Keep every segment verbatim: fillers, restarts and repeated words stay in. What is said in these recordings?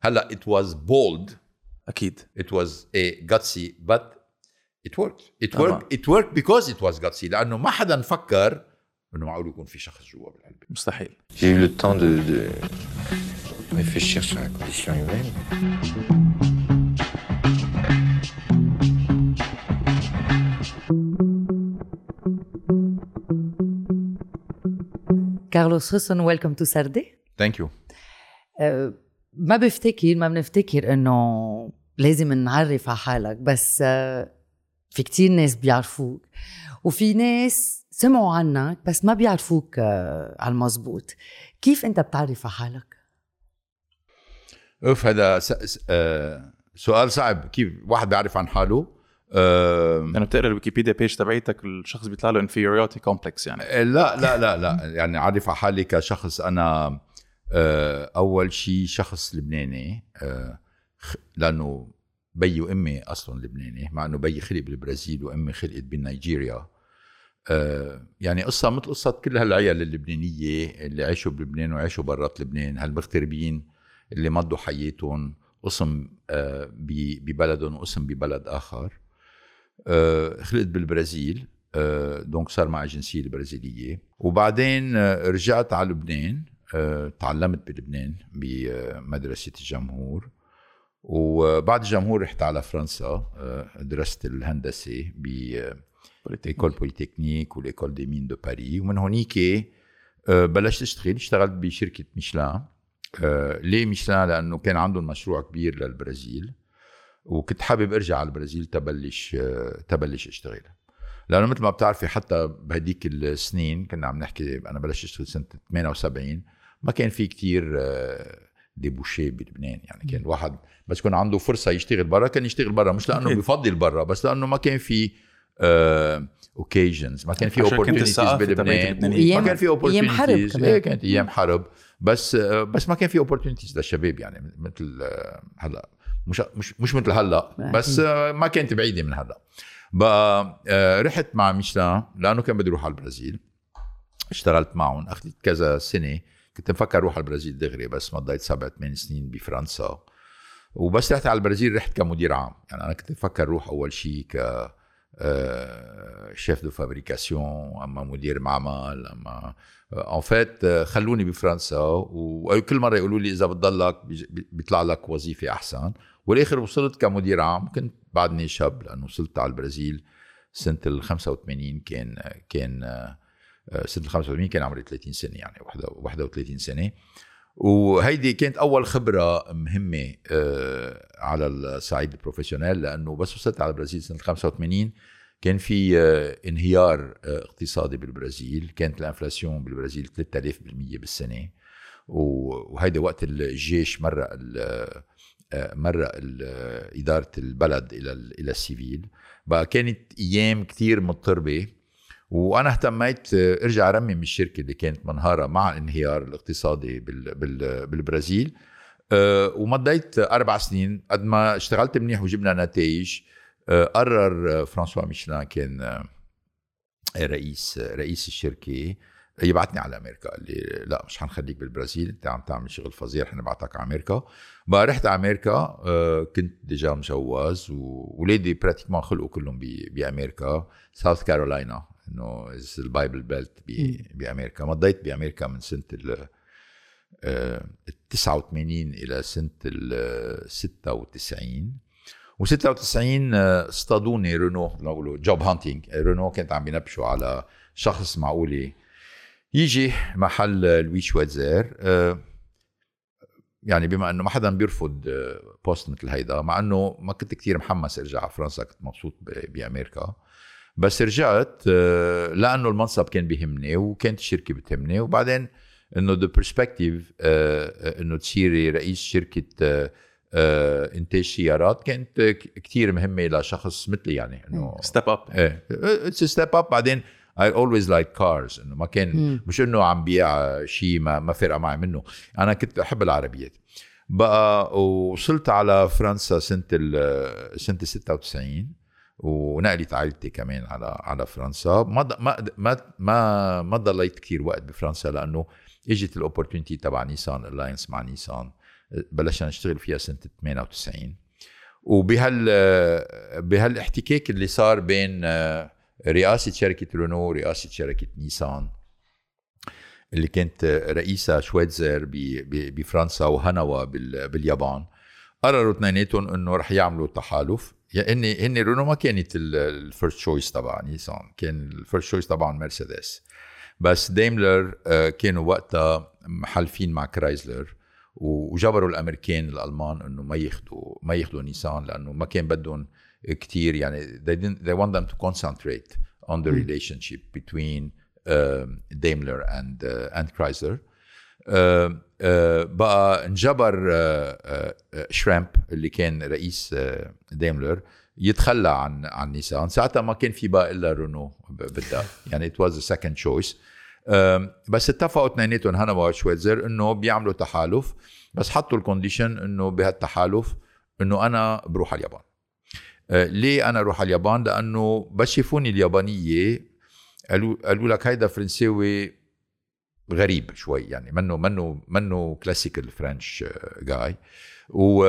هلا it was bold اكيد it was a gutsy but it worked it طبعاً. worked it worked because it was gutsy لانه ما حدا فكر انه معقول يكون في شخص جوا بالعلبه. مستحيل. J'ai eu le temps de, de réfléchir sur la condition humaine. كارلوس حسن welcome to سردي. thank you. أه ما بفتكر ما بنفتكر انه لازم نعرف على حالك بس أه في كتير ناس بيعرفوك وفي ناس سمعوا عنك بس ما بيعرفوك أه على المزبوط. كيف انت بتعرف على حالك؟ اوف هذا س... س... آه... سؤال صعب. كيف واحد بيعرف عن حاله؟ آه... انا بتقرا الويكيبيديا بيج تبعيتك الشخص بيطلع له inferiority complex يعني. لا لا لا لا يعني عارف على حالي كشخص انا آه... اول شيء شخص لبناني آه... لانه بيي وامي اصلا لبناني مع انه بيي خلق بالبرازيل وامي خلقت بنيجيريا. آه... يعني قصه مثل قصه كل هالعيال اللبنانيه اللي عاشوا بلبنان وعاشوا برات لبنان هالمغتربين اللي مضوا حياتهم قسم آه... ببلدهم وقسم ببلد اخر. آه... خلقت بالبرازيل آه... دونك صار معي جنسيه البرازيليه وبعدين آه... رجعت على لبنان. آه... تعلمت بلبنان بمدرسه الجمهور وبعد الجمهور رحت على فرنسا. درست الهندسة بإيكول بوليتكنيك والإيكول دي مين دو باري ومن هونيك بلشت اشتغل اشتغلت بشركة ميشلان. ليه ميشلان؟ لأنه كان عندهم مشروع كبير للبرازيل وكنت حابب ارجع على البرازيل تبلش تبلش اشتغل لأنه مثل ما بتعرفي حتى بهديك السنين كنا عم نحكي أنا بلشت اشتغل سنة ثمانية وسبعين ما كان في كتير ديبوشي بلبنان. يعني كان واحد بس كان عنده فرصة يشتغل برا كان يشتغل برا مش لأنه بيفضل برا بس لأنه ما كان في اوكيجنز uh, ما كان في opportunities بلبنان ما كان في opportunities. ايه كانت ايام حرب بس uh, بس ما كان في opportunities للشباب يعني مثل uh, هلا مش مش مش مثل هلا بس uh, ما كانت بعيدة من هلا. بقى uh, رحت مع ميشلان لأنه كان بدي اروح على البرازيل. اشتغلت معهم أخذت كذا سنة. كنت مفكر روح على البرازيل دغري بس مضيت سبع ثمان سنين بفرنسا وبس رحت على البرازيل رحت كمدير عام. يعني أنا كنت مفكر روح أول شيء ك شيف دو فابريكاسيون أما مدير معمل أما en fait خلوني بفرنسا وكل مرة يقولوا لي إذا بتضلك بيطلع لك وظيفة أحسن والآخر وصلت كمدير عام. كنت بعدني شاب لأنه وصلت على البرازيل سنة الخمسة وثمانين كان كان سنة الخمسة وثمانين كان عمري ثلاثين سنة يعني واحد وثلاثين سنة. وهيدي كانت أول خبرة مهمة على الصعيد البروفيشنال لأنه بس وصلت على البرازيل سنة الخمسة وثمانين كان في انهيار اقتصادي بالبرازيل. كانت الانفلاسيون بالبرازيل ثلاثة آلاف بالمية بالسنة وهيدا وقت الجيش مرق مرق إدارة البلد إلى إلى السيفيل. بقى كانت أيام كتير مضطربة وانا اهتميت ارجع ارمم الشركه اللي كانت منهاره مع الانهيار الاقتصادي بالبرازيل. أه ومضيت اربع سنين قد ما اشتغلت منيح وجبنا نتائج. أه قرر فرانسوا ميشلان كان رئيس رئيس الشركه يبعتني على امريكا. قال لي لا مش حنخليك بالبرازيل انت عم تعمل شغل فظيع حنبعتك على امريكا. بقى رحت على امريكا. أه كنت ديجا مجوز وولادي براتيكمان خلقوا كلهم بامريكا ساوث كارولاينا انه البايبل بيلت بامريكا. مضيت بامريكا من سنه ال تسعة وثمانين الى سنه ال ستة وتسعين وستة وتسعين اصطادوني رينو نقولوا جوب هانتينج. رينو كانت عم بينبشوا على شخص معقول يجي محل لوي شويتزر. يعني بما انه ما حدا بيرفض بوست مثل هيدا مع انه ما كنت كتير محمس ارجع على فرنسا كنت مبسوط بامريكا بس رجعت لأنه المنصب كان بيهمني وكانت الشركة بتهمني. وبعدين إنه the perspective إنه تصيري رئيس شركة إنتاج سيارات كانت كتير مهمة لشخص مثلي يعني إنه step up. إيه it's a step up. بعدين I always like cars إنه ما كان مش إنه عم بيع شيء ما ما فرق معي منه. أنا كنت أحب العربيات. بقى وصلت على فرنسا سنة ال سنة ستة وتسعين ونقلت عائلتي كمان على على فرنسا. ما ما ما ما ما ضليت كثير وقت بفرنسا لانه اجت الاوبورتونيتي تبع نيسان الاينس مع نيسان بلشنا نشتغل فيها سنة ثمانية وتسعين. وبهال بهالاحتكاك اللي صار بين رئاسة شركة رونو ورئاسة شركة نيسان اللي كانت رئيسة شويتزر بفرنسا وهانوا باليابان، قرروا اثنيناتهم انه رح يعملوا تحالف. يعني هن رونو ما كانت الفيرست تشويس تبع نيسان، كان الفيرست تشويس طبعا مرسيدس، بس دايملر كانوا وقتها محلفين مع كرايزلر وجبروا الامريكان الالمان انه ما ياخذوا ما ياخذوا نيسان لانه ما كان بدهم كتير. يعني they didn't they want them to concentrate on the relationship between uh, Daimler and uh, and Chrysler. uh, uh, بقى انجبر uh, uh, شرامب اللي كان رئيس uh, دايملر يتخلى عن عن نيسان. ساعتها ما كان في بقى الا رونو بالدار، يعني it was a second choice. بس اتفقوا اثنيناتهم هانوا وشويتزر انه بيعملوا تحالف، بس حطوا الكونديشن انه بهالتحالف انه انا بروح على اليابان. ليه انا اروح على اليابان؟ لانه بس شافوني اليابانيه قالوا قالوا لك هيدا فرنساوي غريب شوي، يعني منه منه منه كلاسيكال فرنش جاي. و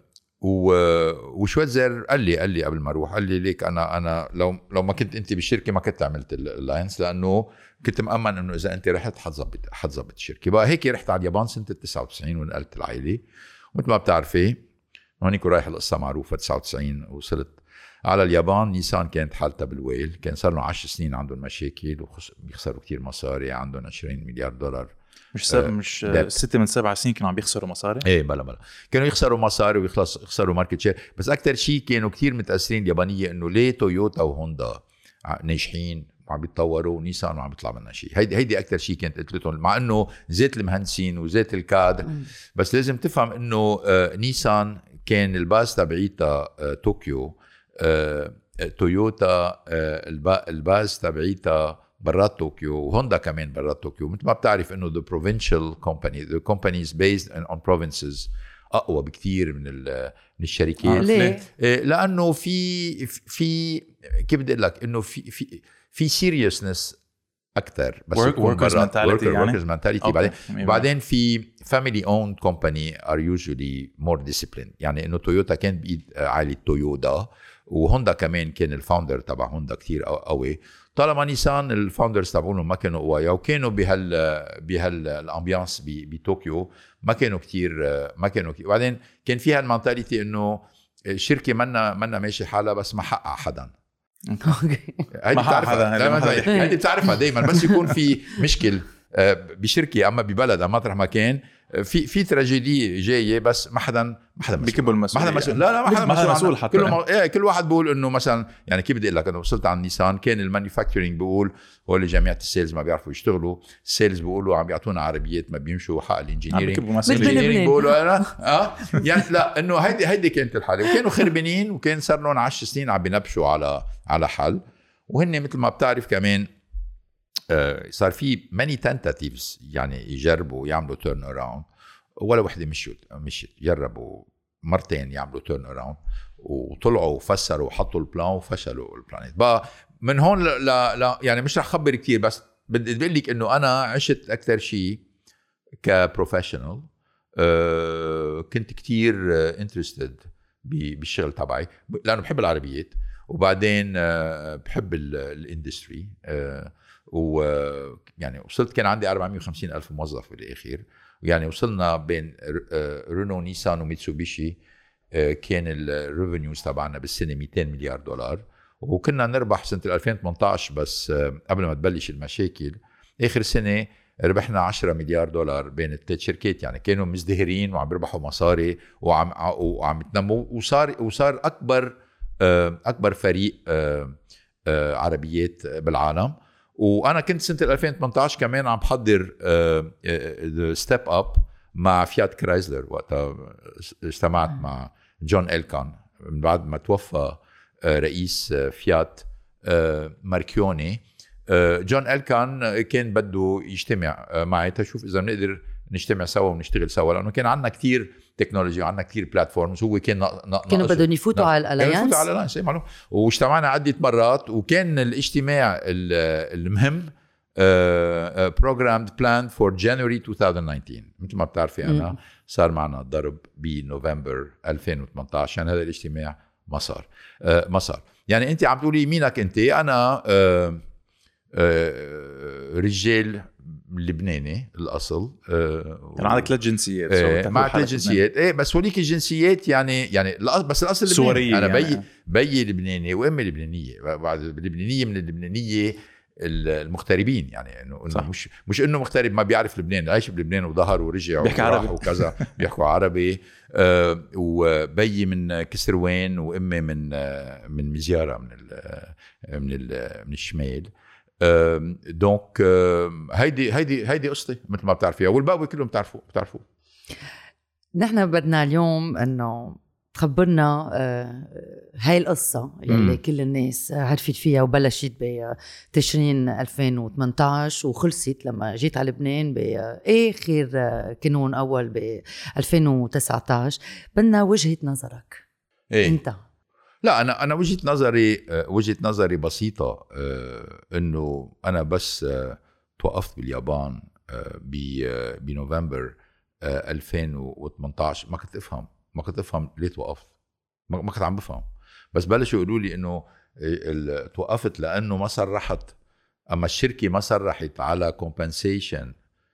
و وشويتزر قال لي قال لي قبل ما اروح قال لي ليك انا انا لو لو ما كنت انت بالشركه ما كنت عملت اللاينس، لانه كنت مأمن انه اذا انت رحت حتظبط حتظبط الشركه. بقى هيك رحت على اليابان سنه تسعة وتسعين ونقلت العائله. ومثل ما بتعرفي هونيك رايح القصه معروفه، تسعة وتسعين وصلت على اليابان. نيسان كانت حالتها بالويل، كان صار له عشر سنين عندهم مشاكل وبيخسروا كتير مصاري، عندهم عشرين مليار دولار. مش سب... مش ستة من سبع سنين كانوا عم بيخسروا مصاري. ايه بلا بلا كانوا يخسروا مصاري ويخلص يخسروا ماركت شير. بس اكثر شيء كانوا كتير متاثرين اليابانيه انه ليه تويوتا وهوندا ناجحين وعم بيتطوروا ونيسان وعم بيطلع منها شيء. هيدي هيدي اكثر شيء كانت قلتلهم، مع انه زيت المهندسين وزيت الكادر. بس لازم تفهم انه آه نيسان كان الباز تبعيتها آه طوكيو، آه تويوتا آه الباز تبعيتها برات طوكيو، وهوندا كمان برات طوكيو. مثل ما بتعرف انه the provincial company the companies based on provinces اقوى بكثير من من الشركات. ليه؟ لانه في في كيف بدي اقول لك انه في في في seriousness اكثر، بس workers mentality يعني workers mentality. بعدين بعدين في family owned company are usually more disciplined. يعني انه تويوتا كان بايد عائله تويودا، وهوندا كمان كان الفاوندر تبع هوندا كتير قوي. طالما نيسان الفاوندرز تبعونهم ما كانوا قوايا وكانوا بهال بهال الامبيانس بطوكيو، ما كانوا كتير ما كانوا كتير. وبعدين كان فيها المنتاليتي انه الشركه منا منا ماشي حالها بس ما حقق حدا. هيدي بتعرفها هيدي بتعرفها دايما بس يكون في مشكل بشركه اما ببلد اما مطرح ما كان في في تراجيدي جايه، بس ما حدا ما حدا بيكبوا المسؤول. ما حدا مسؤول. لا لا ما حدا مسؤول, مسؤول حتى. كل ايه كل واحد بيقول انه مثلا يعني كيف بدي اقول لك، انا وصلت على نيسان كان المانيفاكتشرنج بيقول هو اللي جماعه السيلز ما بيعرفوا يشتغلوا، السيلز بيقولوا عم بيعطونا عربيات ما بيمشوا، حق الانجينيرينج بيقولوا انا اه يعني لا انه هيدي هيدي كانت الحاله. وكانوا خربانين وكان صار لهم عشر سنين عم بينبشوا على على حل. وهن مثل ما بتعرف كمان صار في many tentatives يعني يجربوا يعملوا turn around، ولا وحده مشيت مشيت جربوا مرتين يعملوا turn around وطلعوا وفسروا وحطوا البلان وفشلوا البلانات. بقى من هون لا لا يعني مش رح خبر كتير، بس بدي اقول لك انه انا عشت اكثر شيء كبروفيشنال. أه كنت كتير انترستد بالشغل تبعي لانه بحب العربيات، وبعدين أه بحب الاندستري. أه ويعني وصلت كان عندي أربعمية وخمسين ألف موظف بالأخير. يعني وصلنا بين رونو نيسان وميتسوبيشي كان الريفينيوز تبعنا بالسنة مئتين مليار دولار، وكنا نربح سنة ألفين وثمانية عشر بس قبل ما تبلش المشاكل. آخر سنة ربحنا عشرة مليار دولار بين الثلاث شركات. يعني كانوا مزدهرين وعم يربحوا مصاري وعم وعم يتنموا، وصار وصار أكبر أكبر فريق عربيات بالعالم. وانا كنت سنه ألفين وثمانية عشر كمان عم بحضر ستيب اب مع فيات كرايزلر. وقتها اجتمعت مع جون إلكان من بعد ما توفى رئيس فيات ماركيوني. جون إلكان كان بده يجتمع معي تشوف اذا بنقدر نجتمع سوا ونشتغل سوا، لانه كان عندنا كتير تكنولوجيا وعندنا كتير بلاتفورمز. هو كان نق... كانوا بدهم يفوتوا على الاليانس يفوتوا على الاليانس معلوم. واجتمعنا عدة مرات، وكان الاجتماع المهم programmed planned for January twenty nineteen. مثل ما بتعرفي أنا صار معنا ضرب بنوفمبر ألفين وثمانية عشر، يعني هذا الاجتماع ما صار ما صار يعني أنت عم تقولي مينك أنت؟ أنا رجال لبناني الأصل، كان عندك ثلاث جنسيات. اه مع ثلاث جنسيات ايه بس هوليك الجنسيات يعني يعني بس الأصل لبناني. أنا بي يعني. بي لبناني وأمي لبنانية، بعد لبنانية من اللبنانية المغتربين، يعني انه مش مش انه مغترب ما بيعرف لبنان، عايش بلبنان وظهر ورجع وراح وكذا بيحكوا عربي. آه وبي من كسروان وامي من آه من مزياره من ال من ال من الشمال. آه دونك آه هيدي هيدي هيدي قصتي مثل ما بتعرفيها، والباقي كلهم بتعرفوا بتعرفوا نحن بدنا اليوم انه تخبرنا هاي القصة يلي كل الناس عرفت فيها وبلشت بتشرين ألفين وثمانية عشر وخلصت لما جيت على لبنان بآخر كانون أول ب ألفين وتسعة عشر. بدنا وجهة نظرك إيه؟ أنت. لا أنا أنا وجهة نظري وجهة نظري بسيطة، إنه أنا بس توقفت باليابان بنوفمبر ألفين وثمانية عشر ما كنت أفهم ما كنت أفهم ليه توقفت، ما كنت عم بفهم. بس بلشوا يقولوا لي إنه توقفت لأنه ما صرحت، أما الشركة ما صرحت على compensation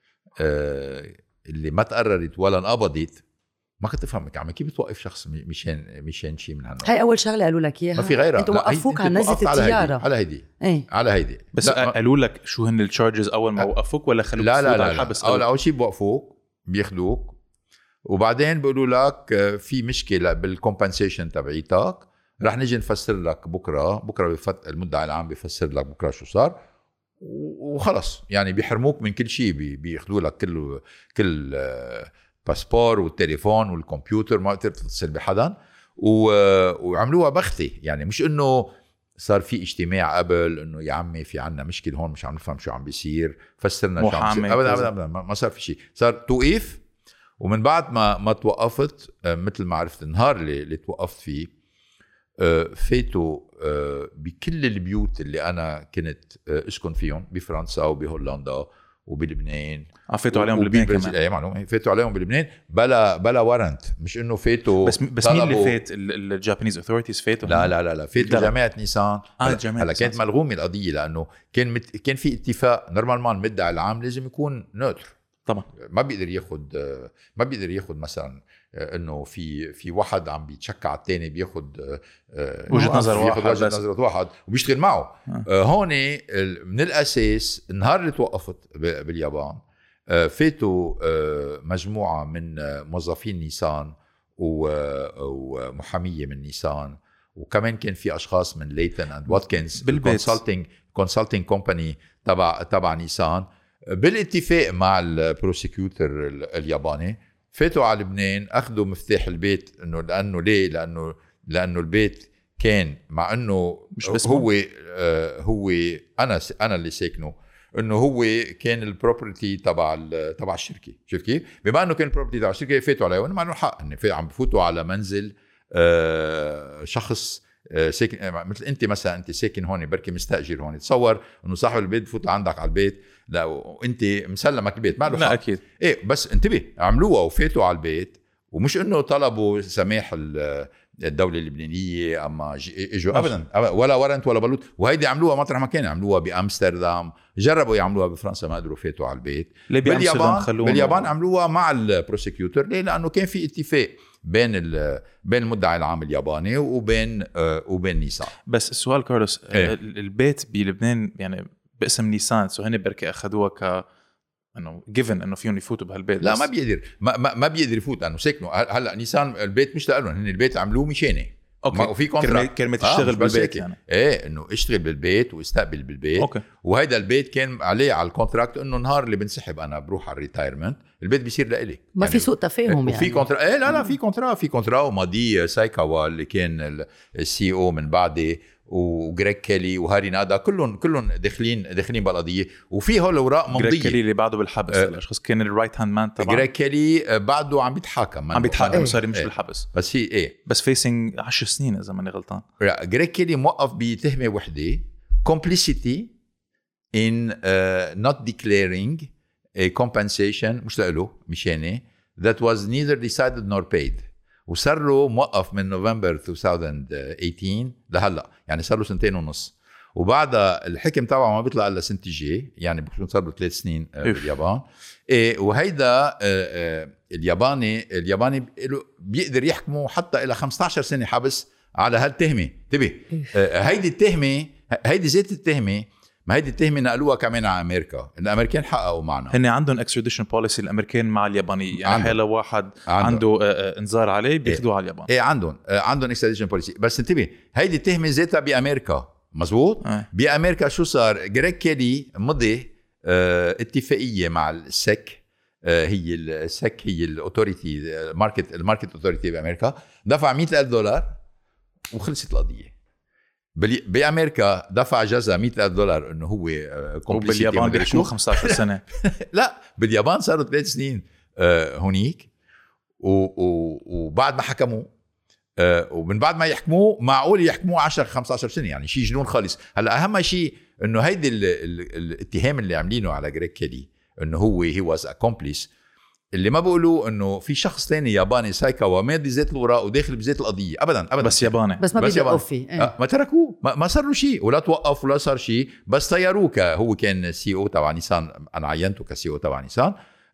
اللي ما تقررت ولا انقبضت. ما كنت أفهمك عم كيف بتوقف شخص مشان مشان شيء من هالنوع. هاي أول شغلة قالوا لك إياها، ما في غيرها. أنتوا وقفوك على نزلة الطيارة على هيدي ايه؟ على هيدي بس قالوا لك شو هن الشارجز أول ما وقفوك ولا خلوك لا لا لا, على الحبس؟ لا. أول أول شيء بوقفوك بياخدوك وبعدين بيقولوا لك في مشكلة بالكومبنسيشن تبعيتك، رح نجي نفسر لك بكرة بكرة بفت المدعي العام بيفسر لك بكرة شو صار وخلص. يعني بيحرموك من كل شيء، بياخدوا لك كل كل باسبور والتليفون والكمبيوتر، ما بتقدر تتصل بحدا. وعملوها بختي، يعني مش انه صار في اجتماع قبل انه يا عمي في عنا مشكلة هون مش عم نفهم شو عم بيصير فسرنا شو عم بيصير. ابدا ابدا, أبداً ما صار في شيء، صار توقيف. ومن بعد ما ما توقفت مثل ما عرفت النهار اللي, اللي توقفت فيه فاتوا بكل البيوت اللي أنا كنت أسكن فيهم بفرنسا وبهولندا وبلبنان. فاتوا عليهم بلبنان كمان. أي معلومة، فاتوا عليهم بلبنان بلا بلا ورنت، مش إنه فاتوا بس بس مين اللي فات؟ الجابانيز أوثوريتيز فاتوا؟ لا لا لا لا فاتوا جماعة نيسان. هلا كانت ملغومة القضية لأنه كان مت... كان في اتفاق نورمالمان المدعي العام لازم يكون نوتر طبعا، ما بيقدر ياخد ما بيقدر ياخد مثلا انه في في واحد عم بيتشكى على الثاني بياخد وجهة نظر واحد وجهة نظر واحد وبيشتغل معه. آه. هون من الاساس النهار اللي توقفت باليابان فاتوا مجموعه من موظفين نيسان ومحاميه من نيسان، وكمان كان في اشخاص من ليتن اند واتكنز كونسلتنج كونسلتنج كومباني تبع تبع نيسان بالاتفاق مع البروسيكيوتر الياباني. فاتوا على لبنان اخذوا مفتاح البيت، انه لانه ليه لانه لانه البيت كان مع انه مش هو آه هو انا انا اللي ساكنه، انه هو كان البروبرتي تبع تبع الشركه. شوف كيف بما انه كان البروبرتي تبع الشركه فاتوا عليه، وانا ما له حق انه عم بفوتوا على منزل آه شخص ساكن مثل انت مثلا، انت ساكن هون بركي مستاجر هون، تصور انه صاحب البيت بفوت عندك على البيت لا وانت مسلمك البيت ما له حق. اكيد ايه بس انتبه عملوها وفاتوا على البيت، ومش انه طلبوا سماح الدوله اللبنانيه اما اجوا ابدا ولا ورنت ولا بلوت. وهيدي عملوها مطرح ما كان، عملوها بامستردام، جربوا يعملوها بفرنسا ما قدروا، فاتوا على البيت. باليابان باليابان عملوها مع البروسيكيوتر. ليه؟ لانه كان في اتفاق بين بين المدعي العام الياباني وبين آه وبين نيسان. بس السؤال كارلوس، إيه؟ البيت بلبنان يعني باسم نيسان، سو هن بركي اخذوها ك انه جيفن انه فيهم يفوتوا بهالبيت. لا ما بيقدر ما, ما, ما بيقدر يفوت لانه ساكنوا. هلا نيسان البيت مش لهم، هن البيت عملوه مشاني. اوكي وفي كونتراكت كلمه تشتغل آه بالبيت يعني ايه انه اشتغل بالبيت واستقبل بالبيت. أوكي. وهيدا البيت كان عليه على الكونتراكت انه نهار اللي بنسحب انا بروح على الريتايرمنت البيت بيصير لإلي. ما يعني في سوء تفاهم يعني. وفي كونترا ايه لا لا في كونترا في كونترا وماضي سايكاوا اللي كان السي او من بعدي وغريغ كيلي وهاري نادا كلهم كلهم داخلين داخلين بالقضيه. وفي هول اوراق ممضيه. غريغ كيلي اللي بعده بالحبس أه الاشخاص كان الرايت هاند مان تبعه. غريغ كيلي بعده عم بيتحاكم عم بيتحاكم صار مش ايه بالحبس بس هي ايه بس فيسنج عشر سنين اذا ماني غلطان. لا غريغ كيلي موقف بتهمه وحده كومبليسيتي in uh, not declaring a compensation مش له مشاني that was neither decided nor paid. وصار له موقف من نوفمبر ألفين وثمانية عشر لهلا، يعني صار له سنتين ونص. وبعدها الحكم تبعه ما بيطلع الا سنه الجاي، يعني بيكون صار له ثلاث سنين باليابان. إيه وهيدا الياباني الياباني بيقدر يحكمه حتى الى خمسة عشر سنه حبس على هالتهمه. انتبه، هيدي التهمه هيدي زيت التهمه، ما هيدي التهمه نقلوها كمان على امريكا، الامريكان حققوا معنا. هن عندهم اكستراديشن بوليسي الامريكان مع الياباني، يعني حاله واحد عنده, عنده انذار عليه بياخذوه على اليابان. ايه عندهم عندهم اكستراديشن بوليسي. بس انتبه، هيدي التهمه زيتها بامريكا، مزبوط. أه. بامريكا شو صار؟ جريج كيلي مضي اه اتفاقيه مع السك، اه هي السك هي الاوتوريتي الماركت الماركت اوتوريتي بامريكا، دفع مئة ألف دولار وخلصت القضيه. بامريكا دفع جزاء مئة ألف دولار انه هو كومبليسيتي. وباليابان بيحكموا خمسة عشر سنه. لا باليابان صاروا ثلاث سنين اه هونيك، وبعد ما حكموا آه ومن بعد ما يحكموه معقول يحكموه عشرة خمسة عشر سنه، يعني شيء جنون خالص. هلا اهم شيء انه هيدي ال ال الاتهام اللي عاملينه على جريج كيلي انه هو هي واز اكومبليس، اللي ما بيقولوا انه في شخص ثاني ياباني سايكاوا ماضي زيت الوراق وداخل بزيت القضيه. ابدا ابدا بس ياباني، بس ما بيوقفوا فيه. آه ما تركوه، ما, ما صار له شيء ولا توقف ولا صار شيء، بس طيروه. هو كان سي او تبع نيسان، انا عينته كسي او تبع نيسان.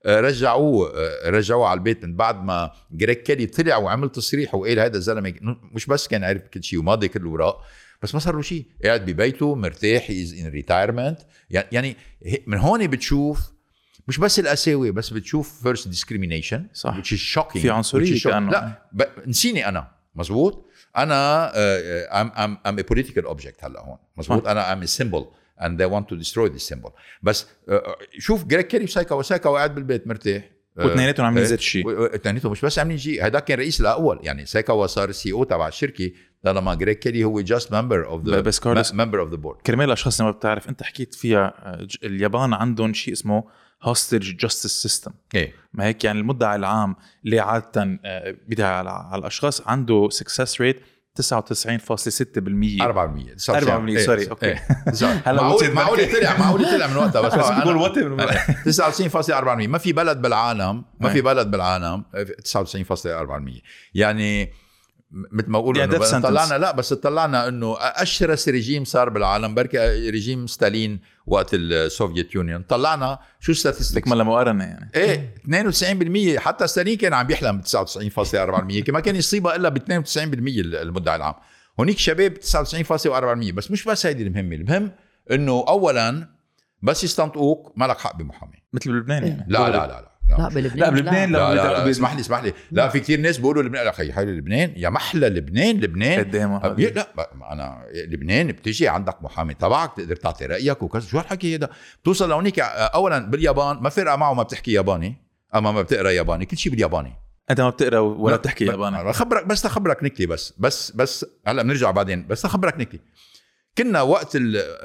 رجعوه رجعوه على البيت من بعد ما جريج كيلي طلع وعمل تصريح وقال هذا الزلمه مش بس كان عارف كل شيء وماضي كل الوراق، بس ما صار له شيء، قاعد ببيته مرتاح، از ان ريتايرمنت. يعني من هون بتشوف مش بس القساوه، بس بتشوف فيرست ديسكريمينيشن، صح، which is shocking، في عنصريه كأنه. لا ب... نسيني انا، مزبوط. انا uh, I'm, I'm, I'm a political object هلا هون، مزبوط. انا I'm a symbol and they want to destroy this symbol. بس شوف جريج كيلي وسايكا وسايكا وقاعد بالبيت مرتاح، واثنيناتهم عاملين زيت الشيء. اثنيناتهم مش بس عاملين شيء، هذا كان رئيس الاول، يعني سايكا صار سي او تبع الشركه لما جريج كيلي هو just member of the member of the board. كرمال الاشخاص اللي ما بتعرف، انت حكيت فيها اليابان عندهم شيء اسمه hostage justice system. إيه؟ ما هيك يعني المدعي العام اللي عاده بيدعي على الاشخاص عنده success rate تسعة وتسعين فاصلة ستة بالمية أربعة بالمية أربعة بالمية سوري. إيه. اوكي هلا معقول معقول طلع معقول طلع من وقتها، بس بقول وقت تسعة وتسعين فاصلة أربعة بالمية. ما في بلد بالعالم ما في بلد بالعالم تسعة وتسعين فاصلة أربعة بالمية. يعني مثل ما بقول يعني انه طلعنا لا بس طلعنا انه اشرس ريجيم صار بالعالم بركي ريجيم ستالين وقت السوفيت يونيون. طلعنا شو ستاتستيك ما مقارنه يعني ايه اثنين وتسعين بالمية. حتى ستالين كان عم بيحلم ب تسعة وتسعين فاصلة أربعة بالمية، ما كان يصيبها الا ب اثنين وتسعين بالمية المدعي العام. هونيك شباب تسعة وتسعين فاصلة أربعة بالمية. بس مش بس هيدي المهمه، المهم انه اولا بس يستنطقوك ما لك حق بمحامي مثل بلبنان يعني. لا لا لا لا لا بلبنان لا بلبنان لا, لا, لا, لا, لا اسمح لي اسمح لي لا في كتير ناس بيقولوا لبنان، اخي حي لبنان يا محلى لبنان لبنان قدامه. لا انا لبنان بتيجي عندك محامي تبعك تقدر تعطي رايك وكذا. شو هالحكي هذا؟ بتوصل لهونيك اولا باليابان ما فرقه معه ما بتحكي ياباني اما ما بتقرا ياباني، كل شيء بالياباني. انت ما بتقرا ولا بتحكي ياباني. خبرك بس تخبرك نكتي بس بس بس هلا بنرجع بعدين، بس تخبرك نكتي. كنا وقت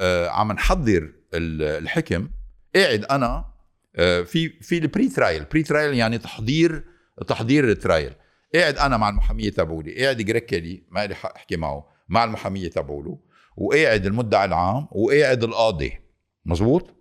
عم نحضر الحكم قاعد انا في في البري ترايل. بري ترايل يعني تحضير تحضير الترايل. قاعد انا مع المحاميه تبعولي، قاعد جريج كيلي ما لي حق احكي معه، مع المحاميه تبعوله، وقاعد المدعي العام، وقاعد القاضي، مزبوط.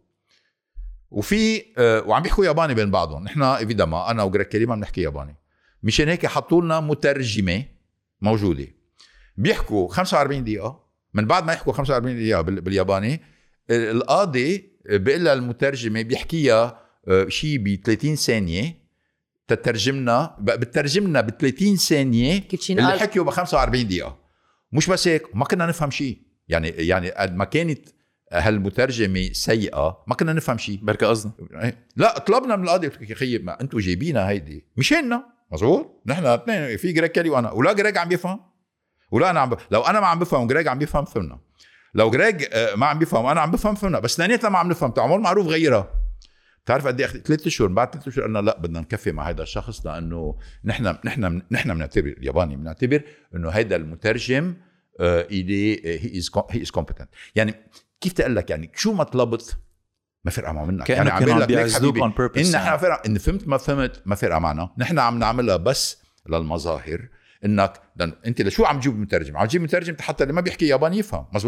وفي وعم بيحكوا ياباني بين بعضهم. نحن ايفيدامون انا وجريج كيلي ما بنحكي ياباني، مشان هيك حطوا لنا مترجمه موجوده بيحكوا خمسة وأربعين دقيقه. من بعد ما يحكوا خمسة وأربعين دقيقه بالياباني، القاضي بيقول لها المترجمه بيحكيها شيء ب ثلاثين ثانيه تترجمنا بترجمنا ب ثلاثين ثانيه اللي حكيوا ب خمسة وأربعين دقيقه. مش بس هيك، ما كنا نفهم شيء. يعني يعني قد ما كانت هالمترجمه سيئه ما كنا نفهم شيء. بركة قصدي لا طلبنا من القاضي يا خيي ما انتم جايبينها هيدي مشاننا، مزبوط. نحن اثنين في جريج كيلي وانا، ولا جريج عم بيفهم ولا انا عم ب... لو انا ما عم بفهم وجريج عم بيفهم فهمنا. لو جريج ما عم بيفهم وانا عم بفهم فهمنا. بس اثنيناتنا ما عم نفهم. تعمل معروف غيرها. بتعرف قد ايه اخذ ثلاث اشهر. بعد ثلاث اشهر قلنا لا بدنا نكفي مع هذا الشخص، لانه نحن نحن نحن بنعتبر الياباني بنعتبر انه هذا المترجم الي هي از هي از كومبتنت. يعني كيف تقول لك يعني شو ما طلبت ما فرقه مع منك. يعني عم بقول لك حبيبي ان نحن فرق ان فهمت ما فهمت ما فرقه معنا. نحن عم نعملها بس للمظاهر. انك انت لشو عم تجيب مترجم؟ عم تجيب مترجم حتى اللي ما بيحكي ياباني يفهم، مزبوط.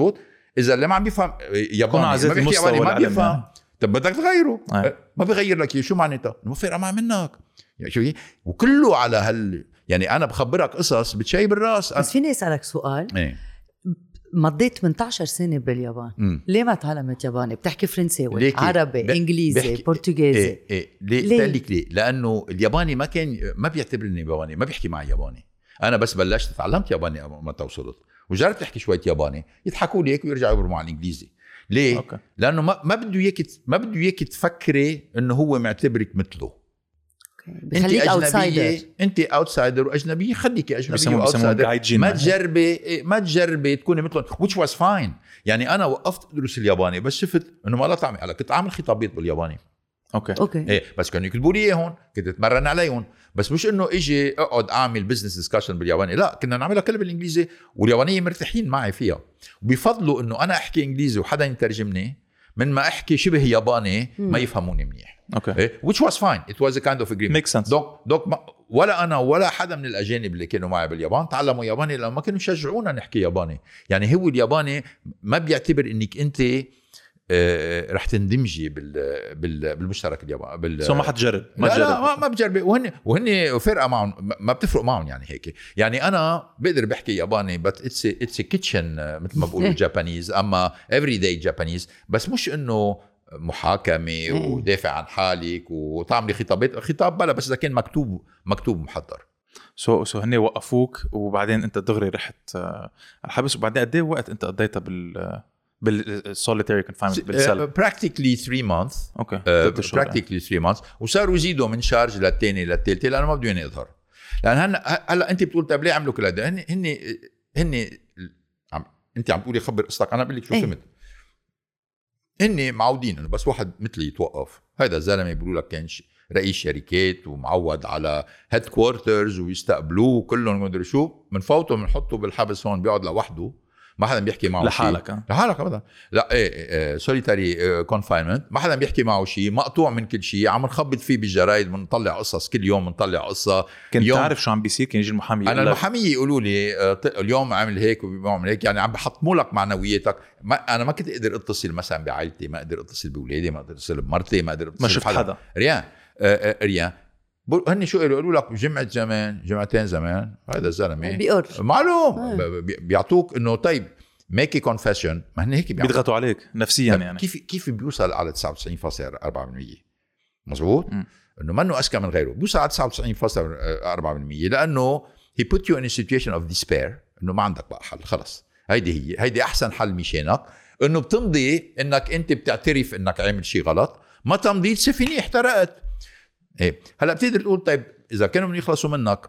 اذا اللي ما عم بيفهم ياباني ما بيحكي ياباني ما بيفهم، طب بدك تغيره آه. ما بيغير لك شو معناتها ما فرق معه منك يعني شو وكله على هال يعني انا بخبرك قصص بتشيب الراس. بس فيني اسالك سؤال ايه مضيت ثمانية عشر سنه باليابان م. ليه ما تعلمت ياباني؟ بتحكي فرنسي عربي ب... انجليزي برتغالي ايه ايه ليه؟ ليه؟ لك ليه؟ لانه الياباني ما كان ما بيعتبرني ياباني ما بيحكي معي ياباني. انا بس بلشت تعلمت ياباني ما توصلت وجربت احكي شويه ياباني يضحكوا لي هيك ويرجعوا يبرموا على الانجليزي. ليه؟ أوكي. لانه ما ما بده اياك ما بده اياك تفكري انه هو معتبرك مثله. انت اجنبيه انت اوتسايدر واجنبيه خليكي اجنبيه واوتسايدر ما تجربي ما تجربي تكوني مثلهم which was fine. يعني انا وقفت ادرس الياباني بس شفت انه ما لا طعمي على كنت اعمل خطابات بالياباني اوكي اوكي ايه بس كانوا يكتبوا لي اياهم كنت اتمرن عليهم بس مش انه اجي اقعد اعمل بزنس ديسكشن بالياباني لا كنا نعملها كلها بالانجليزي واليابانيين مرتاحين معي فيها وبيفضلوا انه انا احكي انجليزي وحدا يترجمني من ما احكي شبه ياباني ما يفهموني منيح. اوكي إيه؟ which was fine it was a kind of agreement makes sense. دوك دوك ما ولا انا ولا حدا من الاجانب اللي كانوا معي باليابان تعلموا ياباني لانه ما كانوا يشجعونا نحكي ياباني. يعني هو الياباني ما بيعتبر انك انت آه رح تندمجي بال بال بالمشترك الياباني بال سو ما حتجرب ما لا, لا ما, ما بجرب وهن وهن فرقه معهم ما بتفرق معهم يعني هيك. يعني انا بقدر بحكي ياباني بس اتس اتس كيتشن مثل ما بقولوا جابانيز اما افري داي جابانيز بس مش انه محاكمه ودافع عن حالك وتعملي خطابات خطاب بلا بس اذا كان مكتوب مكتوب محضر. سو سو هن وقفوك وبعدين انت دغري رحت على الحبس وبعدين قد ايه وقت انت قضيتها بال بالسوليتاري كونفاينمنت بالسل؟ براكتيكلي ثلاثة مانث اوكي براكتيكلي ثلاثة مانث وصاروا يزيدوا من شارج للثاني للثالثه لانه ما بدهم يظهر. لان هلا هلا انت بتقول طيب ليه عملوا كل هذا؟ هن هن هن عم انت عم تقولي خبر قصتك انا بقول لك شو فهمت. هن معودين انه بس واحد مثلي يتوقف هذا الزلمه بيقولوا لك كان رئيس شركات ومعود على هيد كوارترز ويستقبلوه كلهم ما ادري شو بنفوته بنحطه بالحبس هون بيقعد لوحده ما حدا بيحكي معه لحالك شيء لحالك ابدا لا ايه, إيه سوليتاري كونفاينمنت ما حدا بيحكي معه شيء مقطوع من كل شيء عم نخبط فيه بالجرايد بنطلع قصص كل يوم بنطلع قصه. كنت تعرف شو عم بيصير كان يجي المحامي انا المحامي يقولوا لي اليوم عامل هيك وبيعمل هيك يعني عم بحطموا لك معنوياتك. ما انا ما كنت اقدر اتصل مثلا بعائلتي ما اقدر اتصل باولادي ما اقدر اتصل بمرتي ما اقدر اتصل ما شفت حدا, حدا. ريان آه ريان هن شو قالوا لك جمعة زمان جمعتين زمان هذا الزلمه بيقر معلوم آه. بيعطوك انه طيب ميكي كونفيشن ما هن هيك بيضغطوا عليك نفسيا يعني كيف كيف بيوصل على تسعة وتسعين فاصلة أربعة بالمية مزبوط انه منه اذكى من غيره بيوصل على تسعة وتسعين فاصلة أربعة بالمية لانه he put you in a situation of despair انه ما عندك بقى حل خلص هيدي هي هيدي احسن حل مشانك انه بتمضي انك انت بتعترف انك عمل شيء غلط ما تمضي تسفيني احترقت. ايه هلا بتقدر تقول طيب اذا كانوا من يخلصوا منك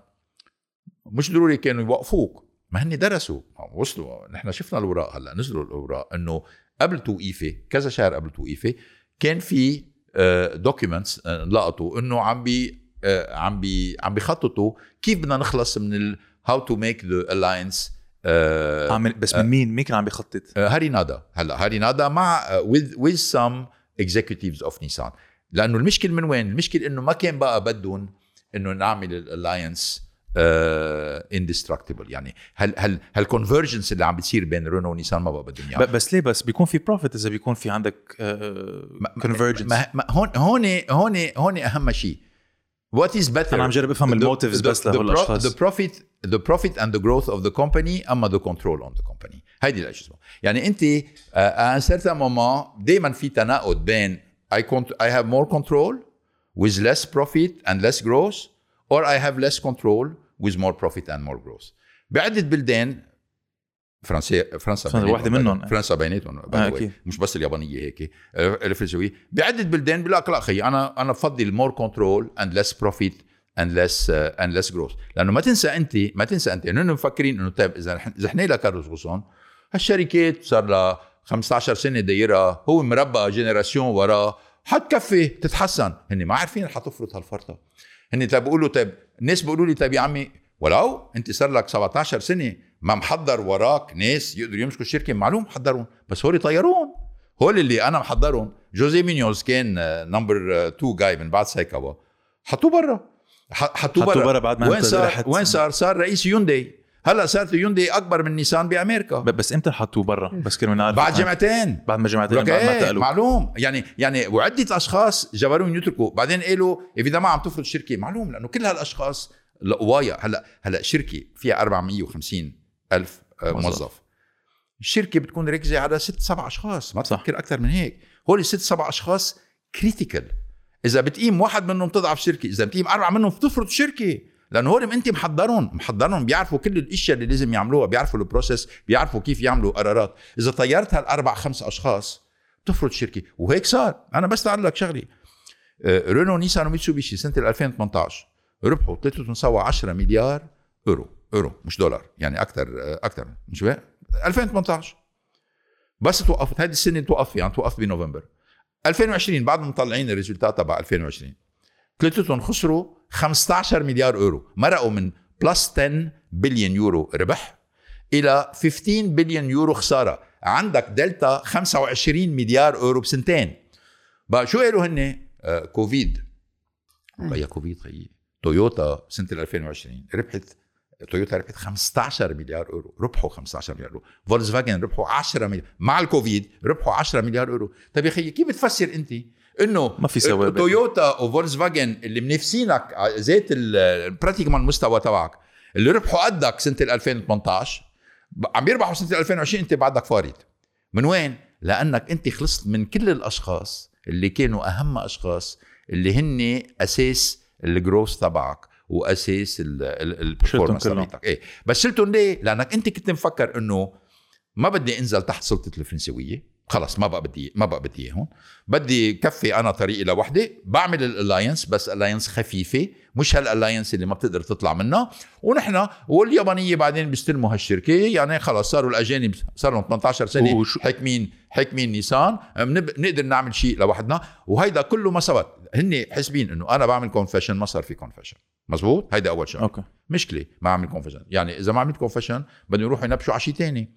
مش ضروري كانوا يوقفوك ما هني درسوا وصلوا نحن شفنا الأوراق هلا نزلوا الأوراق انه قبل توقيفه كذا شهر قبل توقيفه كان في دوكيومنتس لقطوا انه عم بي عم بي عم بيخططوا كيف بدنا نخلص من ال how to make the alliance عامل بس من مين مين كان عم بيخطط؟ هاري نادا هلا هاري نادا مع with with some executives of Nissan لانه المشكله من وين؟ المشكله انه ما كان بقى بدهم انه نعمل الالاينس اندستركتبل يعني هل هل هالكونفرجنس اللي عم بتصير بين رينو ونيسان ما بقى بدهم اياه. بس ليه بس بيكون في بروفيت اذا بيكون في عندك كونفرجنس. هون هون هون هون اهم شيء what is better. انا عم جرب افهم الموتيفز بس لهول الاشخاص. the profit the profit and the growth of the company اما the control on the company هيدي الاشياء. يعني انت à un certain moment دائما في تناقض بين I I have more control with less profit and less growth or I have less control with more profit and more growth. بعدة بلدان فرنسا فرنسا واحدة منهم فرنسا بيناتهم آه مش بس اليابانية هيك الفرنسوية بعدة بلدان بيقول لك لا أخي أنا أنا بفضل more control and less profit and less uh, and less growth. لأنه ما تنسى أنت ما تنسى أنت إنه مفكرين إنه طيب إذا إذا إحنا لا كارلوس غوسون هالشركات صار لها خمسة عشر سنة دايرة هو مربى جينيراسيون وراه حتكفي تتحسن. هني ما عارفين حتفرط هالفرطة. هني طيب بيقولوا طيب الناس بيقولوا لي طيب يا عمي ولو انت صار لك سبعة عشر سنة ما محضر وراك ناس يقدروا يمسكوا الشركة معلوم محضرون بس هولي طيرون. هول اللي انا محضرهم جوزي مينيوز كان نمبر تو جاي من بعد سايكاوا حطوه برا حطوه برا بعد ما وين صار وين صار صار رئيس يونداي هلا صارت يوندي اكبر من نيسان بامريكا. بس امتى حطوه برا؟ بس كانوا نعرف بعد جمعتين بعد ما جمعتين بعد ما ايه معلوم يعني يعني وعده اشخاص جبروهم يتركوا. بعدين قالوا اذا ما عم تفرض شركه معلوم لانه كل هالاشخاص لقوايا. هلا هلا شركه فيها أربعمية وخمسين ألف موظف، الشركه بتكون ركزه على ست سبع اشخاص، ما تفكر اكثر من هيك. هول الست سبع اشخاص كريتيكال. اذا بتقيم واحد منهم تضعف شركه، اذا بتقيم اربعه منهم بتفرض شركه، لانه هول انت محضرهم محضرهم بيعرفوا كل الاشياء اللي لازم يعملوها، بيعرفوا البروسيس، بيعرفوا كيف يعملوا قرارات. اذا طيرت هالاربع خمس اشخاص بتفرض شركه، وهيك صار. انا بس تعال لك شغلي، رينو نيسان وميتسوبيشي سنه ألفين وثمانية عشر ربحوا ثلاثة سوا عشرة مليار اورو اورو مش دولار، يعني اكثر اكثر مش بقى ألفين وثمانية عشر. بس توقفت هذه السنه، توقف يعني توقف بنوفمبر ألفين وعشرين. بعد ما مطلعين الريزلتات تبع ألفين وعشرين ثلاثتهم خسروا خمسة عشر مليار اورو، مرقوا من بلس عشرة بليون يورو ربح الى خمسة عشر بليون يورو خساره. عندك دلتا خمسة وعشرين مليار اورو بسنتين. بقى شو قالوا هن؟ آه كوفيد. بقى كوفيد خيي تويوتا سنه ألفين وعشرين ربحت، تويوتا ربحت خمسة عشر مليار اورو، ربحوا خمسة عشر مليار اورو. فولكس فاجن ربحوا عشرة مليار مع الكوفيد، ربحوا عشرة مليار اورو. طيب يا خيي كيف بتفسر انت انه ما في سوابق تويوتا وفولكس فاجن اللي منافسينك زيت البراتيكمان المستوى تبعك اللي ربحوا قدك سنه ألفين وثمانية عشر عم بيربحوا سنه ألفين وعشرين، انت بعدك فارط؟ من وين؟ لانك انت خلصت من كل الاشخاص اللي كانوا اهم اشخاص اللي هن اساس الجروث تبعك واساس البرفورمانس تبعك. ايه بس شلتهم ليه؟ لانك انت كنت مفكر انه ما بدي انزل تحت سلطه الفرنسويه، خلص ما بقى بدي ما بقى بدي اياهم، بدي كفي انا طريقي لوحدي، بعمل الالاينس بس الاينس خفيفه، مش هالالاينس اللي ما بتقدر تطلع منها. ونحن واليابانيه بعدين بيستلموا هالشركه، يعني خلص صاروا الاجانب صار لهم ثمانية عشر سنه حاكمين حاكمين نيسان، نقدر نعمل شيء لوحدنا. وهيدا كله ما ثبت. هن حاسبين انه انا بعمل كونفيشن، ما صار في كونفيشن. مزبوط، هيدا اول شيء. أوكي. مشكله ما عمل كونفيشن، يعني اذا ما عملت كونفيشن بدهم يروحوا ينبشوا على شيء ثاني.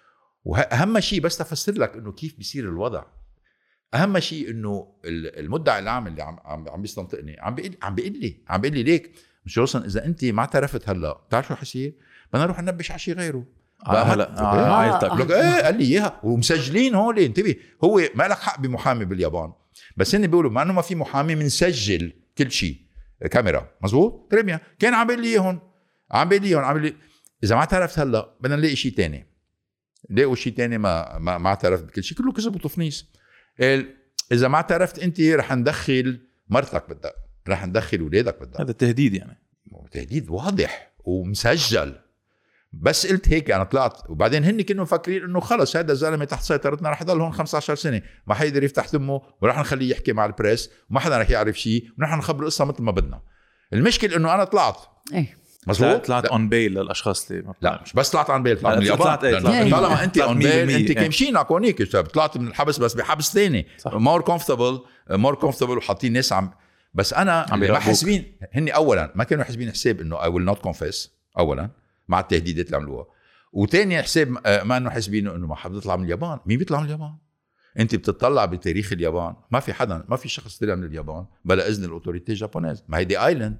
واهم شيء بس تفسر لك انه كيف بيصير الوضع، اهم شيء انه المدعي العام اللي عم عم بيستنطقني عم بيقول عم بيقول لي عم بيقول لي ليك مش اصلا اذا انت ما اعترفت هلا بتعرف شو حيصير؟ بدنا نروح ننبش على شيء غيره. هلا عائلتك ايه قال لي اياها ومسجلين هول. انتبه، هو ما لك حق بمحامي باليابان، بس هن بيقولوا ما انه ما في محامي بنسجل كل شيء كاميرا. مزبوط تريبيا. كان عم بيقول لي اياهم عم بيقول لي اياهم عم بيقول لي اذا ما اعترفت هلا بدنا نلاقي شيء ثاني. لقوا شيء تاني ما ما, ما اعترفت بكل شيء، كله كذب وتفنيس. اذا ما اعترفت انت رح ندخل مرتك بالدق، رح ندخل اولادك بالدق. هذا تهديد، يعني تهديد واضح ومسجل. بس قلت هيك انا طلعت، وبعدين هن كانوا مفكرين انه خلص هذا الزلمه تحت سيطرتنا رح يضل هون خمسة عشر سنه، ما حيقدر يفتح تمه، ورح نخليه يحكي مع البريس وما حدا رح يعرف شيء، ونحن نخبر القصه مثل ما بدنا. المشكله انه انا طلعت ايه مزبوط، طلعت اون بيل للاشخاص اللي لا مش بس طلعت اون بيل، طلعت من اليابان. طالما انت اون بيل انت كمشينك هونيك، طلعت من الحبس بس بحبس ثاني مور كومفورتبل مور كومفورتبل وحاطين ناس عم. بس انا ما حاسبين هني، اولا ما كانوا حاسبين حساب انه اي ويل نوت كونفيس اولا مع التهديدات اللي عملوها، وثاني حساب ما انه حاسبين انه ما حدا يطلع من اليابان. مين بيطلع من اليابان؟ انت بتطلع بتاريخ اليابان ما في حدا، ما في شخص طلع من اليابان بلا اذن الاوتوريتي الجابونيز. ما هي دي ايلاند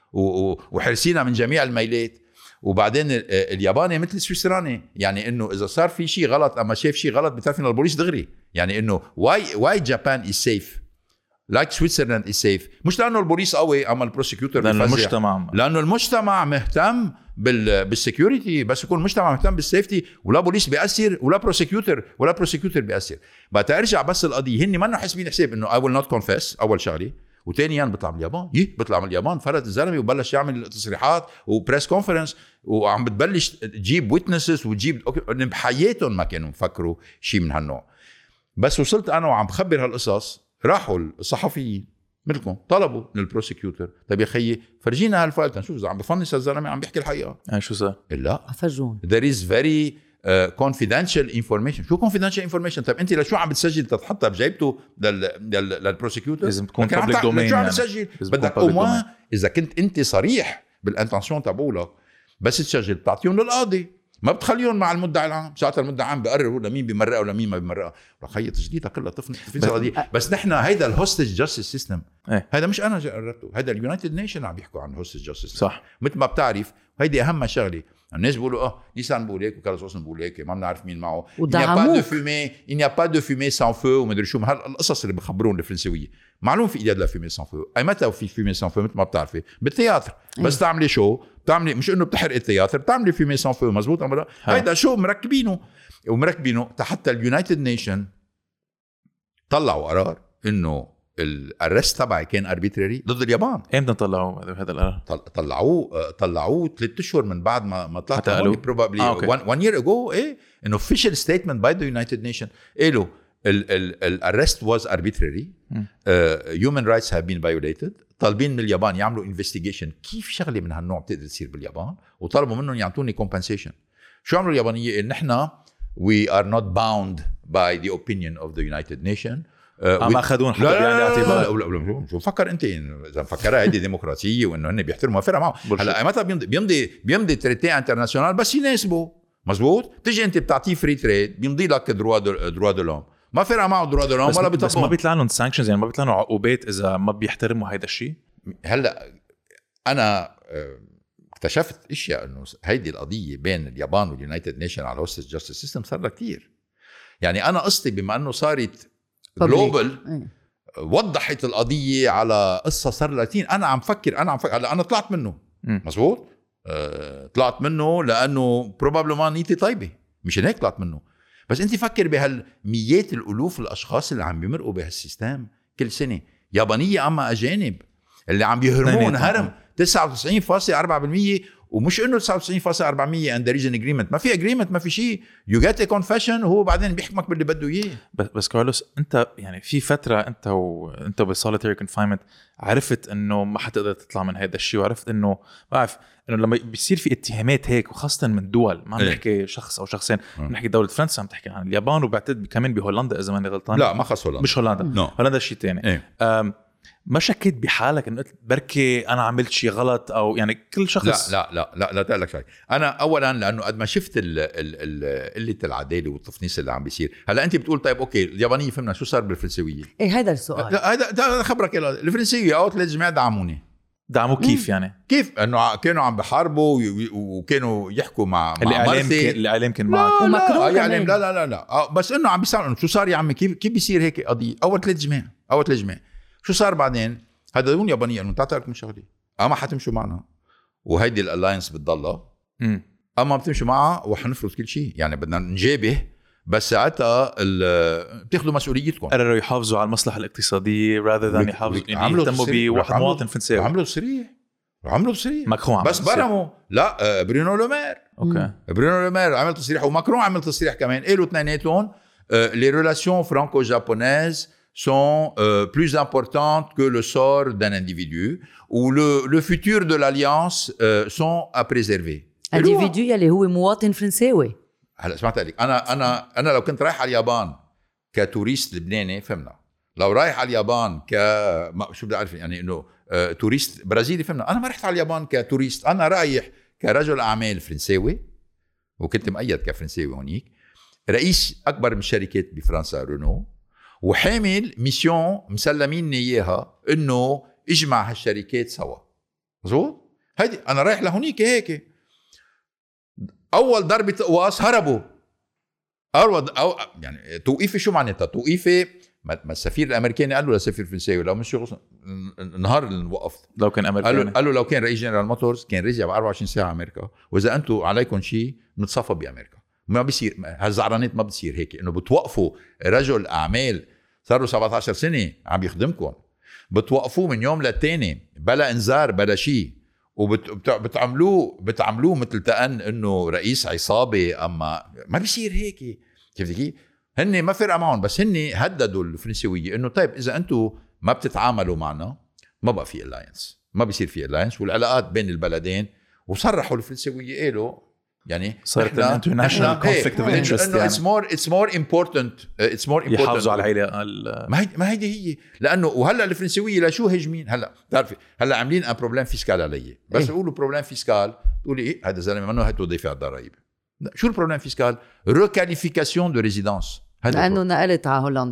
وحرسينا من جميع الميلات. وبعدين الياباني مثل السويسراني، يعني انه اذا صار في شيء غلط اما شاف شيء غلط بتعرف انه البوليس دغري. يعني انه واي واي جابان از سيف لايك سويسرلاند از سيف، مش لانه البوليس قوي اما البروسيكيوتور لانه المجتمع لانه المجتمع مهتم بال بالسكيورتي. بس يكون المجتمع مهتم بالسيفتي ولا بوليس بيأثر ولا بروسيكيوتور ولا بروسيكيوتور بيأثر. بقى ارجع بس القضيه، هن ما حاسبين حساب انه اي ويل نوت كونفيس اول شغله، وثانيا بيطلع من اليابان. يه بيطلع من اليابان فرد الزلمه وبلش يعمل تصريحات وبريس كونفرنس وعم بتبلش تجيب ويتنسز وتجيب بحياتهم ما كانوا مفكروا شيء من هالنوع. بس وصلت انا وعم بخبر هالقصص، راحوا الصحفيين مثلكم طلبوا من البروسيكيوتور طيب يا خيي فرجينا هالفايل تنشوف اذا عم بفنس الزلمه عم بيحكي الحقيقه. اه شو صار؟ لا فرجون there is very uh, confidential information. شو confidential information؟ طيب انت لشو عم بتسجل تتحطها بجيبته لل لل للبروسيكيوتور؟ لازم تكون public domain. شو عم بتسجل؟ بدك وما اذا كنت انت صريح بالانتنسيون تبعولك بس تسجل بتعطيهم للقاضي، ما بتخليهم مع المدعي العام. ساعتها المدعي العام بقرر لمين بيمرقها ولمين ما بيمرقها. رخيه تجديدها كلها تفنس القضيه. بس نحن هيدا الهوستج جاستس سيستم، هيدا مش انا قررته، هيدا اليونايتد نيشن عم بيحكوا عن هوستج جاستس. صح، مثل ما بتعرف هيدي اهم شغله. الناس بيقولوا اه نيسان بيقول هيك وكارلوس غوسن بيقول هيك ما بنعرف مين معه. il n'y a pas de fumée il n'y a pas de fumée sans feu وما ادري شو هالقصص اللي بخبرون الفرنسويه. معلوم في ايديا لا فيمي سان فو. اي متى في فيمي سان فو؟ مثل ما بتعرفي بالتياتر بس تعملي شو بتعملي مش انه بتحرق التياتر بتعملي فيمي سان فو. مزبوط امرا هيدا شو مركبينه ومركبينه حتى اليونايتد نيشن طلعوا قرار انه الارست تبعي كان اربيتراري ضد اليابان. امتى طلعوه هذا القرار؟ طلعوه طلعوه ثلاث اشهر من بعد ما ما طلعت probably آه، one year ago. ايه an official statement by the United Nations قالوا الارست was arbitrary uh, human rights have been violated. طالبين من اليابان يعملوا investigation كيف شغله من هالنوع بتقدر تصير باليابان وطلبوا منهم يعطوني compensation. شو عملوا اليابانيه؟ ان نحن we are not bound by the opinion of the United Nations. ما اخذون حتى يعني اعتبار. لا لا لا شو فكر انت اذا مفكرها هذه ديمقراطيه وانه هن بيحترموا فرق معه. هلا متى بيمضي بيمضي بيمضي تريتي انترناسيونال بس يناسبه. مزبوط. تيجي انت بتعطيه فري تريد بيمضي لك دروا دروا دو لوم ما فرق معه دروا دو لوم ولا بيطبقوا. بس ما بيطلع لهم سانكشنز يعني ما بيطلع لهم عقوبات اذا ما بيحترموا هيدا الشيء. هلا انا اكتشفت اشياء انه هيدي القضيه بين اليابان واليونايتد نيشن على هوستس جاستس سيستم صار لها كثير. يعني انا قصتي بما انه صارت جلوبال وضحت القضيه على قصه صار لاتين. انا عم فكر انا عم فكر هلا انا طلعت منه. مزبوط. أه طلعت منه لانه بروبابلمان نيتي طيبه مش هيك طلعت منه. بس انت فكر بهالميات الالوف الاشخاص اللي عم بيمرقوا بهالسيستم كل سنه يابانيه اما اجانب اللي عم بيهرمون هرم تسعة وتسعين فاصلة أربعة بالمية ومش انه تسعة وتسعين فاصلة أربعة بالمية اند ريجن اجريمنت. ما في اجريمنت ما في شيء. يو جيت ا كونفيشن وهو بعدين بيحكمك باللي بده اياه. بس بس كارلوس انت يعني في فتره انت وانت بالسوليتيري كونفاينمنت عرفت انه ما حتقدر تطلع من هذا الشيء وعرفت انه بعرف انه لما بيصير في اتهامات هيك وخاصه من دول ما عم نحكي شخص او شخصين نحكي دوله فرنسا عم تحكي عن اليابان وبعتقد كمان بهولندا اذا ماني غلطان. لا ما خص هولندا مش هولندا no. هولندا شيء ثاني. ما شكيت بحالك انه بركي انا عملت شيء غلط او يعني كل شخص؟ لا لا لا لا لا تقول لك شيء. انا اولا لانه قد ما شفت قله العداله والتفنيس اللي عم بيصير. هلا انت بتقول طيب اوكي اليابانيه فهمنا شو صار بالفرنسويه. ايه هذا السؤال. هذا خبرك الفرنسيه اوت الجماعه دعموني. دعموا كيف يعني؟ كيف انه كانوا عم بحاربوا وكانوا يحكوا مع الاعلام الاعلام كان معك ومكروه لا لا لا لا لا بس انه عم بيسالوا شو صار يا عمي كيف كيف بيصير هيك قضيه. اول ثلاث جماعه اول ثلاث جماعه شو صار بعدين؟ هذا دون يابانيه انه تعطيكم شغله اما حتمشوا معنا وهيدي الالاينس بتضلها اما بتمشوا معها وحنفرض كل شيء يعني بدنا نجابه بس ساعتها بتاخذوا مسؤوليتكم. قرروا يحافظوا على المصلحه الاقتصاديه rather than يحافظوا يعني يهتموا بواحد مواطن فرنساوي. عملوا تصريح عملوا تصريح ماكرون بس برموا لا برونو لومير. اوكي برونو لومير عمل تصريح وماكرون عمل تصريح كمان. قالوا اثنيناتهم les relations franco-japonaises sont euh, plus importantes que le sort d'un individu ou le, le futur de l'alliance euh, sont à préserver. individu يلي هو مواطن فرنساوي. هلا سمعت لك انا انا انا لو كنت رايح على اليابان كتوريست لبناني فهمنا. لو رايح على اليابان ك شو بدي اعرف يعني انه آه توريست برازيلي فهمنا. انا ما رحت على اليابان كتوريست. انا رايح كرجل اعمال فرنساوي وكنت مؤيد كفرنساوي هونيك رئيس اكبر من الشركات بفرنسا رونو وحامل ميسيون مسلميني اياها انه اجمع هالشركات سوا. مزبوط. هيدي انا رايح لهونيك هيك. اول ضربه قواص هربوا. اول أو يعني توقيفي شو معناتها توقيفي؟ ما السفير الامريكاني قال له للسفير الفرنساوي لو مش النهار اللي وقفت لو كان امريكاني قال له, قال له لو كان رئيس جنرال موتورز كان رجع ب أربعة وعشرين ساعه امريكا واذا انتم عليكم شيء نتصفى بامريكا. ما بيصير هالزعرانات ما بتصير هيك انه بتوقفوا رجل اعمال صار له سبعة عشر سنه عم يخدمكم بتوقفوه من يوم للتاني بلا انذار بلا شيء وبتعملوه بتعملوه مثل تأن انه رئيس عصابه. اما ما بيصير هيك. كيف كيف هن ما فرق معهم بس هن هددوا الفرنسويه انه طيب اذا انتم ما بتتعاملوا معنا ما بقى في الاينس ما بيصير في الاينس والعلاقات بين البلدين. وصرحوا الفرنسويه قالوا يعني صارت انترناشونال كونفليكت اوف انترست يعني اتس مور اتس مور امبورتنت اتس مور امبورتنت يحافظوا على العيله. ما هي ما هيدي هي لانه وهلا الفرنسويه لشو هجمين هلا بتعرفي هلا عاملين ان بروبليم فيسكال علي بس يقولوا بروبليم فيسكال تقولي ايه هذا زلمه منه هاتوا دافع الضرائب. شو البروبليم فيسكال؟ ريكاليفيكاسيون دو ريزيدانس. لانه نقلت على هولندا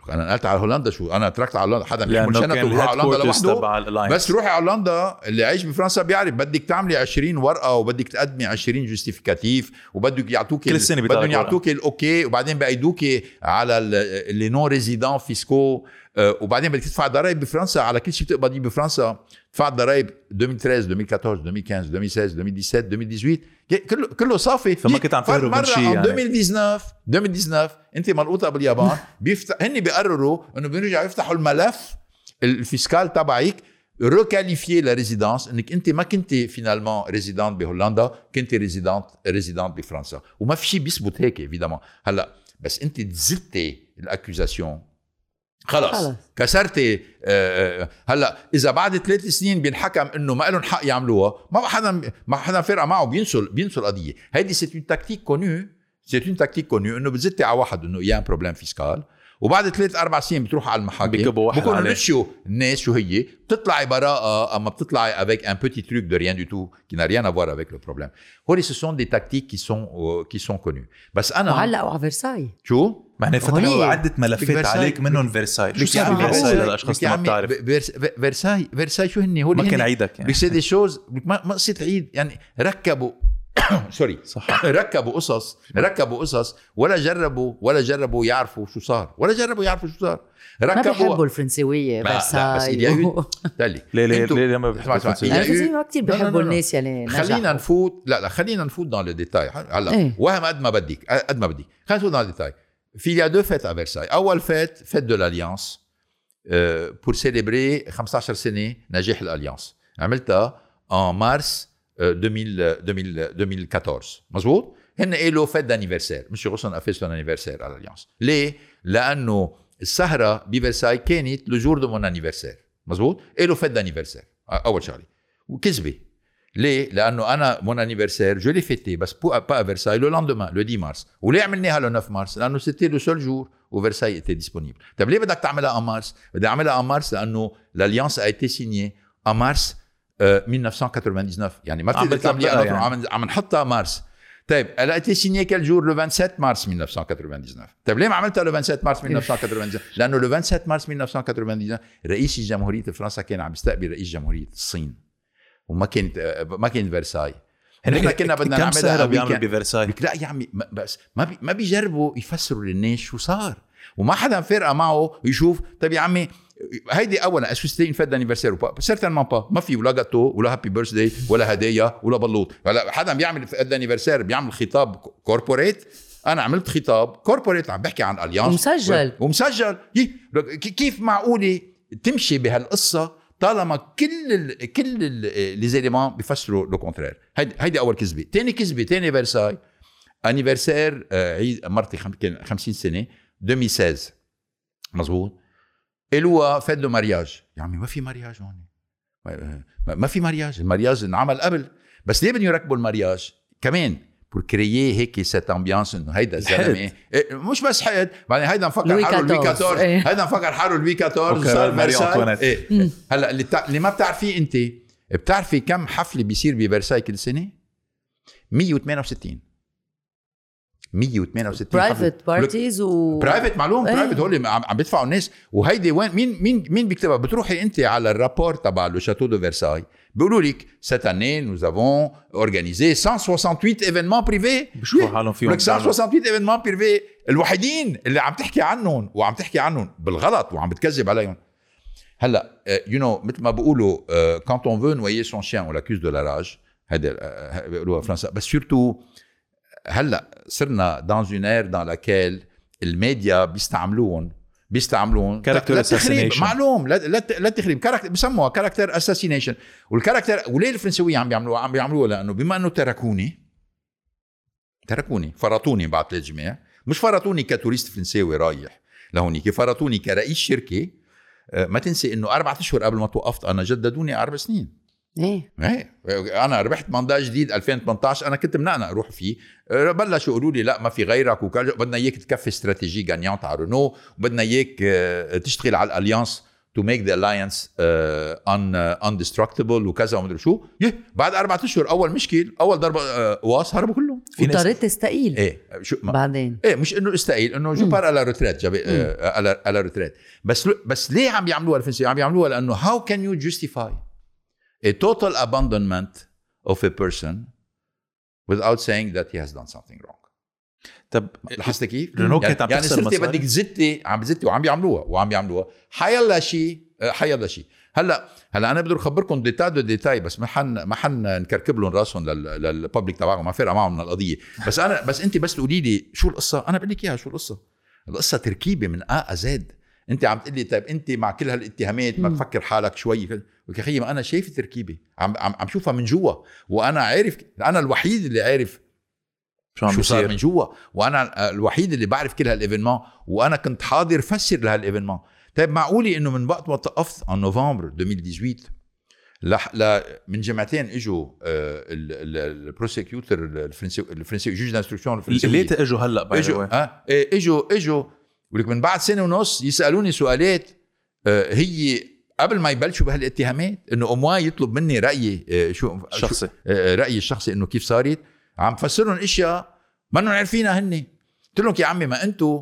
انا نقلت على هولندا شو انا تركت على هولندا حدا بيحمل شنطه وروح على هولندا لوحده بس روحي على هولندا اللي عايش بفرنسا بيعرف بدك تعملي عشرين ورقه وبدك تقدمي عشرين جوستيفيكاتيف وبدك يعطوك كل سنه بدهم يعطوك الاوكي وبعدين بيقيدوك على اللي نون ريزيدون فيسكو وبعدين بدك تدفع ضرائب بفرنسا على كل شيء بتقبضيه بفرنسا تدفع ضرائب ألفين وثلاثة عشر ألفين وأربعطعش ألفين وخمسطعش ألفين وستة عشر ألفين وسبعطعش ألفين وثمانية عشر كله كله صافي فما كنت عم تهرب من شيء يعني ألفين وتسعطعش ألفين وتسعطعش انت ملقوطه باليابان بيفتح هن بيقرروا انه بيرجعوا يفتحوا الملف الفيسكال تبعك ريكاليفيي لا ريزيدانس انك انت ما كنت فينالمون ريزيدانت بهولندا كنت ريزيدانت ريزيدانت بفرنسا وما في شيء بيثبت هيك ايفيدامون هلا بس انت زدتي الاكوزاسيون خلص, خلص. كسرتي آه هلا اذا بعد ثلاث سنين بينحكم انه ما لهم حق يعملوها ما حدا ما حدا فرقه معه بينسوا بينسوا القضيه هيدي سي اون تاكتيك كونو سي اون تاكتيك كونو انه بتزتي على واحد انه يا بروبليم فيسكال وبعد ثلاث اربع سنين بتروح على المحاكم بكونوا نشيوا الناس شو هي بتطلعي براءه اما بتطلعي avec un petit truc de rien du tout qui n'a rien à voir avec le problème هولي ce sont des tactiques qui sont euh, qui sont connues بس انا وعلقوا على فرساي شو معنى فتحوا عده ملفات عليك منهم فرساي شو صار بفرساي للاشخاص اللي ما بتعرف فرساي فرساي شو هن هولي ما كان عيدك يعني سي دي شوز ما ما قصه عيد يعني ركبوا سوري صح ركبوا قصص ركبوا قصص ولا جربوا ولا جربوا يعرفوا شو صار ولا جربوا يعرفوا شو صار ركبوا ما بيحبوا الفرنسويه فرساي تالي ليه ليه ليه ما بيحبوا الفرنسويه ما كثير بيحبوا الناس يلي خلينا نفوت لا لا خلينا نفوت dans le détail هلا وهم قد ما بدك قد ما بدي خلينا نفوت dans le détail في il y a deux fêtes à Versailles اول fête fête de l'alliance pour célébrer خمسطعش سنه نجاح الاليانس عملتها en mars deux mille quatorze مزبوط هن قالوا فيت دانيفرسير مش غصن افيس لون انيفرسير على الاليانس ليه لانه السهره بفرساي كانت لجور دو مون انيفرسير مزبوط قالوا فيت دانيفرسير اول شغله وكذبه ليه لانه انا مون انيفرسير جو لي فيتي بس با با فرساي لو لاندومان لو عشرة مارس وليه عملناها لو تسعة مارس لانه سيتي لو سول جور وفرساي ايتي ديسپونيبل طيب ليه بدك تعملها ان مارس بدي اعملها ان مارس لانه الاليانس ا ايتي سينيي ان مارس ألف وتسعمية وتسعة وتسعين يعني ما بتقدر تعمليها يعني. عم عم نحطها مارس طيب elle a été signée quel jour le vingt-sept mars mille neuf cent quatre-vingt-dix-neuf طيب ليه ما عملتها le vingt-sept mars mille neuf cent quatre-vingt-dix-neuf لانه le vingt-sept mars mille neuf cent quatre-vingt-dix-neuf رئيس جمهوريه فرنسا كان عم يستقبل رئيس جمهوريه الصين وما كانت ما كانت فرساي نحن كنا بدنا نعملها بيعمل بفرساي لا يا عمي بس ما بي ما بيجربوا يفسروا للناس شو صار وما حدا فرقه معه يشوف طيب يا عمي هيدي اولا اسوستين فيت دانيفرسير سيرتينمون با ما في ولا جاتو ولا هابي بيرثداي ولا هدايا ولا بلوط هلا حدا بيعمل فيت دانيفرسير بيعمل خطاب كوربوريت انا عملت خطاب كوربوريت عم بحكي عن اليانس ومسجل ومسجل كيف معقوله تمشي بهالقصه طالما كل ال كل لي زيليمون بيفسروا لو كونترير هيدي هيدي اول كذبه ثاني كذبه ثاني فرساي انيفرسير عيد مرتي خمسين سنه ألفين وستة عشر مزبوط إلوا فات له مارياج يا عمي ما في مارياج هون ما في مارياج المارياج انعمل قبل بس ليه بدهم يركبوا المارياج كمان بور كريي هيك سيت امبيانس انه هيدا الزلمه مش بس حد بعدين هيدا مفكر حاله لوي أربعطعش هيدا مفكر حاله لوي أربعطعش صار فرساي إيه. هلا اللي, تع... اللي ما بتعرفيه انت بتعرفي كم حفله بيصير بفرساي كل سنه مية وثمانية وستين مية وثمانية وستين برايفت بارتيز و برايفت معلوم برايفت هول عم بيدفعوا الناس وهيدي وين مين مين مين بيكتبها بتروحي انت على الرابور تبع لو شاتو دو فرساي بيقولوا لك cette année nous avons organisé cent soixante-huit événements privés بشوفوا حالهم فيهم cent soixante-huit événements privés الوحيدين اللي عم تحكي عنهم وعم تحكي عنهم بالغلط وعم بتكذب عليهم هلا يو نو مثل ما بيقولوا quand on veut noyer son chien on l'accuse de la rage هذا بيقولوها فرنسا بس surtout هلا صرنا dans une ère dans laquelle الميديا بيستعملوهم بيستعملون كاركتر اساسينيشن معلوم لا لا لا تخريب كاركتر بسموها كاركتر اساسينيشن والكاركتر وليه الفرنسويه عم بيعملوها عم بيعملوها لانه بما انه تركوني تركوني فرطوني بعد ثلاث جماع مش فرطوني كتوريست فرنساوي رايح لهونيك فرطوني كرئيس شركه ما تنسي انه أربعة اشهر قبل ما توقفت انا جددوني اربع سنين ايه ايه انا ربحت ماندات جديد ألفين وثمانية عشر انا كنت منقنا اروح فيه بلشوا يقولوا لي لا ما في غيرك وبدنا اياك تكفي استراتيجي غانيانت على رونو وبدنا اياك تشتغل على الاليانس تو ميك ذا اللاينس ان اندستركتبل وكذا ومدري شو يه بعد أربعة اشهر اول مشكل اول ضربه واس هربوا كلهم واضطريت تستقيل. ايه شو بعدين ايه مش انه استقيل انه جو بار على روتريت جاب على على روتريت. بس بس ليه عم يعملوها الفرنسيين؟ عم يعملوها لانه how can you justify a total abandonment of a person without saying that he has done something wrong. طب لاحظت كيف؟ رينو كانت عم يعني تخسر صرتي مصاري. بدك تزتي عم بزتي وعم يعملوها وعم يعملوها حيلا شيء حيلا شيء. هلا هلا انا بدي اخبركم ديتاي دو ديتاي بس ما حن ما حن نكركب لهم راسهم للببليك تبعهم ما فرق معهم من القضيه. بس انا بس انت بس تقولي لي شو القصه انا بقول لك اياها. شو القصه؟ القصه تركيبه من ا زد. انت عم تقول لي طيب انت مع كل هالاتهامات ما تفكر حالك شوي؟ يا اخي ما انا شايف تركيبه عم عم عم شوفها من جوا وانا عارف. انا الوحيد اللي عارف شو صار من جوا وانا الوحيد اللي بعرف كل هالايفينمون وانا كنت حاضر فسر لهالايفينمون. طيب معقولي انه من وقت ما توقفت ان نوفمبر ألفين وثمانية عشر لح ل من جمعتين اجوا البروسيكيوتر الفرنسي الفرنسي جوج دانستركسيون الفرنسي اللي اجوا هلا اجوا اه اجوا اجوا ولك من بعد سنه ونص يسالوني سؤالات آه هي قبل ما يبلشوا بهالاتهامات انه اموا يطلب مني رايي آه شو شخصي آه رايي الشخصي انه كيف صارت. عم فسرهم اشياء ما انهم عارفينها هن. قلت لهم يا عمي ما انتم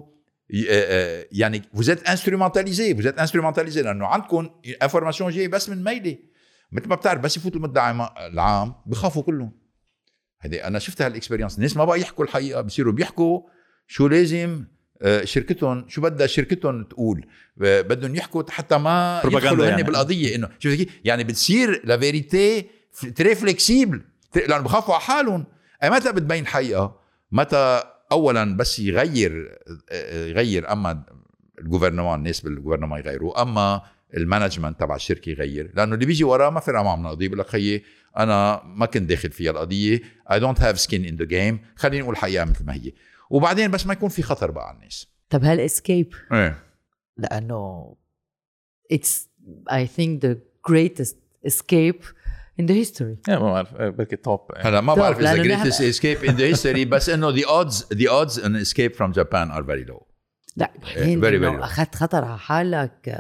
يعني vous êtes instrumentalisé vous êtes instrumentalisé لانه عندكم انفورماسيون جايه بس من ميلي مثل ما بتعرف. بس يفوت المدعي العام بخافوا كلهم. هذه انا شفت هالاكسبيرينس. الناس ما بقى يحكوا الحقيقه بصيروا بيحكوا شو لازم شركتهم شو بدها شركتهم تقول. بدهم يحكوا حتى ما يدخلوا يعني. هن بالقضيه انه شو يعني بتصير لا فيريتي تري فليكسيبل لانه بخافوا على حالهم. اي متى بتبين حقيقه؟ متى اولا بس يغير يغير اما الجوفرنمان الناس بالجوفرنمان يغيروا اما المانجمنت تبع الشركه يغير. لانه اللي بيجي وراه ما فرق معه من القضيه بقول لك خيي انا ما كنت داخل فيها القضيه I don't have skin in the game خلينا نقول الحقيقه مثل ما هي. وبعدين بس ما يكون في خطر بقى على الناس. طب هالاسكيب ايه لانه it's I think the greatest escape in the history. yeah, ما بعرف بركي توب. هلا ما بعرف إذا greatest escape in the history بس إنه the odds the odds an escape from Japan are very low. لا إنه أخذت خطر على حالك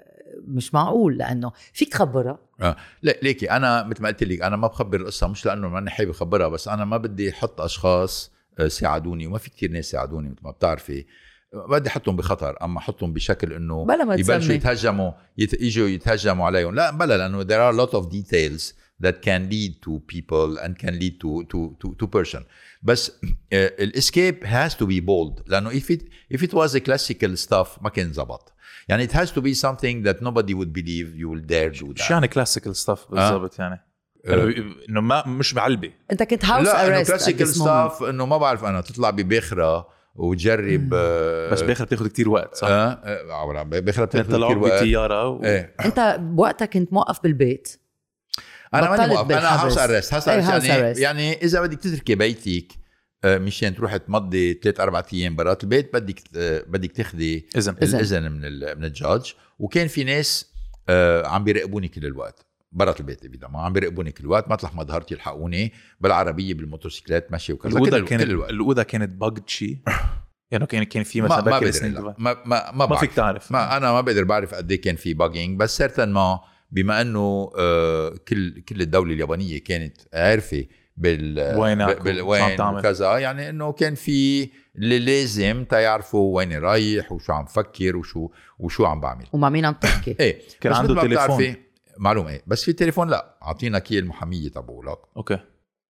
مش معقول لأنه فيك تخبرها. آه. لا ليكي أنا مثل ما قلت لك أنا ما بخبر القصة مش لأنه ماني حابب أخبرها بس أنا ما بدي أحط أشخاص ساعدوني وما في كتير ناس ساعدوني مثل ما بتعرفي. بدي أحطهم بخطر أما أحطهم بشكل إنه يبلشوا يتهجموا يت... يجوا يتهجموا عليهم. لا بلا لأنه there are a lot of details that can lead to people and can lead to to to to person. بس الاسكيب has to be bold لأنه if it if it was a classical stuff ما كان زبط. يعني it has to be something that nobody would believe you will dare do that. شو يعني classical stuff بالضبط؟ يعني إنه ما مش بعلبة. أنت كنت house arrest. لا classical stuff إنه ما بعرف أنا تطلع بباخرة وتجرب آه بس باخرة بتاخد كتير وقت صح؟ اه, آه باخرة بتاخد كتير وقت. بطيارة و... ايه. أنت بوقتها كنت موقف بالبيت. انا ماني موقف انا هاوس ارست هاوس ارست يعني يعني اذا بدك تتركي بيتك مشان تروح تمضي ثلاث أربعة ايام برات البيت بدك بدك تاخذي اذن الاذن من من الجاج. وكان في ناس عم بيراقبوني كل الوقت برات البيت اذا ما عم بيراقبوني كل الوقت مطلع ما ظهرت يلحقوني بالعربيه بالموتوسيكلات ماشي وكذا. الاوضه كانت الاوضه كانت باجد شيء يعني كان كان في مثلا ما ما ما ما, ما, ما فيك تعرف. ما انا ما بقدر بعرف قد ايه كان في باجينج بس سيرتن ما بما انه آه كل كل الدوله اليابانيه كانت عارفه بال وين وكذا يعني انه كان في اللي لازم تعرفوا وين رايح وشو عم فكر وشو وشو عم بعمل ومع مين عم تحكي. ايه كان عنده تليفون معلومه ايه بس في تليفون لا اعطينا كي المحاميه تبعولك اوكي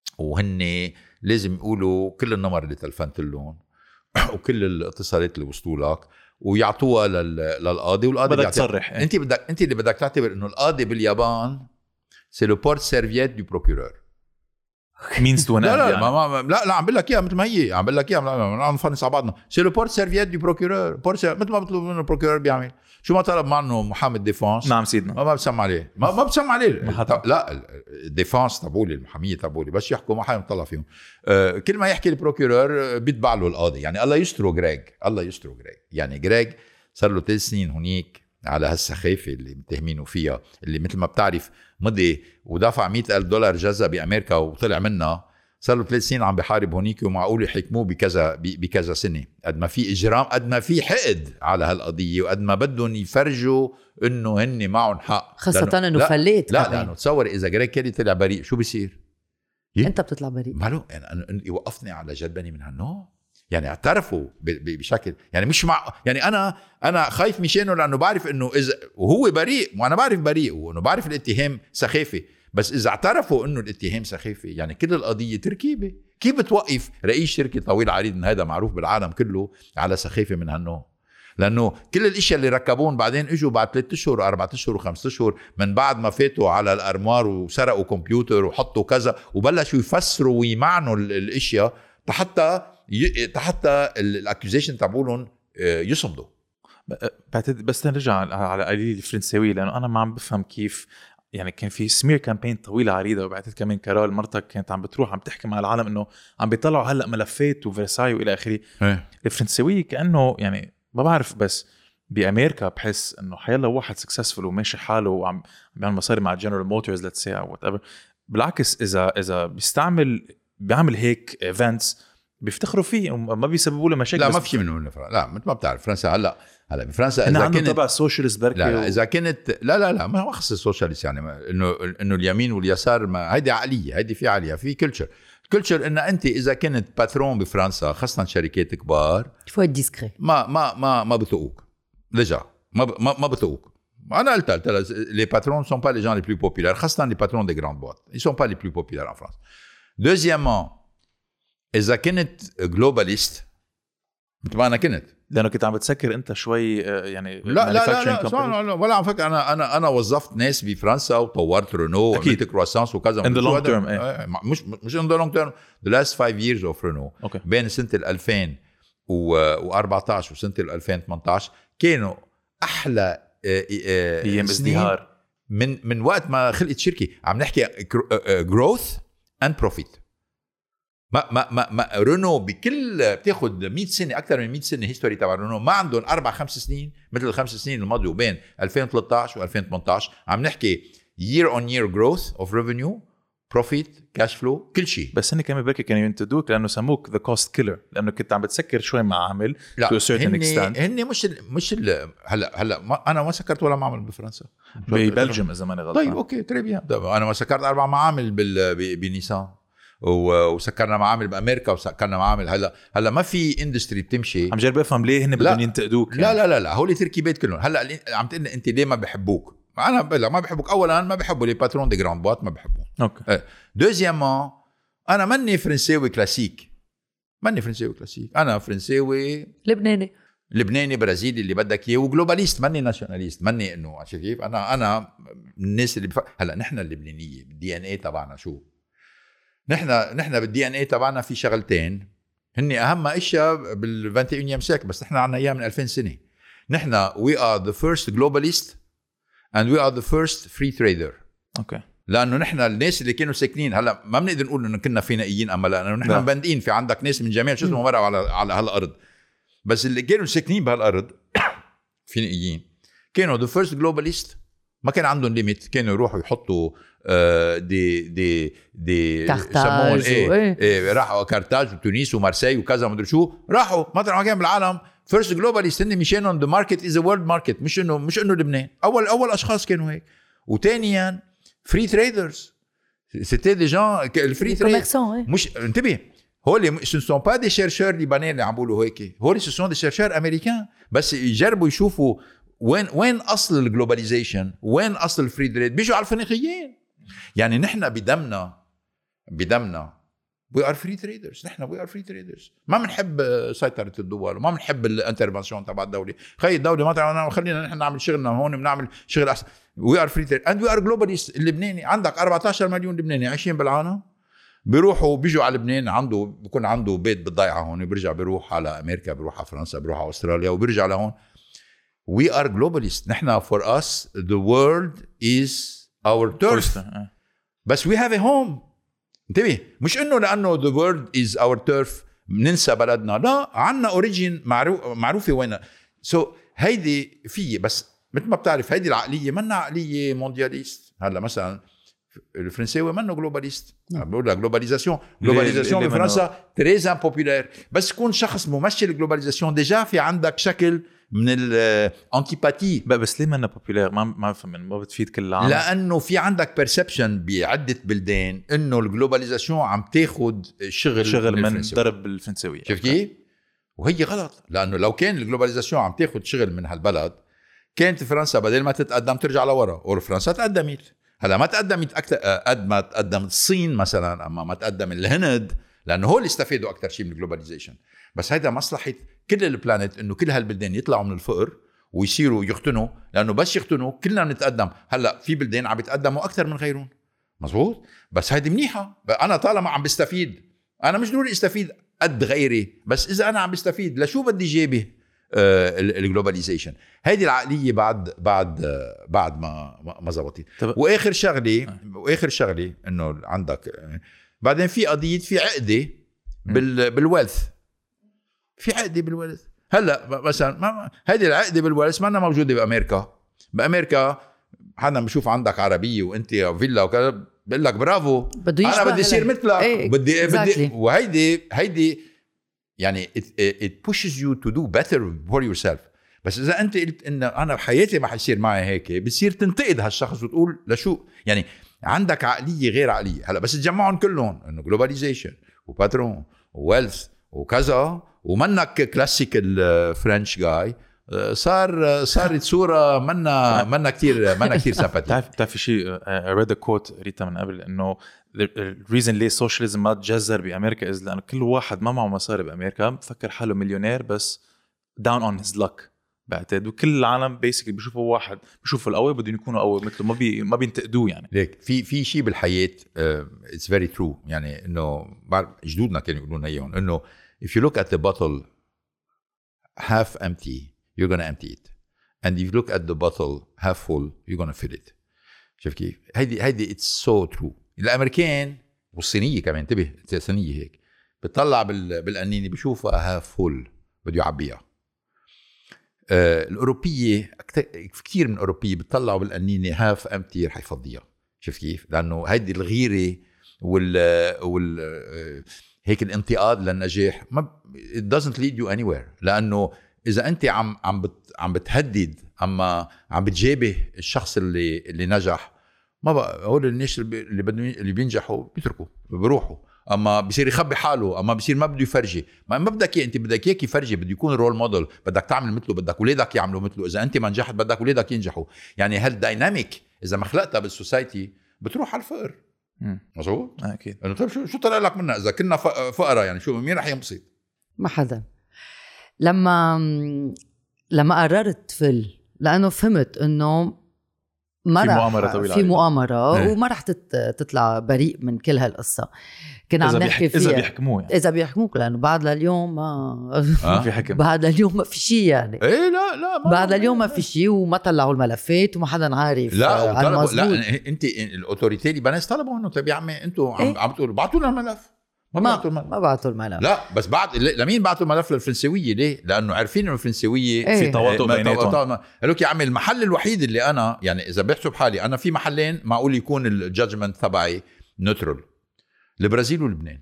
وهن لازم يقولوا كل النمر اللي تلفنت لهم وكل الاتصالات اللي وصلوا لك ويعطوها للقاضي والقاضي بدك تصرح. انت بدك انت اللي بدك تعتبر انه القاضي باليابان سي لو بورت سيرفييت دو بروكورور مينز تو لا لا, يعني. ما ما لا لا عم بقول لك اياها مثل ما هي عم بقول لك اياها عم نفنس على بعضنا. سي لو بورت سيرفييت دو بروكورور بورت مثل ما بطلب منه البروكورور بيعمل شو ما طلب معه محامي الديفانس. نعم سيدنا ما ما بسمع عليه ما ما بسمع عليه لا الديفانس تبعولي المحاميه تبعولي بس يحكوا ما حدا يطلع فيهم. آه كل ما يحكي البروكورور بيتبع له القاضي. يعني الله يسترو غريغ الله يسترو غريغ يعني غريغ صار له ثلاث سنين هنيك على هالسخافه اللي متهمينه فيها اللي مثل ما بتعرف مضي ودفع مئة ألف دولار جزا بأمريكا وطلع منها. صار له ثلاث سنين عم بحارب هنيك ومعقول يحكموه بكذا بكذا سنه. قد ما في اجرام قد ما في حقد على هالقضيه وقد ما بدهم يفرجوا انه هن معهم حق خاصه انه فليت لا لانه تصور اذا جريك كيلي طلع بريء شو بيصير؟ انت بتطلع بريء. معلوم يعني يوقفني على جلبني من هالنوع. يعني اعترفوا بشكل يعني مش مع يعني انا انا خايف مشانه لانه بعرف انه اذا وهو بريء وانا بعرف بريء وانه بعرف الاتهام سخافه، بس اذا اعترفوا انه الاتهام سخافه يعني كل القضيه تركيبه. كيف بتوقف رئيس شركه طويل عريض من هذا معروف بالعالم كله على سخافه من هالنوع؟ لانه كل الاشياء اللي ركبون بعدين اجوا بعد ثلاثة اشهر واربعة اشهر وخمسة اشهر من بعد ما فاتوا على الارموار وسرقوا كمبيوتر وحطوا كذا وبلشوا يفسروا ويمعنوا الاشياء حتى حتى الاكيوزيشن تبعولهم يصمدوا. بعتقد بس نرجع على قليل الفرنساوي لانه انا ما عم بفهم كيف يعني كان في سمير كامبين طويلة عريضة، وبعتقد كمان كارول مرتك كانت عم بتروح عم تحكي مع العالم انه عم بيطلعوا هلا ملفات وفرساي والى اخره. الفرنساوي كانه يعني ما بعرف، بس بامريكا بحس انه حيلا واحد سكسسفul وماشي حاله وعم بيعمل مصاري مع جنرال موتورز ليتس سي او وات ايفر، بالعكس اذا اذا بيستعمل بيعمل هيك ايفنتس بيفتخروا فيه وما بيسببوا له مشاكل. لا ما في شيء منه. لا مثل ما بتعرف فرنسا هلا هلا بفرنسا اذا كانت تبع السوشيالست بركي لا, لا اذا كانت لا لا لا ما خص السوشيالست يعني انه انه اليمين واليسار ما هيدي عقليه، هيدي في عقليه في كلتشر كلتشر ان انت اذا كنت باترون بفرنسا خاصه شركات كبار فو ديسكري ما ما ما ما بتوقوك لجا ما ما, ما بتوقوك. انا قلت قلت لي باترون سون با لي جان لي بلو بوبولار خاصه لي باترون دي غراند بوات ils sont pas les plus populaires en France. Deuxièmement إذا كنت جلوباليست مثل ما أنا كنت، لأنه كنت عم بتسكر أنت شوي يعني لا لا لا, لا, لا, لا ولا عم فكر. أنا أنا أنا وظفت ناس بفرنسا وطورت رينو وعملت كرواسانس وكذا. in the long term ايه. مش مش in the long term the last five years of Renault okay. بين سنة ألفين وأربعتاشر وسنة ألفين وثمانية كانوا أحلى أيام ازدهار من من وقت ما خلقت شركة. عم نحكي growth and profit. ما ما ما, ما رونو بكل بتاخد مية سنه اكثر من مية سنه هيستوري تبع رونو ما عندهم اربع خمس سنين مثل الخمس سنين الماضيه بين ألفين وثلاثة عشر و2018. عم نحكي year on year growth of revenue profit cash flow كل شيء. بس هن كمان بركي كانوا ينتدوك لانه سموك the cost killer لانه كنت عم بتسكر شوي مع عامل to a certain extent. هن مش ال مش ال هلا هلا ما انا ما سكرت ولا معمل بفرنسا ببلجيم اذا ماني غلطان. طيب اوكي تري بيان. انا ما سكرت اربع معامل بنيسان وسكرنا معامل بامريكا وسكرنا معامل. هلا هلا ما في اندستري بتمشي. عم جرب افهم ليه هن بدهم ينتقدوك يعني. لا لا لا لا هول تركيبات كلهم. هلا عم تقول انت ليه ما بحبوك؟ انا بلا ما بحبوك. اولا ما بحبوا لي باترون دي غراند بوات ما بحبهم. اوكي. دوزيامون انا ماني فرنساوي كلاسيك. ماني فرنساوي كلاسيك. انا فرنساوي لبناني لبناني برازيلي اللي بدك اياه وجلوباليست. ماني ناشوناليست. ماني انه عارف كيف انا انا الناس اللي بف... هلا نحن اللبنانيه بالدي ان اي تبعنا شو نحن نحن بالدي ان اي تبعنا في شغلتين هن اهم اشياء بالواحد وعشرين سيكل بس نحن عنا اياه من ألفين سنه. نحن we are the first globalist and we are the first free trader. اوكي. لانه نحن الناس اللي كانوا ساكنين هلا ما بنقدر نقول انه كنا فينائيين اما لانه نحن مبندقين في عندك ناس من جميع شو اسمه مرة على على هالارض. بس اللي كانوا ساكنين بهالارض فينائيين كانوا the first globalist. ما كان عندهم ليميت. كانوا يروحوا يحطوا دي دي دي كارتاج ايه, إيه راحوا كارتاج وتونس ومارسي وكذا ما ادري شو راحوا مطرح ما كان بالعالم فيرست جلوباليست. هن مشانهم ذا ماركت از ا وورلد ماركت مش انه مش انه لبنان. اول اول اشخاص كانوا هيك. وثانيا فري تريدرز سيتي دي جان الفري تريد مش انتبه هول سو سون با دي شيرشور ليبانيين اللي عم بيقولوا هيك. هول سو سون دي شيرشور امريكان بس يجربوا يشوفوا وين وين اصل الجلوباليزيشن وين اصل الفري تريد. بيجوا على الفينيقيين. يعني نحن بدمنا بدمنا we are free traders. نحن we are free traders. ما بنحب سيطرة الدول وما بنحب الانترفنشن تبع الدولة. خلي الدولة ما تعمل خلينا نحن نعمل شغلنا هون بنعمل شغل أحسن. we are free traders and we are globalist. اللبناني عندك أربعة عشر مليون لبناني عايشين بالعالم بيروحوا بيجوا على لبنان عنده بيكون عنده بيت بالضيعة هون بيرجع بيروح على أمريكا بيروح على فرنسا بيروح على أستراليا وبيرجع لهون. we are globalist. نحن for us the world is our turf. بس we have a home. انتبه مش انه لانه the world is our turf ننسى بلدنا. لا عنا اوريجين معروف معروفه وين. سو so, هيدي في بس مثل ما بتعرف هيدي العقليه منا عقليه موندياليست. هلا مثلا الفرنساوي منه جلوباليست. بقول لك جلوباليزاسيون جلوباليزاسيون بفرنسا تري امبوبولار. بس تكون شخص ممثل الجلوباليزاسيون ديجا في عندك شكل من الانتيباتي. بس ليه ما بوبولير؟ ما ما بفهم، ما بتفيد كل العالم. لانه في عندك بيرسبشن بعده بلدان انه الجلوباليزاسيون عم تاخد شغل شغل من, من درب الفرنسويه. شفت كيف؟ وهي غلط، لانه لو كان الجلوباليزاسيون عم تاخد شغل من هالبلد كانت فرنسا بدل ما تتقدم ترجع لورا، وفرنسا تقدمت. هلا ما تقدمت اكثر قد ما تقدمت الصين مثلا، اما ما تقدم الهند، لانه هو اللي استفادوا اكثر شيء من الجلوباليزيشن. بس هيدا مصلحه كل البلانيت انه كل هالبلدان يطلعوا من الفقر ويصيروا يختنوا، لانه بس يختنوا كلنا بنتقدم. هلا في بلدان عم يتقدموا اكثر من غيرهم، مزبوط، بس هيدي منيحه. انا طالما عم بستفيد، انا مش ضروري استفيد قد غيري، بس اذا انا عم بستفيد لشو بدي جيبه الجلوباليزيشن. هيدي العقليه بعد بعد آه بعد ما ما زبطت. واخر شغله آه. واخر شغله انه عندك آه بعدين في قضيه، في عقده بال بالويلث، في عقده بالويلث. هلا مثلا ما هيدي العقده بالويلث ما موجوده بامريكا. بامريكا حدا بشوف عندك عربيه وانت فيلا وكذا بقول لك برافو، انا بدي اصير مثلك. ايه بدي exactly. بدي وهيدي هيدي يعني it, it pushes you to do better for yourself. بس اذا انت قلت ان انا بحياتي ما حيصير معي هيك، بتصير تنتقد هالشخص وتقول لشو، يعني عندك عقليه غير عقليه. هلا بس تجمعهم كلهم انه جلوباليزيشن وباترون وويلث وكذا، ومنك كلاسيك الفرنش جاي، صار صارت صوره منا منا كثير منا كثير سمباتيك. بتعرف بتعرف شيء ريد كوت ريتا من قبل، انه الريزن ليه السوشياليزم ما تجذر بامريكا از لانه كل واحد ما معه مصاري بامريكا بفكر حاله مليونير، بس داون اون هيز لك بعتقد. وكل العالم بيسكلي بيشوفوا واحد بيشوفوا القوي بدهم يكونوا قوي مثله، ما بي ما بينتقدوه. يعني ليك في في شيء بالحياه اتس فيري ترو، يعني انه جدودنا كانوا يقولون اياهم انه if you look at the bottle half empty you're going to empty it, and if you look at the bottle half full you're going to fill it. شوف كيف هيدي هيدي it's so true. الامريكان والصينيه كمان، انتبه الصينيه هيك بتطلع بالقنينه بشوفها half full بده يعبيها. آه الاوروبيه كثير من الاوروبيه بتطلعوا بالقنينه half empty رح يفضيها. شوف كيف؟ لانه هيدي الغيره وال وال هيك الانتقاد للنجاح ما it doesn't lead you anywhere. لانه اذا انت عم عم بت عم بتهدد اما عم بتجابه الشخص اللي اللي نجح، ما بقى هول الناس اللي بدهم اللي بينجحوا بيتركوا بيروحوا، اما بيصير يخبي حاله، اما بيصير ما بده يفرجي. ما ما بدك انت بدك اياك يفرجي، بده يكون رول موديل، بدك تعمل مثله، بدك اولادك يعملوا مثله. اذا انت ما نجحت بدك اولادك ينجحوا. يعني هالدايناميك اذا ما خلقتها بالسوسايتي بتروح على الفقر. مظبوط اكيد. انه طيب شو شو طلع لك منها اذا كنا فقراء؟ يعني شو مين رح ينبسط؟ ما حدا. لما لما قررت فل لانه فهمت انه ما في رح مؤامرة طويلة في مؤامرة ايه. وما رح تطلع بريء من كل هالقصة. كنا عم نحكي فيها إذا بيحكموه يعني. إذا بيحكموك، لأنه بعد لليوم ما آه. في حكم. بعد اليوم ما في شيء يعني. إيه لا لا بعد اليوم ما في شيء، وما طلعوا الملفات وما حدا عارف. لا طلبوا، لا أنت الأوتوريتي اللي طلبوا إنه طيب يا عمي أنتوا عم عم تقولوا بعتوا لنا الملف. ما بعتوا الملف. ما بعتوا الملف. لا بس بعد لمين بعتوا الملف؟ للفرنسوية. ليه؟ لأنه عارفين إنه الفرنسوية ايه. في تواطؤ بيناتهم. قالوا لك يا عمي المحل الوحيد اللي أنا يعني إذا بحسب حالي أنا في محلين معقول يكون الجادجمنت تبعي نيوترال، البرازيل ولبنان.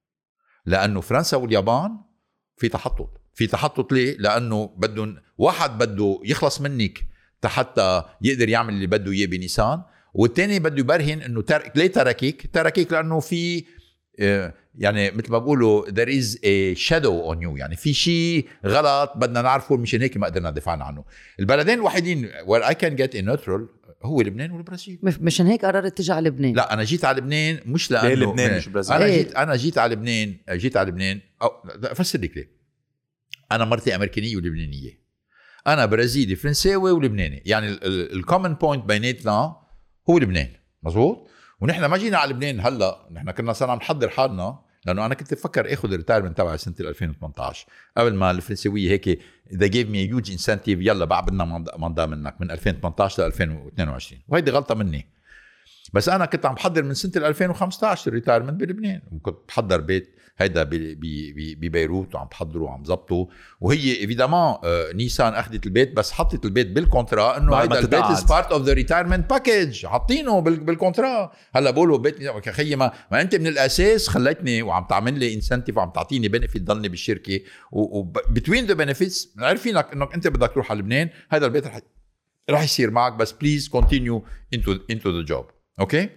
لأنه فرنسا واليابان في تحطط في تحطط ليه؟ لأنه بدهم واحد بده يخلص منك حتى يقدر يعمل اللي بده إياه بنيسان، والتاني بده يبرهن إنه ترك. ليه تركيك؟ تركيك لأنه في يعني مثل ما بقولوا there is a shadow on you، يعني في شيء غلط بدنا نعرفه، مشان هيك ما قدرنا ندافع عنه. البلدين الوحيدين where I can get a neutral هو لبنان والبرازيل. مشان هيك قررت تجي على لبنان. لا أنا جيت على لبنان مش لأنه ليه لبنان مش برازيل. أنا جيت أنا جيت على لبنان جيت على لبنان أو أفسر لك ليه. أنا مرتي أمريكانية ولبنانية، أنا برازيلي فرنساوي ولبناني، يعني الكومن بوينت بيناتنا هو لبنان. مظبوط. ونحن ما جينا على لبنان هلا، نحن كنا صرنا نحضر حالنا، لانه انا كنت بفكر اخذ الريتايرمنت تبعي سنه ألفين وثمانية عشر قبل ما الفرنسويه هيك they gave me a huge incentive، يلا بعد بدنا منضى منك من ألفين وثمانية عشر ل ألفين واثنين وعشرين، وهيدي غلطه مني. بس انا كنت عم بحضر من سنه ألفين وخمسة عشر ريتايرمنت بلبنان، وكنت بحضر بيت هيدا ببيروت وعم بحضره وعم ضبطه. وهي ايفيدامون نيسان اخذت البيت، بس حطت البيت بالكونترا انه هيدا البيت از بارت اوف ذا ريتايرمنت باكج، حاطينه بالكونترا. هلا بقولوا بيت خيي ما, ما انت من الاساس خليتني وعم تعمل لي انسنتيف وعم تعطيني بنفيت ضلني بالشركه، وبتوين ذا بنفيتس عارفين لك انك انت بدك تروح على لبنان، هذا البيت رح رح يصير معك، بس بليز كونتينيو انتو انتو ذا جوب. اوكي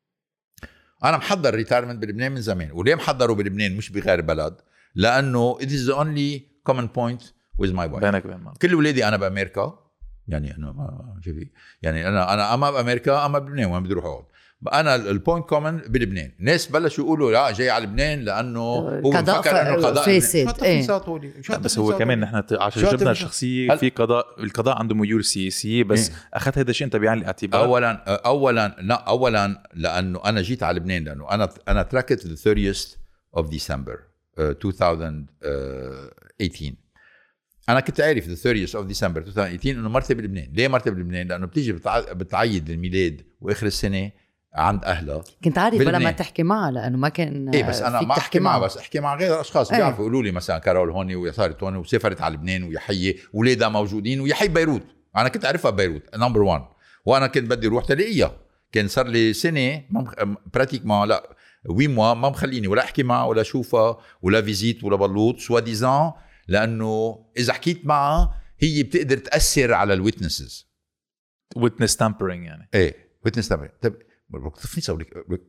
انا محضر ريتايرمنت بلبنان من زمان. وليه محضره بلبنان مش بغير بلد؟ لانه it is the only common point with my wife. بينك وبين مالك. كل اولادي انا بامريكا، يعني انا ما شوفي يعني انا انا اما بامريكا اما بلبنان وين بدي اروح اقعد. انا البوينت كومن بلبنان. الناس بلشوا يقولوا لا جاي على لبنان لانه هو بفكر انه قضاء فاسد. ايه. بس هو كمان نحن عشان جبنا الشخصيه في قضاء، القضاء عنده ميول سياسيه، بس إيه؟ اخذت هذا الشيء انت بعين الاعتبار. اولا اولا لا اولا لانه انا جيت على لبنان لانه انا انا تركت the thirtieth of December uh, twenty eighteen. انا كنت عارف the thirtieth of December twenty eighteen انه مرتي بلبنان. ليه مرتي بلبنان؟ لانه بتيجي بتعيد الميلاد واخر السنه عند اهلها. كنت عارف ولا ما تحكي معها لانه ما كان ايه، بس انا ما احكي معها، بس احكي مع غير اشخاص ايه. بيعرفوا يقولوا لي مثلا كارول هون وصارت هون وسافرت على لبنان ويحيى اولادها موجودين ويحيى بيروت. انا كنت اعرفها بيروت نمبر واحد، وانا كنت بدي اروح تلاقيها. كان صار لي سنه براتيك ما لا وي موا ما مخليني ولا احكي معها ولا اشوفها ولا فيزيت ولا بلوط سوا ديزان، لانه اذا حكيت معها هي بتقدر تاثر على الويتنسز. ويتنس تامبرينج يعني ايه ويتنس تامبرينج. طب بكتفني سوي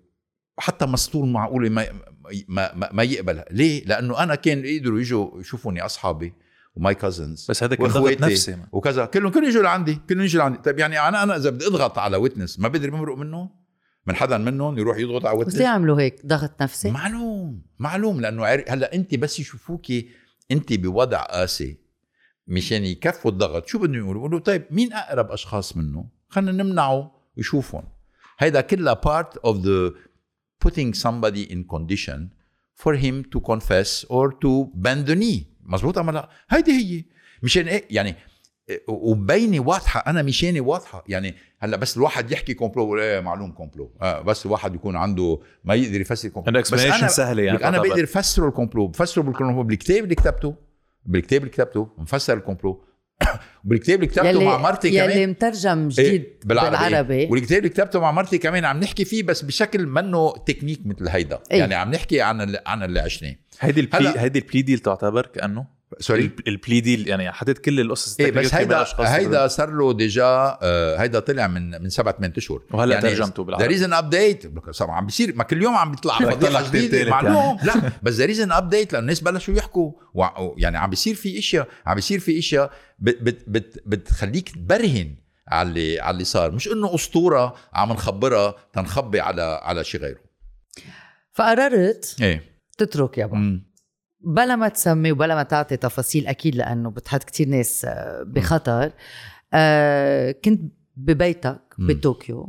حتى مسطول معقول ما ما ما يقبلها. ليه؟ لانه انا كان يقدروا يجوا يشوفوني اصحابي وماي كازنز، بس هذا كان ضغط نفسي وكذا، كلهم كانوا يجوا لعندي كلهم يجوا لعندي. طيب يعني انا انا اذا بدي اضغط على ويتنس ما بقدر بمرق منه من حدا منهم يروح يضغط على ويتنس. بس ليه يعملوا هيك ضغط نفسي؟ معلوم معلوم لانه هلا انت بس يشوفوكي انت بوضع قاسي مشان يكفوا الضغط، شو بدهم يقولوا؟ يقولوا طيب مين اقرب اشخاص منه خلينا نمنعه يشوفهم. هيدا كلها part of the putting somebody in condition for him to confess or to bend the knee. مزبوط أما لا؟ هيدي هي مشان ايه يعني، وبيني واضحة، أنا مشاني واضحة. يعني هلا بس الواحد يحكي كومبلو ايه معلوم كومبلو، آه بس الواحد يكون عنده ما يقدر يفسر كومبلو. بس أنا سهلة يعني أنا بقدر أفسره الكومبلو، بفسره بالكومبلو بالكتاب اللي كتبته بالكتاب اللي كتبته مفسر الكومبلو وبالكتاب اللي كتبته مع مرتي كمان يلي مترجم جديد إيه بالعربي. بالعربي. والكتاب اللي كتبته مع مرتي كمان عم نحكي فيه بس بشكل منه تكنيك مثل هيدا إيه؟ يعني عم نحكي عن اللي عن اللي عشناه. هيدي البلي هيدي البلي ديل تعتبر كأنه سوري البلي ديل يعني حطيت كل القصص إيه، بس هيدا هيدا صار له ديجا آه هيدا طلع من من سبعة ثمانية اشهر وهلا يعني ترجمته بالعربي. ذا ريزن ابديت عم بيصير ما كل يوم عم بيطلع فضيحه جديده معلوم يعني. لا بس ذا ريزن ابديت لأن الناس بلشوا يحكوا يعني عم بيصير في اشياء عم بيصير في اشياء بت بت بت بتخليك تبرهن على اللي على اللي صار، مش انه اسطوره عم نخبرها تنخبي على على شيء غيره. فقررت ايه تترك يابا م. بلا ما تسمي وبلا ما تعطي تفاصيل أكيد لأنه بتحط كتير ناس بخطر. آه كنت ببيتك بطوكيو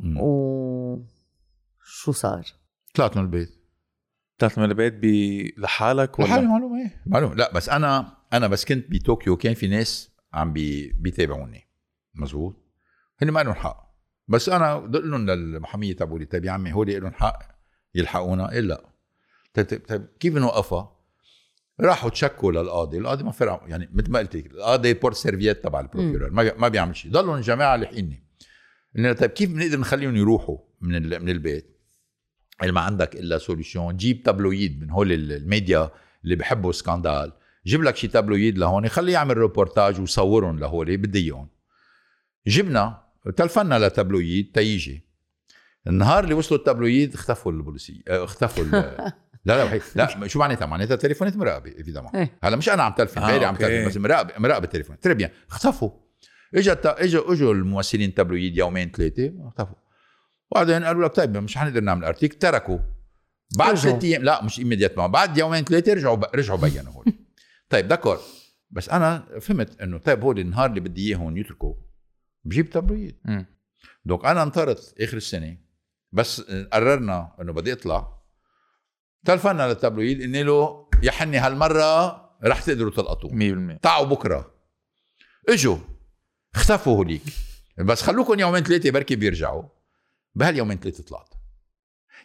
وشو صار؟ طلعت من البيت طلعت من البيت ب... لحالك ولا؟ لحالي معلوم ايه معلوم. لا بس أنا أنا بس كنت بطوكيو كان في ناس عم بي... بيتابعوني مزبوط، هني ما لهم حق، بس أنا قلت لهم للمحامية تبعولي طيب يا عمي هولي لهم حق يلحقونا إلا طيب, طيب كيف نوقفها؟ راحوا تشكوا للقاضي، القاضي ما فرق يعني مثل ما قلت لك القاضي بورت سيرفيت تبع البروكيورور ما ما بيعمل شيء. ضلوا الجماعه لحقيني قلنا طيب كيف بنقدر نخليهم يروحوا من من البيت؟ اللي ما عندك الا سوليوشن جيب تابلويد من هول الميديا اللي بحبوا سكاندال، جيب لك شي تابلويد لهون خليه يعمل ريبورتاج وصورهم لهول بدي اياهم. جبنا تلفنا لتابلويد تيجي النهار اللي وصلوا التابلويد اختفوا البوليسيه اختفوا لا لا لا شو معناتها؟ معناتها تليفونات مراقبه ايفيدامون. هلا مش انا عم تلفن غيري آه عم تلفن بس مراقبه مراقبه التليفون تربيا اختفوا. اجى اجوا اجوا الممثلين تابلويد يومين ثلاثه اختفوا، وبعدين قالوا لك طيب مش حنقدر نعمل ارتيك تركوا بعد ثلاث ايام لا مش ايميديات ما بعد يومين ثلاثه رجعوا ب... رجعوا بينوا هول. طيب دكور بس انا فهمت انه طيب هول النهار اللي بدي اياهم يتركوا بجيب تابلويد. دونك انا انطرت اخر السنه بس قررنا انه بدي اطلع تلفنا للتابلويد اني له يا حني هالمره رح تقدروا تلقطوه مية بالمية تعوا بكره. اجوا اختفوا هوليك بس خلوكم يومين ثلاثه بركي بيرجعوا. بهاليومين ثلاثه طلعت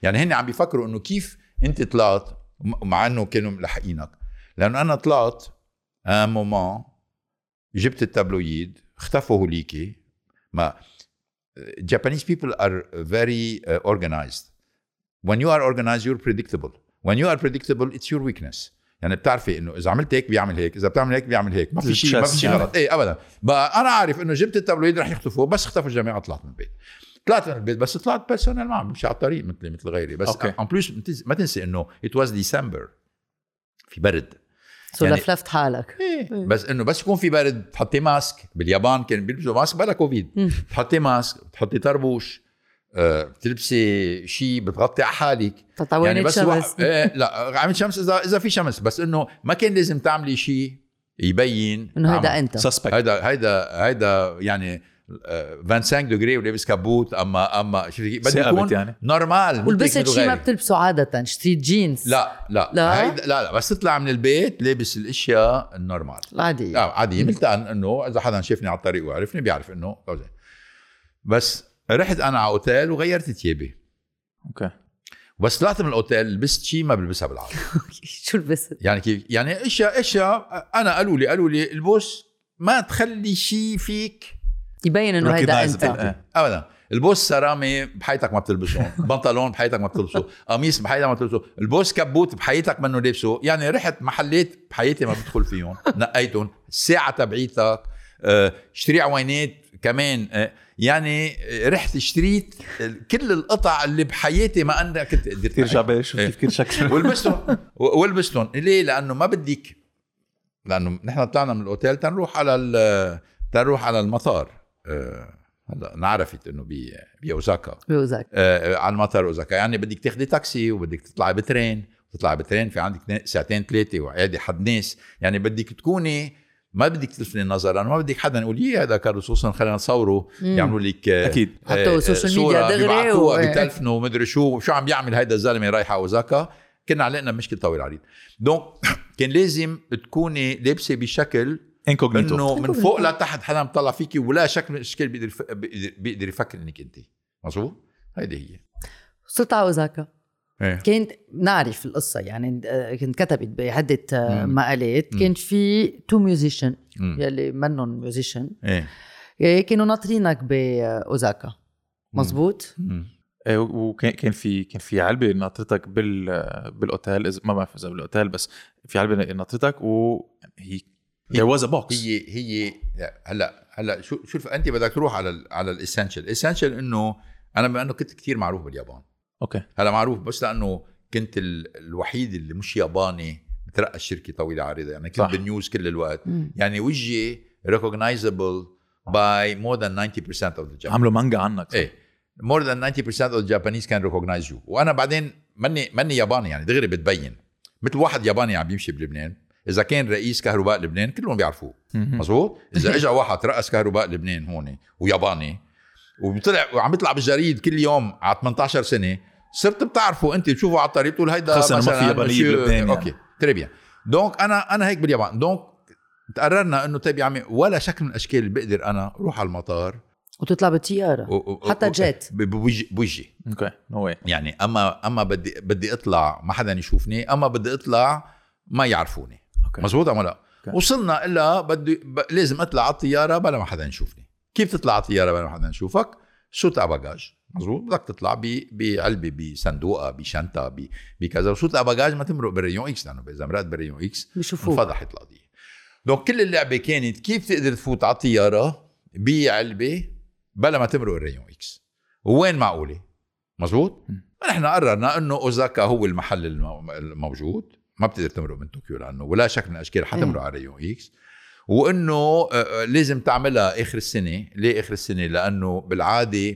يعني هن عم بيفكروا انه كيف انت طلعت مع انه كانوا ملحقينك، لانه انا طلعت ان مومون جبت التابلويد اختفوا هوليكي. ما Japanese people are very uh, organized. When you are organized you're predictable. When you are predictable it's your weakness. يعني بتعرفي انه اذا عملت هيك بيعمل هيك، اذا بتعمل هيك بيعمل هيك، ما في شيء ما في شيء غلط. ايه ابدا. بقى انا عارف انه جبت التابلويد رح يختفوا، بس اختفوا الجماعه طلعت من البيت. طلعت من البيت بس طلعت بيرسونال ما مش على الطريق مثلي مثل غيري. بس ان بليس ما تنسي انه it was December في برد، سو يعني لفلفت حالك. إيه. بس انه بس يكون في برد تحطي ماسك. باليابان كان بيلبسوا ماسك بلا كوفيد، تحطي ماسك، تحطي طربوش، أه، بتلبسي شيء بتغطي على حالك يعني بس شمس. إيه لا عملت شمس اذا اذا في شمس، بس انه ما كان لازم تعملي شيء يبين انه هيدا انت سسبكت. هيدا هيدا هيدا يعني خمسة وعشرين دغري ولابس كابوت. اما اما شوفي بدي يكون يعني نورمال. ولبست شيء ما بتلبسه عاده، اشتريت جينز. لا لا لا هيدا لا لا بس تطلع من البيت لابس الاشياء النورمال العاديه. لا عاديه، مثل انه اذا حدا شافني على الطريق وعرفني بيعرف انه. بس رحت انا على اوتيل وغيرت ثيابي. اوكي. بس طلعت من الاوتيل لبست شيء ما بلبسها بالعاده. شو لبست؟ يعني كيف يعني اشياء اشياء انا قالوا لي قالوا لي البوس ما تخلي شيء فيك يبين انه هيدا انت. ابدا. البوس سرامي بحياتك ما بتلبسه، بنطلون بحياتك ما بتلبسه، قميص بحياتك ما بتلبسه، البوس كبوت بحياتك منه لابسه. يعني رحت محلات بحياتي ما بدخل فيهم نقيتهم. الساعه تبعيتك اشتري عوينات كمان. يعني رحت اشتريت كل القطع اللي بحياتي ما انا كنت قدرت ترجع بشوف كيف كل شكل ولبستهم ولبستهم. ليه؟ لانه ما بدك، لانه نحن طلعنا من الاوتيل تنروح على تنروح على المطار. هلا نعرفت انه بي باوزاكا باوزاكا آه على المطار اوزاكا. يعني بدك تاخدي تاكسي وبدك تطلعي بترين، تطلعي بترين في عندك ساعتين ثلاثه وعادي حد ناس. يعني بدك تكوني ما بدك تلفتي النظر، لانه ما بدك حدا يقول لي هذا كارلوس خصوصا خلينا نصوره يعملوا لك اكيد حتى السوشيال ميديا دغري وبتلفنوا ومدري شو شو عم بيعمل هيدا الزلمه رايح على اوزاكا. كنا علقنا مشكله طويل عريض. دونك كان لازم تكوني لابسه بشكل انكوغنيتو انه من فوق لتحت حدا مطلع فيكي ولا شكل من الاشكال بيقدر بيقدر يفكر انك انت مظبوط. هيدي هي. صرت على اوزاكا. إيه؟ كنت نعرف القصة يعني كنت كتبت بعدة مقالات. كنت في تو ميوزيشن يلي منهم ميوزيشن إيه؟ كانوا ناطرينك بأوزاكا مزبوط. إيه وكان كان في كان في علبة ناطرتك بال بالاوتيل، ما بعرف اذا بالاوتيل بس في علبة ناطرتك وهي there was a box. هي هي هلا هلا شو شوف انت بدك تروح على ال على الاسينشال. اسينشال انه انا بما انه كنت كتير معروف باليابان. اوكي. هلا معروف بس لانه كنت الوحيد اللي مش ياباني بترقى الشركه طويله عريضه. يعني كنت بالنيوز كل الوقت. مم. يعني وجهي recognizable by more than ninety percent of the Japanese. عملوا مانجا عنك. ايه more than ninety percent of the Japanese can recognize you. وانا بعدين مني مني ياباني يعني دغري بتبين مثل واحد ياباني عم بيمشي بلبنان. اذا كان رئيس كهرباء لبنان كلهم بيعرفوه مظبوط. اذا اجى واحد رئيس كهرباء لبنان هون وياباني وبيطلع وعم يطلع بالجريد كل يوم على ثمانية عشر سنه صرت بتعرفوا انت بتشوفوا على الطريق بتقول هيدا مثلا ياباني بلبنان. اوكي تري بيان. دونك انا انا هيك باليابان. دونك تقررنا انه طيب يا عمي ولا شكل من الاشكال بقدر انا اروح على المطار وتطلع بالطياره حتى جيت بوجهي. اوكي نو واي. يعني اما اما بدي بدي اطلع ما حدا يشوفني، اما بدي اطلع ما يعرفوني. مزبوط أم لا؟ okay. وصلنا إلا بدي ب... لازم أطلع على الطيارة بلا ما حدا يشوفني. كيف تطلع على الطيارة بلا ما حدا يشوفك؟ سوت أباجاج. مزبوط. بدك تطلع ب... بعلبة بصندوقة بشنطة ب... بكذا. وسوت أباجاج ما تمرق بالريون إكس، لأنه إذا مرقت بالريون إكس انفضحت القضية. دونك كل اللعبة كانت كيف تقدر تفوت على الطيارة بعلبة بلا ما تمرق الريون إكس. وين معقولة؟ مزبوط. نحن قررنا إنه أوزاكا هو المحل الموجود، ما بتقدر تمرق من طوكيو لانه ولا شكل من الاشكال حتمرق على ريون اكس. وانه لازم تعملها اخر السنه. ليه اخر السنه؟ لانه بالعاده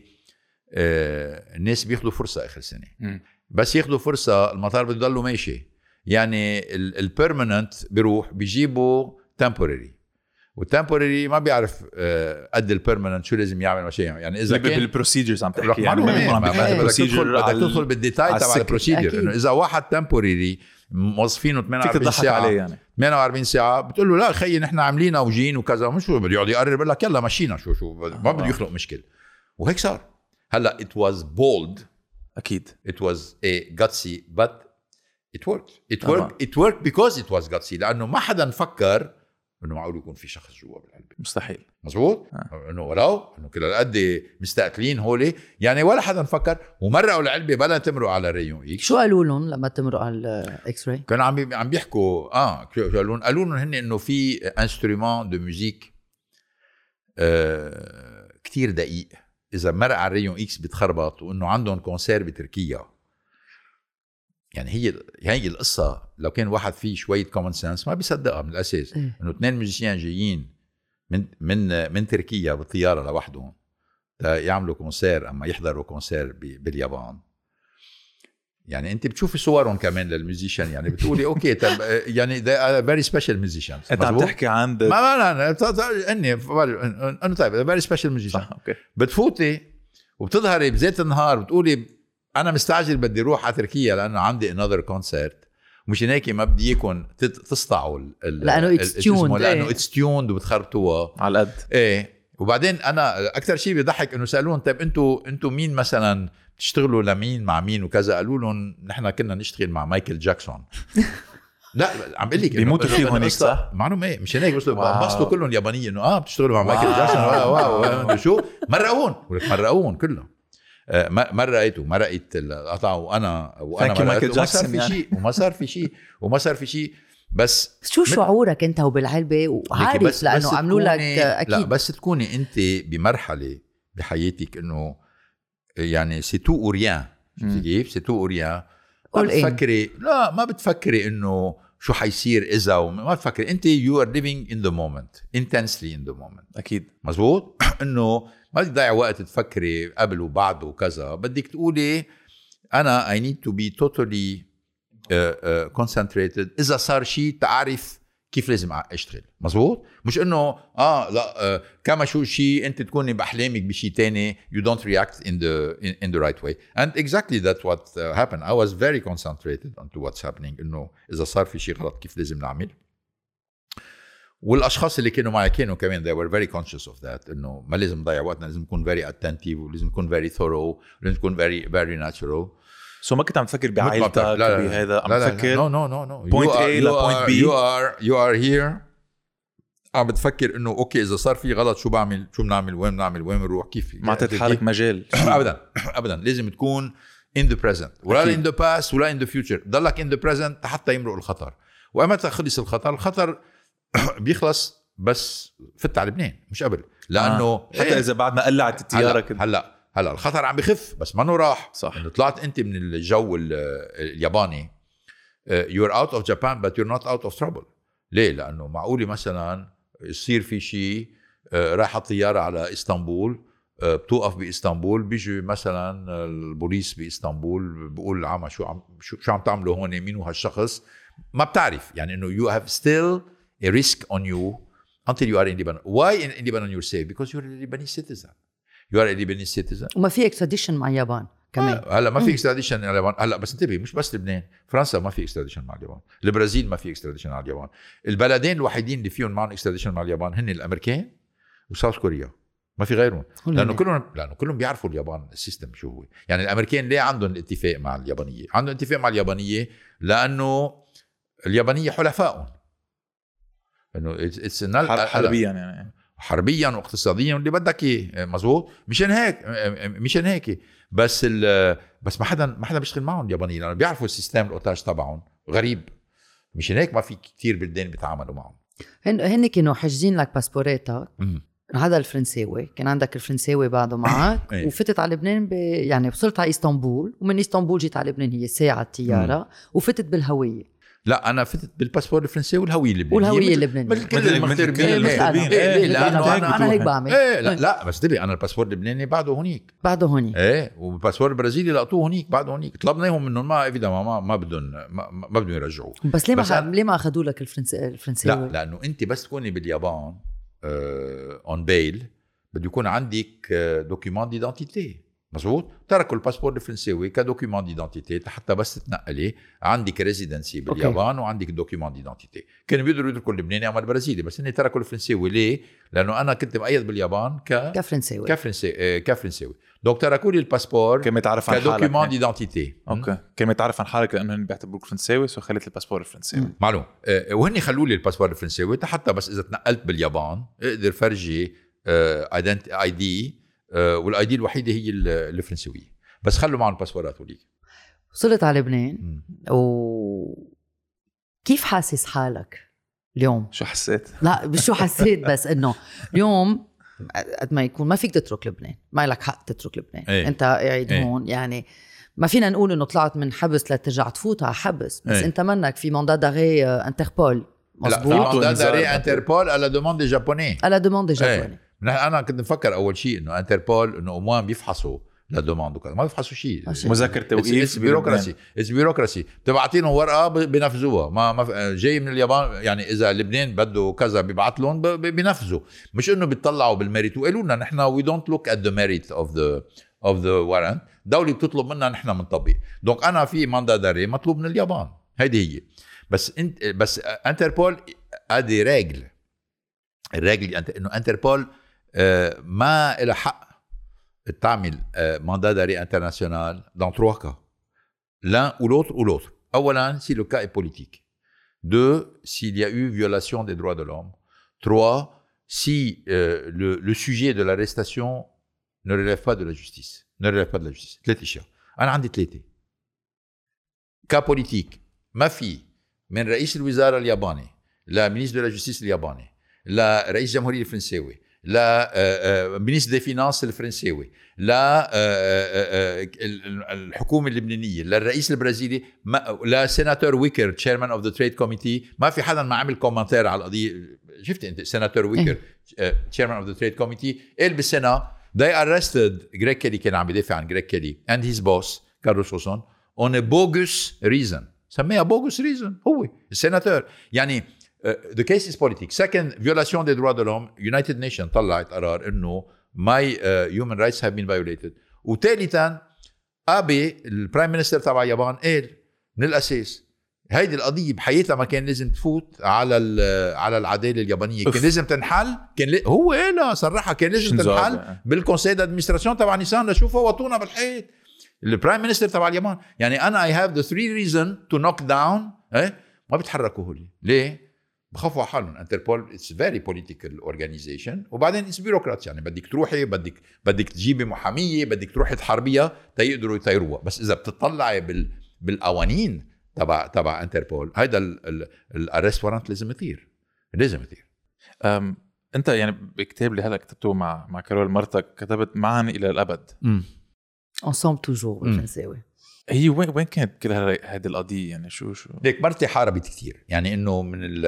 الناس بياخذوا فرصه اخر السنه. م. بس ياخذوا فرصه المطار بده يضلوا ماشي. يعني البيرمننت بيروح بيجيبوا تمبوراري، والتمبوراري ما بيعرف قد البيرمننت شو لازم يعمل ماشي. يعني اذا كان بالبروسيدجرز عم تحكي يعني بدك تدخل بالديتاي تبع البروسيدجر. انه اذا واحد تمبوراري موظفينه ثمانية وأربعين ساعه عليه يعني ثمانية وأربعين ساعه بتقول له لا خيي نحن عاملينها وجين وكذا مش بده يقعد يقرر بقول لك يلا مشينا شو شو ما بده يخلق مشكله. وهيك صار. هلا it was bold اكيد. it was a gutsy but it worked it worked it worked because it was gutsy لانه ما حدا فكر انه معقول يكون في شخص جوا بالعلبه. مستحيل. مزبوط. آه. انه ولو انه كل هالقد مستقلين هولي يعني ولا حدا فكر. ومرقوا العلبه بلا تمرق على ريون اكس. شو قالوا لهم لما تمرق على الاكس راي؟ كانوا عم عم بيحكوا اه قالوا لهم قالوا لهم هن انه في انسترومون دو ميوزيك آه كتير دقيق اذا مرق على ريون اكس بتخربط وانه عندهم كونسير بتركيا. يعني هي هي القصه لو كان واحد فيه شويه كومن سنس ما بيصدقها من الاساس إيه؟ انه اثنين موزيسيان جايين من من من تركيا بالطياره لوحدهم يعملوا كونسير اما يحضروا كونسير باليابان. يعني انت بتشوفي صورهم كمان للميوزيشن يعني بتقولي اوكي طب يعني they are very special musicians. انت عم تحكي عن ما ما انا اني انه طيب very special musician. صح اوكي. بتفوتي وبتظهري بزيت النهار بتقولي انا مستعجل بدي اروح على تركيا لانه عندي another concert ومش هيك ما بدي يكون تسطعوا لانه اتس تيوند لانه اتس تيوند وبتخربطوها على قد ايه. وبعدين انا اكثر شيء بيضحك انه سالون طيب انتوا انتوا مين مثلا بتشتغلوا لمين مع مين وكذا. قالوا لهم نحن كنا نشتغل مع مايكل جاكسون. لا عم بقول لك بيموتوا فيه هونيك صح معلوم ايه مش هيك بس بسطوا كلهم يابانيين انه اه بتشتغلوا مع مايكل جاكسون. واو واو شو مرقون مرقون كلهم. ما رأيته ما رأيت القطع وانا وانا مايكل جاكسون في شيء وما صار في شيء وما صار في شيء. بس شو شعورك انت وبالعلبه وعارف لانه عملوا لك اكيد. لا بس تكوني انت بمرحله بحياتك انه يعني سي تو اوريان كيف سي تو اوريان ما بتفكري لا ما بتفكري انه شو حيصير اذا وما بتفكري انت you are living in the moment intensely in the moment. اكيد مزبوط. انه ما بدك تضيع وقت تفكري قبل وبعد وكذا. بدك تقولي أنا I need to be totally uh, uh, concentrated إذا صار شيء تعرف كيف لازم أشتغل. مزبوط. مش إنه آه لا uh, كما شو شيء أنت تكوني بأحلامك بشيء تاني you don't react in the in, in the right way and exactly that's what uh, happened. I was very concentrated onto what's happening إنه إذا صار في شيء غلط كيف لازم نعمل. والاشخاص اللي كانوا معي كانوا كمان they were very conscious of that انه ما لازم نضيع وقتنا لازم نكون very attentive ولازم نكون very thorough ولازم نكون very very natural. سو so ما كنت عم تفكر بعائلتك بهذا عم تفكر no no no no point A ل point B you are you are here عم بتفكر انه اوكي اذا صار في غلط شو بعمل شو بنعمل وين بنعمل وين بنروح كيف. ما اعطيت حالك مجال ابدا ابدا لازم تكون in the present ولا in the past ولا in the future. ضلك in the present حتى يمرق الخطر. وأمتى خلص الخطر الخطر بيخلص بس فت على لبنان مش قبل لانه آه. حتى إيه؟ اذا بعد ما قلعت الطياره هلا هلا هلا الخطر عم بخف بس ما انه راح. صح. انه طلعت انت من الجو الياباني you're out of Japan but you're not out of trouble. ليه؟ لانه معقولي مثلا يصير في شيء رايحه الطياره على اسطنبول بتوقف باسطنبول بيجي مثلا البوليس باسطنبول بيقول عم شو عم شو, شو عم تعملوا هون مين هو هالشخص ما بتعرف. يعني انه you have still a risk on you until you are in Lebanon. Why in, in Lebanon you're safe? Because you're a Lebanese citizen. You are a Lebanese citizen. وما في extradition مع اليابان كمان. آه هلا ما في extradition مع اليابان. هلا بس انتبه مش بس لبنان، فرنسا ما في extradition مع اليابان، البرازيل ما في extradition مع اليابان. البلدين الوحيدين اللي فيهم معهم extradition مع اليابان هن الامريكان وساوث كوريا. ما في غيرهم. لانه كلهم لانه كلهم بيعرفوا اليابان السيستم شو هو. يعني الامريكان ليه عندهم الاتفاق مع اليابانيه؟ عندهم اتفاق مع اليابانيه لانه اليابانيه حلفائهم. انه اتس حربيا يعني حربيا واقتصاديا واللي بدك اياه. مزبوط. مشان هيك مشان هيك بس بس ما حدا ما حدا بيشتغل معهم اليابانيين لانه بيعرفوا السيستم الاوتاج تبعهم غريب. مشان هيك ما في كتير بلدان بيتعاملوا معهم. هن هن كانوا حاجزين لك باسبوريتك. هذا الفرنساوي كان عندك الفرنساوي بعده معك وفتت على لبنان ب... يعني وصلت على اسطنبول ومن اسطنبول جيت على لبنان هي ساعه الطياره وفتت بالهويه. لا انا فتت بالباسبور الفرنسي والهويه اللبنانيه والهويه اللبنانيه مثل كل المغتربين. ايه لانه انا هيك بعمل. ايه لا, لا بس تبي انا الباسبور اللبناني بعده هونيك بعده هونيك ايه والباسبور البرازيلي لقطوه هونيك بعده هونيك. طلبناهم منهم ما ايفيدا ما ما بدهم ما, ما بدهم يرجعوه. بس ليه ما ليه ما اخذوا لك الفرنسي الفرنساوي؟ لا لانه انت بس تكوني باليابان اون بيل بده يكون عندك دوكيومون ديدنتيتي مزبوط. تركوا الباسبور الفرنساوي كدوكيومون ديدنتيتي حتى بس تتنقلي عندك ريزيدنسي باليابان وعندك دوكيومون ديدنتيتي. كانوا بيقدروا يتركوا اللبناني او البرازيلي بس هن تركوا الفرنساوي. ليه؟ لانه انا كنت مقيد باليابان ك كفرنساوي كفرنساوي كفرنساوي دونك تركوا لي الباسبور كمتعرف عن حالك كدوكيومون ديدنتيتي. اوكي كمتعرف عن حالك لانه هن بيعتبروك فرنساوي سو خليت الباسبور الفرنساوي. معلوم. وهن خلوا لي الباسبور الفرنساوي حتى بس اذا تنقلت باليابان اقدر فرجي ايدنتي اي دي والاي دي الوحيده هي الفرنسويه بس خلوا معهم الباسبورات. وليك وصلت على لبنان وكيف حاسس حالك اليوم؟ شو حسيت؟ لا مش شو حسيت بس انه اليوم قد ما يكون ما فيك تترك لبنان، ما لك حق تترك لبنان. ايه. انت قاعد ايه. هون يعني ما فينا نقول انه طلعت من حبس لترجع تفوت على حبس بس ايه. انت منك في ماندا داغي انتربول. مظبوط. ماندا داغي انتربول على دوموند دي جابوني على دوموند دي جابوني. انا كنت مفكر اول شيء انه انتربول انه اومان بيفحصوا لا دوموند وكذا، ما بيفحصوا شيء. مذكر توقيف بيروقراسي اس بيروقراسي بتبعتينهم ورقه بينفذوها. ما, ما جاي من اليابان يعني اذا لبنان بده كذا بيبعت لهم بينفذوا، مش انه بيطلعوا بالميريت. وقالوا لنا نحن وي دونت لوك ات ذا ميريت اوف ذا اوف ذا وارنت. دولة بتطلب منا نحن بنطبق. دونك انا في ماندا داري مطلوب من اليابان، هيدي هي. بس انت بس انتربول ادي رجل الرجل انه انتربول ما إلى حق تعمل mandat d'arrêt international dans trois cas. L'un ou l'autre ou l'autre. أولاً, si le cas est politique. Deux, s'il y a eu violation des droits de l'homme. Trois, si euh, le, le sujet de l'arrestation ne relève pas de la justice. Ne relève pas de la justice. ثلاث أشياء. أنا عندي ثلاثة. cas politique. ما في من رئيس الوزراء الياباني لا ministre de la justice الياباني لا رئيس الجمهورية الفرنساوي لا مينيستر دي فينانس الفرنساوي لا الحكومه اللبنانيه لا الرئيس البرازيلي لا سيناتور ويكر تشيرمان اوف ذا تريد كوميتي. ما في حدا ما عمل كومنتير على القضيه. شفت انت سيناتور ويكر تشيرمان اوف ذا تريد كوميتي قال بالسنه they arrested جريك كيلي كان عم يدافع عن جريك كيلي and his boss كارلوس هوسون on a bogus reason. سميها bogus reason هو السيناتور. يعني Uh, the case is politics. Second, violation des droits de l'homme. United Nations طلعت قرار إنه my uh, human rights have been violated. وثالثاً أبي البرايم مينستر تبع اليابان قال من الأساس هيدي القضية بحياتها ما كان لازم تفوت على على العدالة اليابانية. كان لازم تنحل. كان ل... هو قالها صراحة كان لازم تنحل بالكونسيل دادمنستراسيون تبع نيسان لشوفها وطونا بالحيط. البرايم مينستر تبع اليابان يعني أنا I have the three reason to knock down. إيه ما بيتحركوا هولي ليه؟ بخافوا على حالهم. انتربول اتس فيري بوليتيكال اورجانيزيشن وبعدين اتس بيروقراطي. يعني بدك تروحي بدك بدك تجيبي محاميه بدك تروحي تحاربيها تيقدروا يطيروها. بس اذا بتطلعي بال بالقوانين تبع تبع انتربول هيدا الارست وارنت لازم يطير لازم يطير. انت يعني بكتاب اللي هلا كتبته مع مع كارول مرتك كتبت معا الى الابد. امم ensemble toujours بالفرنساوي. هي وين وين كانت كل هذه القضيه يعني شو شو ليك مرتي حاربت كتير. يعني انه من ال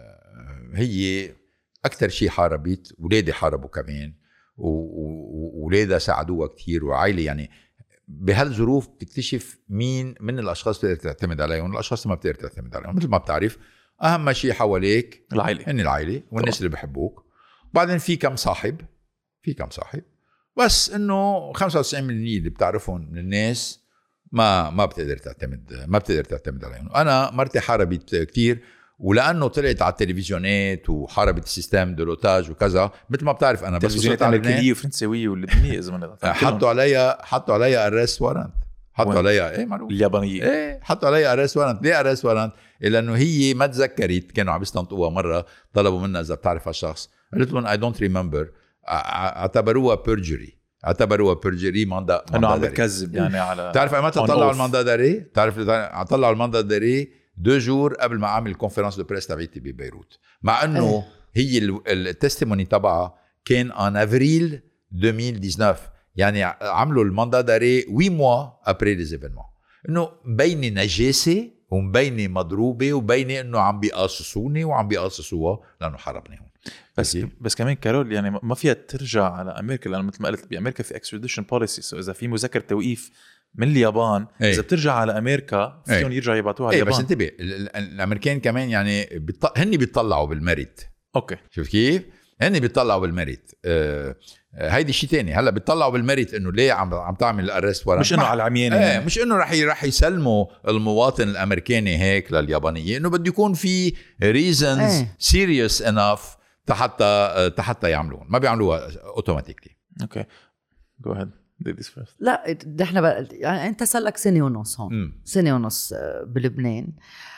هي اكثر شيء حاربت. ولادي حاربوا كمان وولادها ساعدوها كتير وعائله. يعني بهالظروف بتكتشف مين من الاشخاص بتقدر تعتمد عليهم والاشخاص ما بتقدر تعتمد عليهم. مثل ما بتعرف اهم شيء حواليك العائله هن العائله والناس اللي بحبوك. وبعدين في كم صاحب في كم صاحب بس انه خمسة وتسعين بالمية اللي بتعرفهم من الناس ما ما بتقدر تعتمد ما بتقدر تعتمد عليهم. انا مرتي حاربت كتير ولانه طلعت على التلفزيونات وحاربت السيستم دو لوتاج وكذا. مثل ما بتعرف انا بس وصلت على الامريكيه وفرنساويه واللبنانيه اذا ما حطوا عليا حطوا عليا ارست وارنت. حطوا عليا ايه معروف اليابانيه ايه حطوا عليا ارست وارنت. ليه ارست وارنت؟ لانه هي ما تذكرت. كانوا عم يستنطقوها مره طلبوا منها اذا بتعرف هالشخص. قلت لهم اي دونت ريمبر. اعتبروها بيرجري اعتبروها بيرجري ماندا انه عم بكذب يعني على تعرف متى طلعوا الماندا داري؟ تعرف طلعوا الماندا داري دو جور قبل ما اعمل كونفرنس دو بريس تبعتي ببيروت. مع انه هي التستيموني تبعها كان ان افريل ألفين وتسعطعش. يعني عملوا الماندا داري huit mois après les événements. انه مبينه نجاسه ومبينه مضروبه ومبينه انه عم بيقاصصوني وعم بيقاصصوها لانه حربني هون. بس بس كمان كارول يعني ما فيها ترجع على امريكا لانه مثل ما قلت بامريكا في اكستراديشن بوليسي. سو اذا في مذكر توقيف من اليابان ايه. اذا بترجع على امريكا فيهم ايه. يرجعوا يبعتوها على ايه. اليابان. بس انتبه الامريكان كمان يعني بيط... هن بيطلعوا بالميريت. اوكي شوف كيف هني بيطلعوا بالميريت. أه هيدي شيء تاني. هلا بيطلعوا بالميريت انه ليه عم عم تعمل الارست ورا، مش انه على العمياني ايه يعني. مش انه رح رح يسلموا المواطن الامريكاني هيك لليابانيه، انه بده يكون في reasons serious enough حتى حتى يعملوهم. ما بيعملوها اوتوماتيكلي. اوكي جو اهيد ladies first. لا نحن بقى يعني انت صار لك سنه ونص هون. م. سنه ونص بلبنان.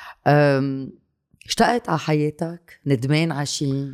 اشتقت على حياتك؟ ندمان على شيء؟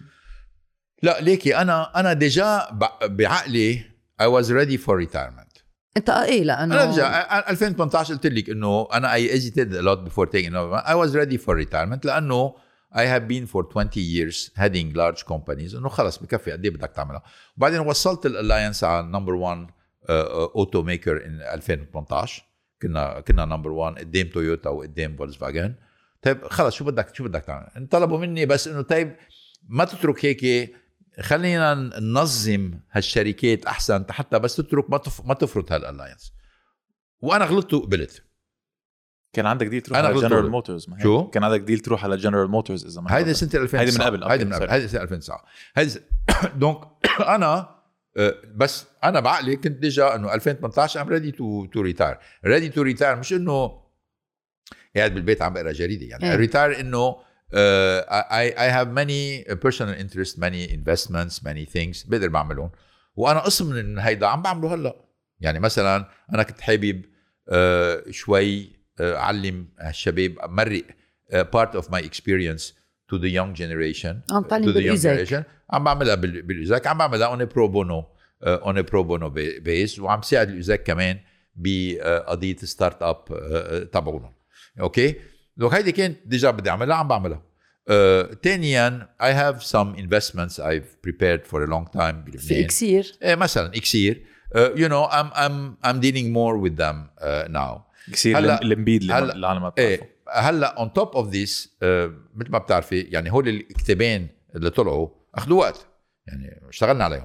لا ليكي انا انا ديجا بعقلي I was ready for retirement. انت ايه لانه انا ديجا ألفين وثمانية عشر قلت لك انه انا I hesitated a lot before taking over. I was ready for retirement لانه I have been for twenty years heading large companies. انه خلص بكفي قد ايه بدك تعملها. وبعدين وصلت الالاينس على نمبر واحد اوتو ميكر ان ألفين وثمانية عشر. كنا كنا نمبر واحد قدام تويوتا وقدام فولكسفاجن. طيب خلص شو بدك شو بدك تعمل؟ طلبوا مني بس انه طيب ما تترك هيك، خلينا ننظم هالشركات احسن حتى بس تترك ما تف... ما تفرط هالالاينس. وانا غلطت وقبلت. كان عندك ديل تروح على جنرال موتورز. شو كان عندك ديل تروح على جنرال موتورز اذا ما هيدي سنه ألفين وتسعة. هيدي من قبل هيدي من قبل هيدي سنه ألفين وتسعة. هيدي دونك انا بس انا بعقلي كنت ديجا انه ألفين وثمانية عشر ام ريدي تو تو ريتاير. ريدي تو ريتاير مش انه قاعد بالبيت عم بقرا جريده يعني. ريتاير انه Uh, I, I have many personal interests, many investments, many things بقدر بعملهم. وأنا قسم من هيدا عم بعمله هلأ. يعني مثلا أنا كنت حابب uh, شوي uh, أعلم الشباب، مرق uh, part of my experience to the young generation. عم تعلم بالإزاك. عم بعملها بالإزاك. عم بعملها on a pro bono uh, on a pro bono base. وعم ساعد الإزاك كمان بقضية ستارت أب uh, تبعونهم. أوكي. لو هيدي كانت ديجا بدي أعملها عم بعملها. Uh, تانياً I have some investments I've prepared for a long time بلبنان. في إكسير. إيه مثلاً إكسير. Uh, you know I'm I'm I'm dealing more with them uh, now. إكسير الامبيد اللي العالم ما بتعرفه. إيه هلا on top of this uh, مثل ما بتعرفي يعني هول الكتابين اللي طلعوا أخذوا وقت يعني اشتغلنا عليهم.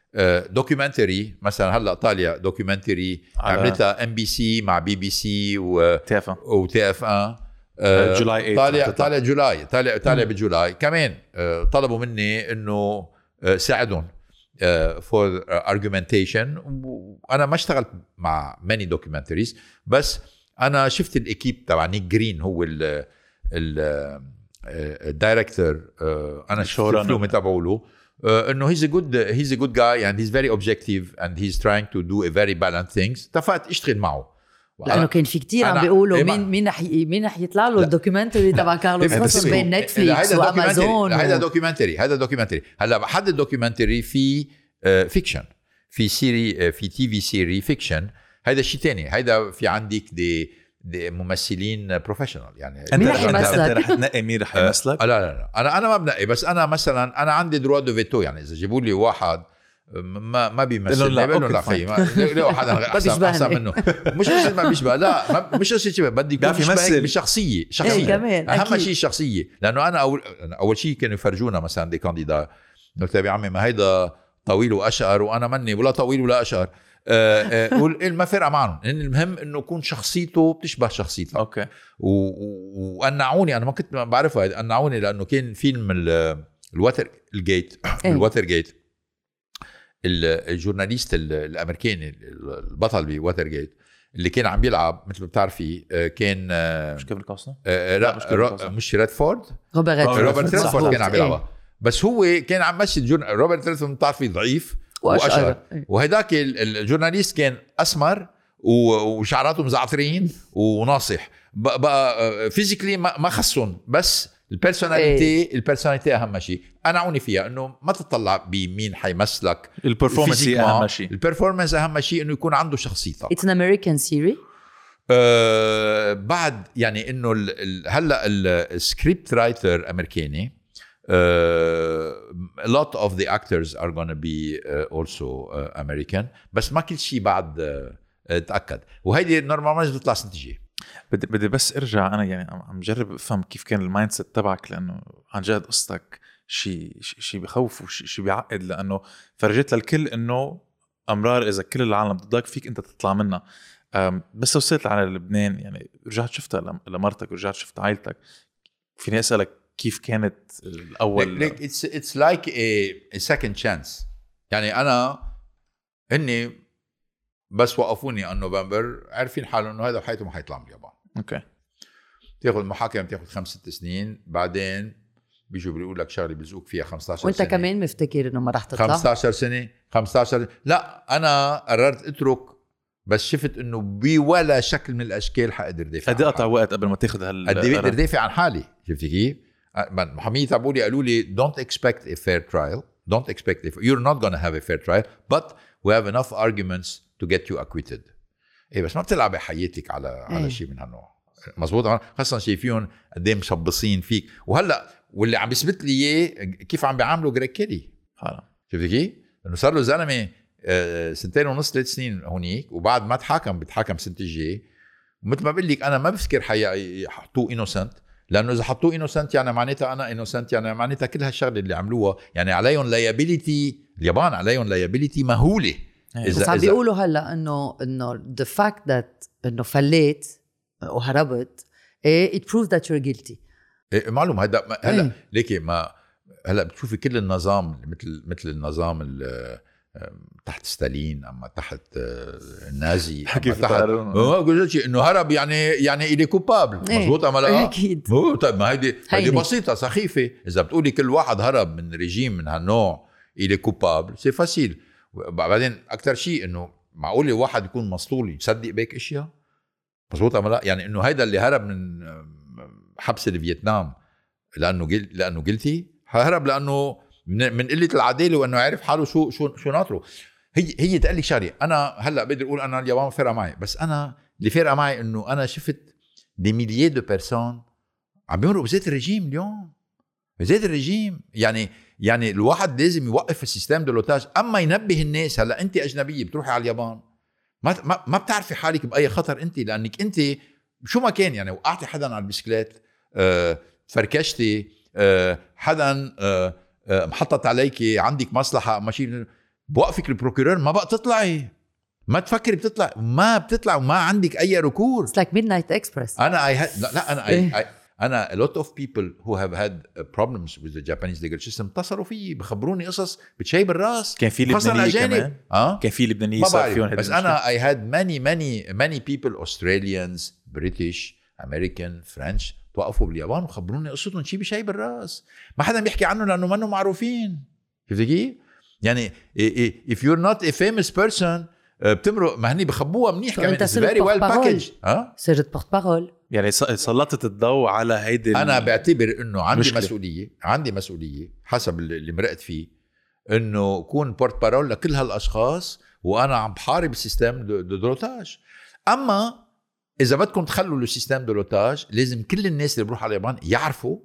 دوكيومنتري uh, مثلا هلا طالع دوكيومنتري عملتها ام بي سي مع بي بي سي و تي اف ان جولاي طالع طالع جولاي طالع طالع بجولاي كمان. uh, طلبوا مني انه uh, ساعدهم uh, for argumentation. وانا ما اشتغلت مع many documentaries بس انا شفت الاكيب تبع نيك جرين هو ال ال الدايركتور. uh, انا شفت الفيلم تبعه له Uh, انه he's a good he's a good guy and he's very objective and he's trying to do a very balanced things. اتفقت اشتغل معه لانه كان في كتير عم بيقولوا مين مين رح مين رح يطلع له الدوكيومنتري تبع كارلوس غوثم بين نتفليكس وامازون. هذا دوكيومنتري هذا دوكيومنتري هلا حد الدوكيومنتري في فيكشن uh, في سيري uh, في تي في سيري فيكشن. هذا شيء تاني. هذا في عندك دي دي ممثلين بروفيشنال يعني. مين رح يمثلك؟ انت رح تنقي مين رح يمثلك؟ لا لا لا انا انا ما بنقي بس انا مثلا انا عندي دروا دو فيتو يعني اذا جيبوا لي واحد ما ما بيمثل لا بقول له لا خيي لا حدا احسن احسن منه. مش مش ما بيشبه لا مش شيء بدي يكون يمثل بشخصيه شخصيه. اهم شيء الشخصيه لانه انا اول اول شيء كانوا يفرجونا مثلا دي كانديدا قلت يا عمي ما هيدا طويل واشقر وانا مني ولا طويل ولا اشقر. ما فرق معهم. المهم انه يكون شخصيته بتشبه شخصيتي. اوكي. وقنعوني انا ما كنت بعرفها قنعوني لانه كان فيلم الواتر الجيت الواتر جيت الجورناليست الامريكاني البطل بواتر جيت اللي كان عم بيلعب مثل ما بتعرفي كان مش كيفن كوستنر مش ريدفورد روبرت روبرت ريدفورد كان عم بيلعبها. بس هو كان عم مشي روبرت ريدفورد بتعرفي ضعيف واشقر. وهداك الجورناليست كان اسمر وشعراته مزعترين وناصح بقى فيزيكلي ما خصهم بس البيرسوناليتي البيرسوناليتي اهم شيء. انا عوني فيها انه ما تطلع بمين حيمثلك. البرفورمانس اهم شيء. البرفورمانس اهم شيء انه يكون عنده شخصيته. It's an American series. أه بعد يعني انه هلا السكريبت رايتر امريكاني. Uh, a lot of the actors are going to be uh, also uh, American بس ما كل شيء بعد uh, تأكد. وهيدي نورمالماً بتطلع سنة جاي. بدي بدي بس ارجع انا يعني عم جرب افهم كيف كان المايند سيت تبعك لانه عن جد قصتك شيء شيء بخوف وشيء بيعقد لانه فرجيت للكل انه امرار اذا كل العالم ضدك فيك انت تطلع منها. بس وصلت على لبنان يعني رجعت شفتها لمرتك ورجعت شفت عائلتك. فيني اسالك كيف كانت الاول؟ like, it's it's like a, a second chance. يعني انا اني بس وقفوني عن نوفمبر عارفين حالهم انه هذا بحياته ما حيطلع من اليابان. اوكي تاخذ المحاكمه تاخذ خمس ست سنين، بعدين بيجوا بيقول لك شغله بيزوق فيها خمسة عشر وانت سنه. وانت كمان مفتكر انه ما راح تطلع خمسة عشر سنه خمسة عشر. لا انا قررت اترك، بس شفت انه بولا شكل من الاشكال حقدر دافع. قد قطع وقت قبل ما تاخذ هال قد ايه بقدر دافع عن حالي. شفتي كيف؟ محامين تبعولي قالوا لي don't expect a fair trial, don't expect a, you're not gonna have a fair trial but we have enough arguments to get you acquitted. ايه بس ما بتلعب حياتك على إيه. على شيء من هالنوع. مزبوط. خاصة شايفين قد ايه مشبصين فيك. وهلا واللي عم بيثبت لي اياه كيف عم بيعاملوا جريج كيلي. شفتي كيف؟ انه صار له زلمه سنتين ونص ثلاث سنين هونيك، وبعد ما تحاكم بتحاكم سنه الجاي. ومثل ما بقول لك انا ما بفكر حيحطوه انوسنت، لانه اذا حطوه انوسنت يعني معناتها انا انوسنت، يعني معناتها كل هالشغله اللي عملوها يعني عليهم لايبيليتي. اليابان عليهم لايبيليتي مهوله. اذا بس عم بيقولوا هلا انه انه the fact that انه فليت وهربت ايه it proves that you're guilty. إيه معلوم هذا هلا إيه. ليكي ما هلا بتشوفي كل النظام مثل مثل النظام تحت ستالين اما تحت النازي اما تحت اه قلت شيء انه هرب يعني يعني إلي كوبابل. إيه. مزبوط ام لا؟ اكيد. طيب ما هيدي هيدي بسيطه سخيفه. اذا بتقولي كل واحد هرب من ريجيم من هالنوع إلي كوبابل سي فاسيل. بعدين اكثر شيء انه معقول واحد يكون مسطول يصدق بيك اشياء. مزبوط ام لا؟ يعني انه هيدا اللي هرب من حبس الفيتنام لانه جل... لانه قلتي هرب لانه من, من قله العداله وانه عارف حاله شو شو شو ناطره. هي هي تقول لي شغله انا هلا بقدر اقول انا اليابان فارقه معي، بس انا اللي فارقه معي انه انا شفت دي ميليي دو بيرسون عم بيمرقوا بزيت الرجيم اليوم. بزيت الرجيم يعني يعني الواحد لازم يوقف السيستم دولوتاج. اما ينبه الناس هلا انت اجنبيه بتروحي على اليابان ما ما, ما بتعرفي حالك باي خطر انت، لانك انت شو ما كان يعني وقعتي حدا على البسكليت أه، فركشتي أه، حدا أه، أه، محطت عليكي عندك مصلحه ماشي بوقفك البروكورور ما بقى تطلعي. ما تفكري بتطلع ما بتطلع وما عندك اي ركور. It's like midnight express. انا I had, لا, لا انا I, I, انا a lot of people who have had problems with the Japanese legal system اتصلوا فيي بخبروني قصص بتشيب الراس. كان في لبنانية كمان اه كان في لبنانية صار فيهم. بس انا I had many many many people Australians British American French توقفوا باليابان وخبروني قصتهم شيء بشيب الراس ما حدا بيحكي عنه لانه ما انه معروفين. شفتي كيف؟ يعني if you're not a famous person بتمرق ما هني بخبوها منيح كمان. It's very well packaged. ها صرت بورت بارول يعني سلطت الضوء على هيدي. انا بعتبر انه عندي مشكلة. مسؤوليه عندي مسؤوليه حسب اللي مرقت فيه انه كون بورت بارول لكل هالاشخاص وانا عم بحارب السيستم دو دولوتاج. اما اذا بدكم تخلوا السيستم دولوتاج لازم كل الناس اللي بروح على اليابان يعرفوا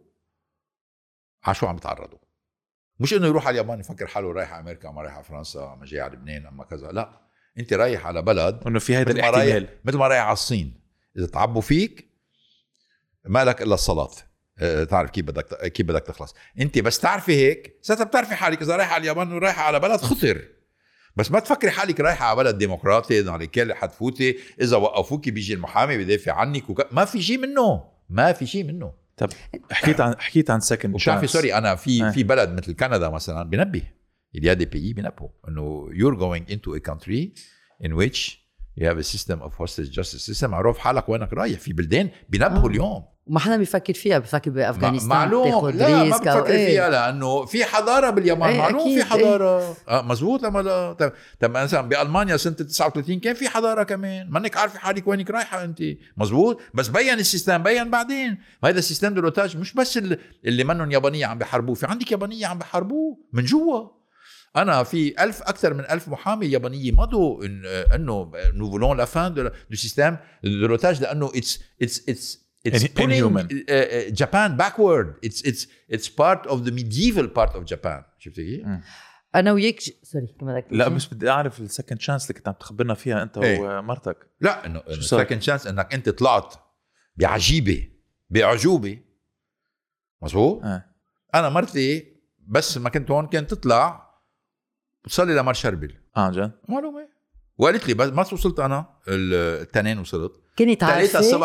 على شو عم يتعرضوا. مش انه يروح على اليابان يفكر حاله رايح على امريكا اما رايح على فرنسا اما جاي على لبنان اما كذا. لا انت رايح على بلد انه في هذا الاحتمال مثل ما رايح على الصين اذا تعبوا فيك ما لك الا الصلاه. اه تعرف كيف بدك كيف بدك تخلص. انت بس تعرفي هيك ساعتها بتعرفي حالك اذا رايح على اليابان ورايح على بلد خطر. بس ما تفكري حالك رايحه على بلد ديمقراطي على كل حتفوتي اذا وقفوكي بيجي المحامي بيدافع عنك وك... ما في شيء منه ما في شيء منه. طب حكيت عن حكيت عن سكند وشافي سوري انا في آه. في بلد مثل كندا مثلا بنبه il y a des pays بينبهوا انه you're going into a country in which you have a system of hostage justice system. عرف حالك وينك رايح. في بلدان بينبهوا آه. اليوم ما حدا بيفكر فيها. بفكر بافغانستان معلوم لا ما بفكر ايه. فيها لانه في حضاره باليابان. ايه معلوم في حضاره ايه. آه مزبوط اما لا. طب طب مثلا بالمانيا سنه تسعة وثلاثين كان في حضاره كمان ما انك عارفه حالك وينك رايحه انت. مزبوط. بس بين السيستم بين بعدين هذا السيستم دولوتاج مش بس اللي منهم يابانيه عم بيحاربوه. في عندك يابانيه عم بيحاربوه من جوا. أنا في ألف أكثر من ألف محامي يابانية مضوا إن إنه nous voulons la fin de du système de l'otage لأنه it's it's it's it's pulling uh, Japan backward. It's it's it's part of the medieval part of Japan. شفتي كيف؟ أنا وياك سوري كم بدك. لا بس بدي أعرف السكند شانس اللي كنت عم تخبرنا فيها أنت ايه. ومرتك. لا إنه السكند شانس إنك أنت طلعت بعجيبة بعجوبة. مظبوط. اه. أنا مرتي بس ما كنت هون كانت تطلع وصلي لمر شربل. اه جد معلومه. وقالت لي بس ما وصلت انا التنين وصلت كنت عارفه ثلاثة الصبح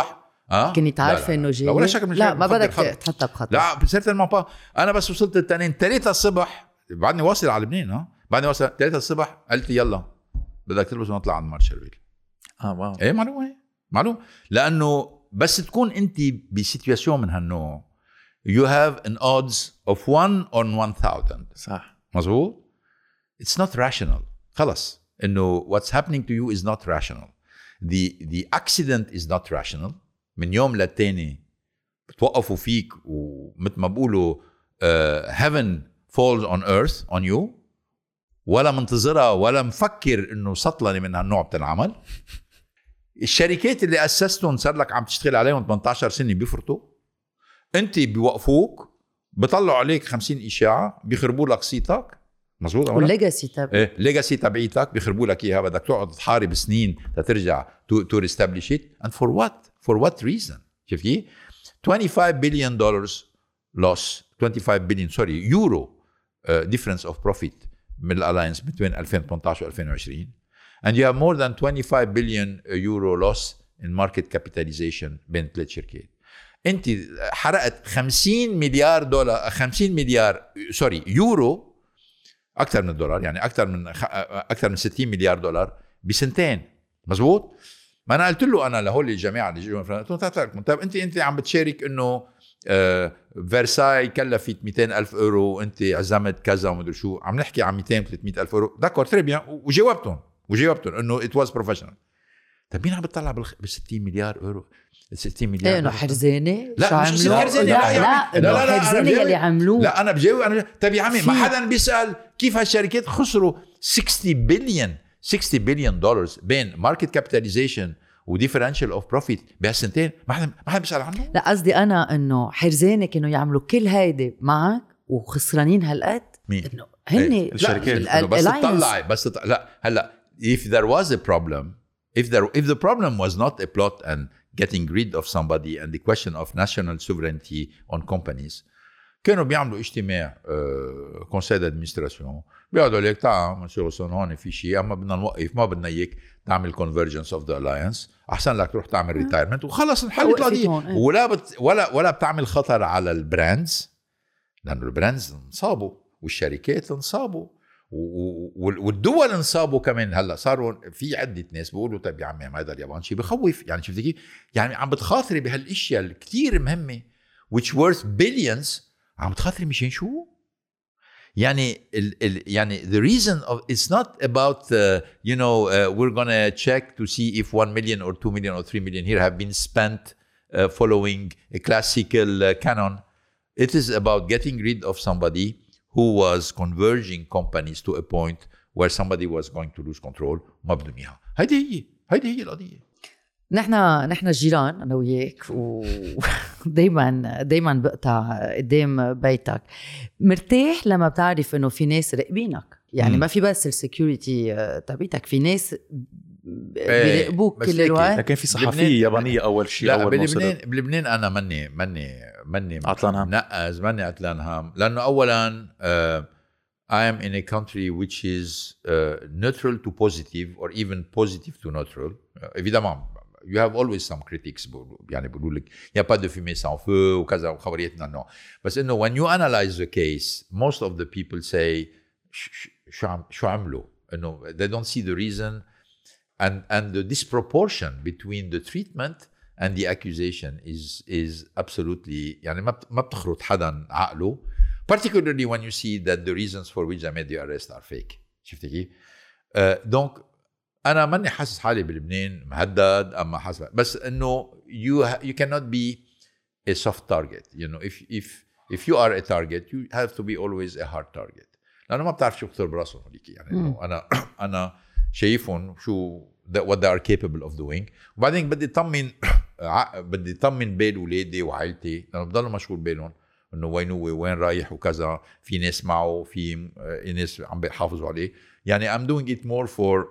اه كني تعرفه انه جاي؟ ولا شك من لا ما بدك تحطها بخطر. لا سيرتينمون با. انا بس وصلت التنين ثلاثة الصبح، بعدني واصل على لبنان. ها بعدني واصل ثلاثة الصبح، قلت يلا بدك تلبس ونطلع عند مارشالفيل. اه واو ايه معلومه معلوم. لانه بس تكون انت بسيتواسيون من هالنوع you have an odds of one on one thousand. صح مظبوط. it's not rational. خلص انه what's happening to you is not rational. the the accident is not rational. من يوم للتاني بتوقفوا فيك ومثل ما بقولوا uh, heaven falls on earth on you، ولا منتظرها ولا مفكر انه سطلني من هالنوع بتنعمل. الشركات اللي اسستهم صار لك عم تشتغل عليهم ثمانية عشر سنه بيفرطوا، انت بيوقفوك بيطلعوا عليك خمسين اشاعه بيخربوا لك صيتك. مزبوط. والليجاسي تبعك ايه الليجاسي تبعيتك بيخربوا لك اياها، بدك تقعد تحارب سنين تترجع تو تو ريستابليش ات. اند فور وات فور وات ريزن؟ شفتي خمسة وعشرين بليون دولار لوس، خمسة وعشرين بليون سوري يورو ديفرنس اوف بروفيت من الالاينس بين ألفين وثمانية عشر و ألفين وعشرين. and you have more than twenty-five billion euro loss in market capitalization بين ثلاث شركات. انت حرقت خمسين مليار دولار، خمسين مليار سوري يورو، اكثر من الدولار يعني اكثر من اكثر من ستين مليار دولار بسنتين. مزبوط. ما انا قلت له انا لهول الجماعه اللي جاوا من فرنسا، طب انت انت عم بتشارك انه آه فرساي كلفت مئتين ألف اورو، انت عزمت كذا ومدري شو، عم نحكي عن مئتين ثلاثمئة ألف اورو. داكور تري بيان، وجاوبتهم وجاوبتهم انه ات واز بروفيشنال. طب مين عم بتطلع بال ستين مليار اورو؟ ستين مليار ايه انه حرزانه؟ لا مش حرزانه، لا لا لا لا حرزانه اللي عملوه. لا انا بجاوب انا. طب يا عمي ما حدا بيسال كيف هالشركات خسروا ستين بليون ستين بليون دولار بين ماركت كابيتاليزيشن وديفرنشال اوف بروفيت بهالسنتين؟ ما حدا ما حدا بيسال عنه. لا قصدي انا انه حرزانه كانوا يعملوا كل هيدي معك وخسرانين هالقد. انه هن الشركات بس تطلعي بس تطلع. لا هلا if there was a problem, if there if the problem was not a plot and getting rid of somebody and the question of national sovereignty on companies، كانوا بيعملوا اجتماع كونسيل دادمنستراسيون بيقعدوا لك تعال مسيو سون هون في شيء، اما بدنا نوقف، ما بدنا اياك تعمل convergence of the alliance، احسن لك تروح تعمل ريتايرمنت وخلص انحلت القضيه. ولا بت ولا ولا بتعمل خطر على البراندز، لانه البراندز انصابوا والشركات انصابوا والدول انصابوا كمان. هلا صاروا في عده ناس بيقولوا طيب يا عمي هذا اليابان شيء بخوف، يعني شفتي كيف؟ يعني عم بتخاطري بهالاشياء الكثير مهمه which worth billions، عم بتخاطري مشان شو؟ يعني ال ال يعني the reason of it's not about uh, you know uh, we're gonna check to see if one million or two million or three million here have been spent uh, following a classical uh, canon. It is about getting rid of somebody who was converging companies to a point where somebody was going to lose control. ما بدهم اياها. هيدي هي هيدي هي القضيه. نحن نحن جيران انا وياك، ودايما دايما بقطع قدام بيتك. مرتاح لما بتعرف انه في ناس راقبينك، يعني م. ما في بس السكيورتي تبعتك، في ناس بيراقبوك كل الوقت. لكن في صحفيه يابانيه اول شيء. لا اول بلبنان بلبنان انا مني مني مني عطلان هم نقز مني عطلان هم، لانه اولا uh, I am in a country which is uh, neutral to positive or even positive to neutral. uh, évidemment you have always some critics يعني بيقولوا لك يا pas de fumée sans feu وكذا وخبريتنا النوع، بس انه when you analyze the case most of the people say شو عم شو عملوا، انه they don't see the reason and and the disproportion between the treatment and the accusation is is absolutely يعني ما ما بتخرط حدا عقله، particularly when you see that the reasons for which they made the arrest are fake. شفتي كيف؟ دونك uh, انا ماني حاسس حالي بلبنان مهدد اما حاسس، بس انه you you cannot be a soft target. you know if if if you are a target you have to be always a hard target، لانه ما بتعرف شو بخطر براسهم هذيك. يعني انه انا انا شايفهم شو what they are capable of doing، وبعدين بدي اطمن بدي اطمن بال اولادي وعائلتي، لانه بضلوا مشغول بالهم انه وين هو وين رايح وكذا، في ناس معه، في ناس عم بيحافظوا عليه. يعني I'm doing it more for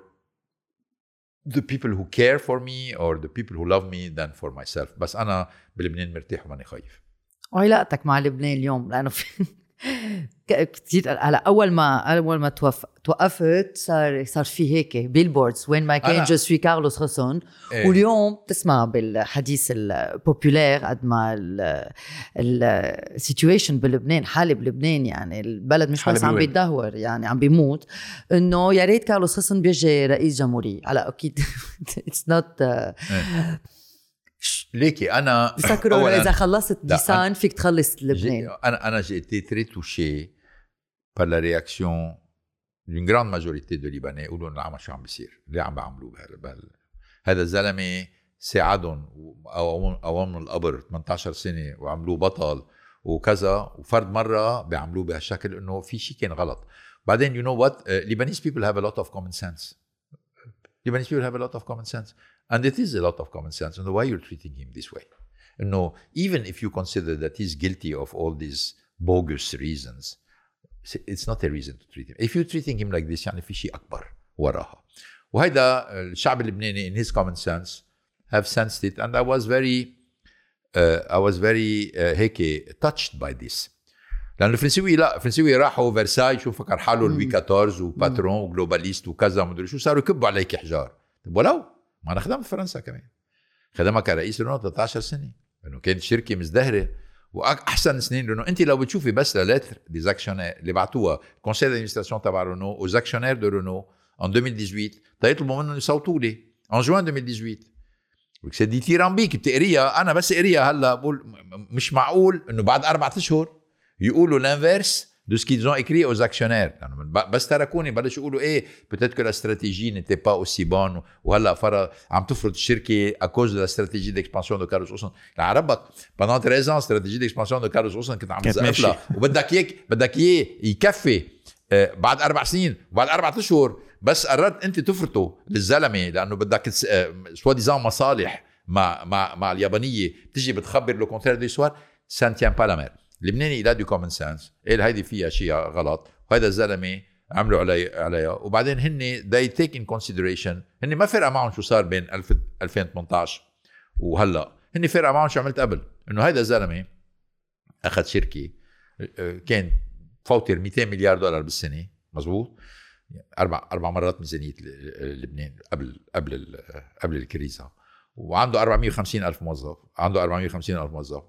the people who care for me or the people who love me than for myself. بس أنا بلبنان مرتاح وماني خايف. وعلاقتك مع لبنان اليوم، لأنه في كتير على اول ما اول ما توف... توقفت صار صار في هيك بيلبوردز وين ما كان جو سوي كارلوس غصن. إيه. واليوم تسمع بالحديث البوبولير قد ما السيتويشن بلبنان حالة بلبنان يعني البلد مش بس عم بيتدهور يعني عم بيموت انه يا ريت كارلوس غصن بيجي رئيس جمهورية على اكيد اتس نوت ليكي انا بفكروا اذا خلصت ديسان فيك تخلص لبنان. انا انا j'ai été très touché par la réaction d'une grande majorité de Libanais يقولوا ان العمل شو عم بيصير ليه عم بيعملوه بهذا هذا الزلمه ساعدهم او من القبر ثمانية عشر سنه وعملوه بطل وكذا وفرد مره بيعملوه بهالشكل انه في شيء كان غلط. بعدين you know what uh, Lebanese people have a lot of common sense. Lebanese people have a lot of common sense. And it is a lot of common sense. And why you're treating him this way? You know, even if you consider that he's guilty of all these bogus reasons, it's not a reason to treat him. If you're treating him like this, يعني في شيء أكبر وراها. وهذا الشعب اللبناني in his common sense have sensed it. And I was very, uh, I was very uh, هيك touched by this. لأن الفرنسيوي لا الفرنسيوي راحوا فرساي شو فكر حاله لوي كاتورز وباترون وجلوباليست وكذا ومدري شو صاروا يكبوا عليك حجار. ولو ما أنا خدمت فرنسا كمان خدمها كرئيس رونو ثلاثة عشر سنة لأنه كانت شركة مزدهرة وأحسن سنين لأنه أنت لو بتشوفي بس للتر دي أكشنير اللي بعتوها كونسيل دادمنستراسيون تبع رونو aux actionnaires de Renault en deux mille dix-huit تيطلبوا منهم يصوتوا لي en juin deux mille dix-huit وكسي دي تيرامبيك بتقريها أنا بس قريها هلا بقول مش معقول إنه بعد أربعة أشهر يقولوا l'inverse de ce qu'ils ont écrit aux actionnaires. بس تركوني بلش يقولوا ايه peut-être que la stratégie n'était pas aussi bonne وهلا فرا عم تفرض الشركه à cause de la stratégie d'expansion de Carlos Ghosn. لعربك pendant treize ans stratégie d'expansion de Carlos Ghosn كنت عم تزقفلها وبدك اياك بدك اياه يكفي آه بعد اربع سنين وبعد اربع اشهر بس قررت انت تفرطه للزلمه لانه بدك سوا ديزان مصالح مع مع مع اليابانيه بتجي بتخبر لو كونترير دي سوار سان تيان با لا مير. اللبناني لا دو كومن سنس قال هيدي فيها شيء غلط وهذا الزلمه عملوا علي عليها وبعدين هن they take in consideration هن ما فرق معهم شو صار بين ألفين وثمانية عشر وهلا هن فرق معهم شو عملت قبل انه هذا الزلمه اخذ شركه كان فوتر مئتين مليار دولار بالسنه مزبوط اربع اربع مرات ميزانيه لبنان قبل قبل قبل الكريزه وعنده أربعمية وخمسين ألف موظف عنده أربعمية وخمسين ألف موظف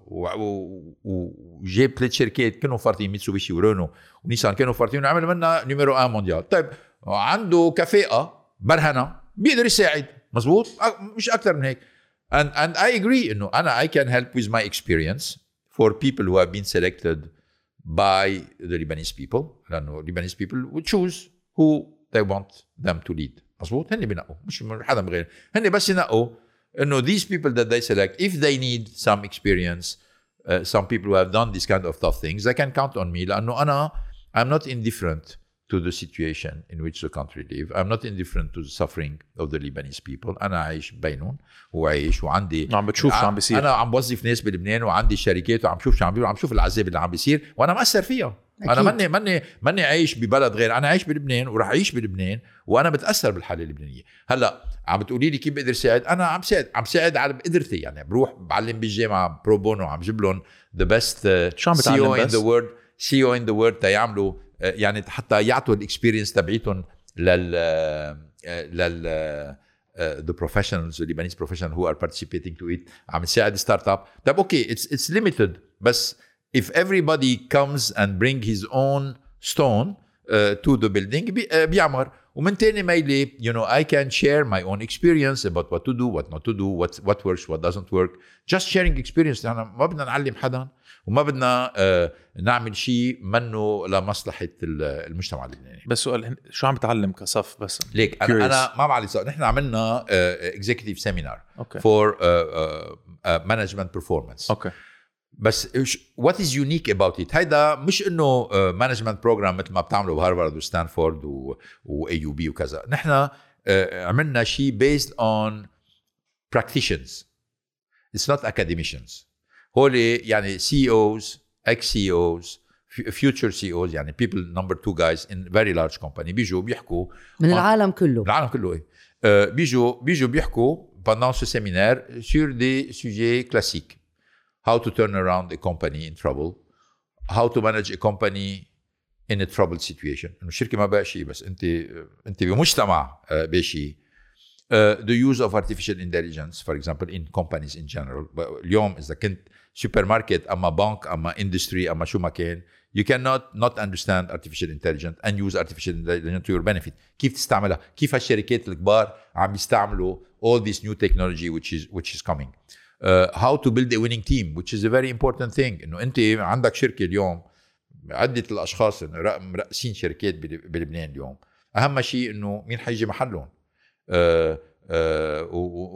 وجاب ثلاث شركات كانوا فارتين ميتسوبيشي ورونو ونيسان كانوا فارتين وعمل منها نيميرو واحد مونديال. طيب عنده كفاءة برهنة بيقدر يساعد مزبوط مش أكتر من هيك and, and I agree إنه أنا I can help with my experience for people who have been selected by the Lebanese people لأنه Lebanese people would choose who they want them to lead مزبوط هني بينقوا مش حدا بغير هني بس ينقوا إنه these people that they select if they need some experience uh, some people who have done this kind of tough things they can count on me لأنه أنا I'm not indifferent to the situation in which the country live. I'm not indifferent to the suffering of the Lebanese people. أنا عايش بينهم وعايش وعندي عم بتشوف شو عم بيصير. أنا عم بوظف ناس بلبنان وعندي شركات وعم شوف شو عم بيصير وعم شوف العذاب اللي عم بيصير وأنا مأثر فيها. أكيد. أنا ماني ماني ماني عايش ببلد غير أنا عايش بلبنان وراح أعيش بلبنان وأنا بتأثر بالحالة اللبنانية. هلا عم بتقولي لي كيف بقدر ساعد أنا عم ساعد عم ساعد على بقدرتي يعني بروح بعلم بالجامعة برو بونو عم جيب لهم the best uh, سي إي أو in the world سي إي أو in the world تيعملوا يعني حتى يعطوا الاكسبيرينس تبعيتهم لل لل the professionals the Lebanese professionals who are participating to it عم نساعد ستارت اب. طيب اوكي it's it's limited بس if everybody comes and bring his own stone uh, to the building بي, uh, بيعمر. ومن تاني ميلي you know I can share my own experience about what to do what not to do what what works what doesn't work just sharing experience. أنا ما بدنا نعلم حدا وما بدنا uh, نعمل شيء منه لمصلحة المجتمع اللبناني. بس سؤال شو عم بتعلم كصف بس ليك أنا, أنا ما بعرف صار نحن عملنا uh, executive seminar okay. for uh, uh, uh, management performance okay. بس what is unique about it هيدا مش إنه uh, management program مثل ما بتعملوا بهارفارد وستانفورد و, و إيه يو بي وكذا. نحن uh, عملنا شيء based on practitioners it's not academicians. هولي يعني سي اوز اكس سي اوز future سي اوز يعني people number two guys in very large company بيجوا بيحكوا من العالم كله العالم كله ايه uh, بيجوا بيجوا بيحكوا pendant ce séminaire sur des sujets classiques how to turn around a company in trouble how to manage a company in a troubled situation. إنه الشركة ما بقى شيء بس أنت أنت بمجتمع بشيء. Uh, the use of artificial intelligence, for example, in companies in general. اليوم إذا كنت supermarket أما بنك أما industry أما شو ما كان, you cannot not understand artificial intelligence and use artificial intelligence to your benefit. كيف تستعملها؟ كيف هالشركات الكبار عم يستعملوا all this new technology which is which is coming. Uh, how to build a winning team, which is a very important thing. إنه أنت عندك شركة اليوم, عدة الأشخاص مرأسين شركات بلبنان اليوم, أهم شيء إنه مين حيجي محلهم. Uh, uh,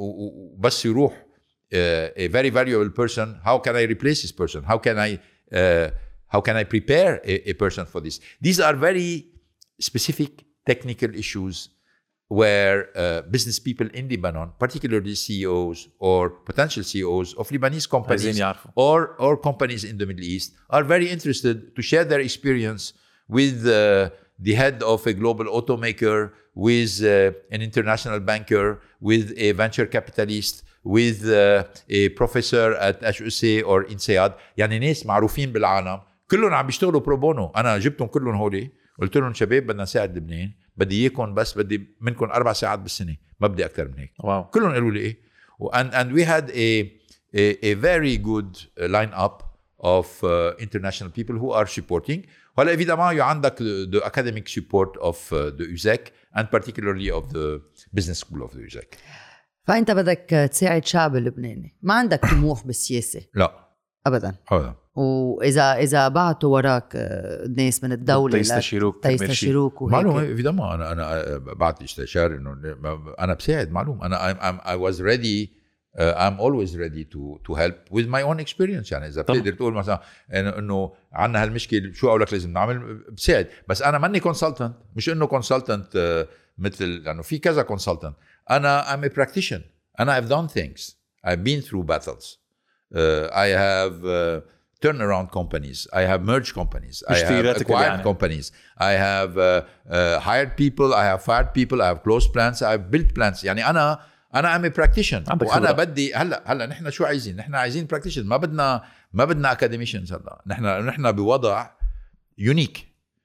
وبس يروح uh, a very valuable person. How can I replace this person? How can I uh, how can I prepare a, a person for this? These are very specific technical issues where uh, business people in Lebanon, particularly C E Os or potential C E Os of Lebanese companies or or companies in the Middle East, are very interested to share their experience with uh, the head of a global automaker, with uh, an international banker, with a venture capitalist, with uh, a professor at H U C or INSEAD. يعني ناس معروفين بالعالم كلهم عم بيشتغلوا برو بونو. أنا جبتهم كلهم هولي, قلت لهم شباب بدنا نساعد لبنان, بدي إياكم بس بدي منكم أربع ساعات بالسنة, ما بدي أكتر من هيك. واو. كلهم قالوا لي إيه. and and we had a a, a very good line up of uh, international people who are supporting. وهلا évidemment you عندك the academic support of uh, the U S A C and particularly of the business school of the U S A C. فأنت بدك تساعد شعب اللبناني, ما عندك طموح بالسياسة. لا أبدا. هذا. وإذا إذا بعتوا وراك ناس من الدولة تيستشيروك تيستشيروك وهيك. معلوم évidemment أنا أنا بعت استشارة إنه أنا بساعد معلوم. أنا I'm, I'm, I was ready. Uh, I'm always ready to to help with my own experience. يعني إذا بتقدر تقول مثلا إنه عنا هالمشكلة شو أقولك لازم نعمل, بساعد. بس أنا ماني consultant, مش إنه consultant uh, مثل لأنه في كذا consultant. أنا I'm a practitioner. أنا I've done things. I've been through battles. Uh, I have uh, turnaround companies. I have merged companies. I have acquired companies. I have uh, uh, hired people. I have fired people. I have closed plants. I have built plants. يعني أنا أنا I'm a practitioner. وأنا بدي هلا هلا نحن شو عايزين؟ نحن عايزين practitioner. ما بدنا ما بدنا academicians هلا. نحن نحن بوضع يونيك.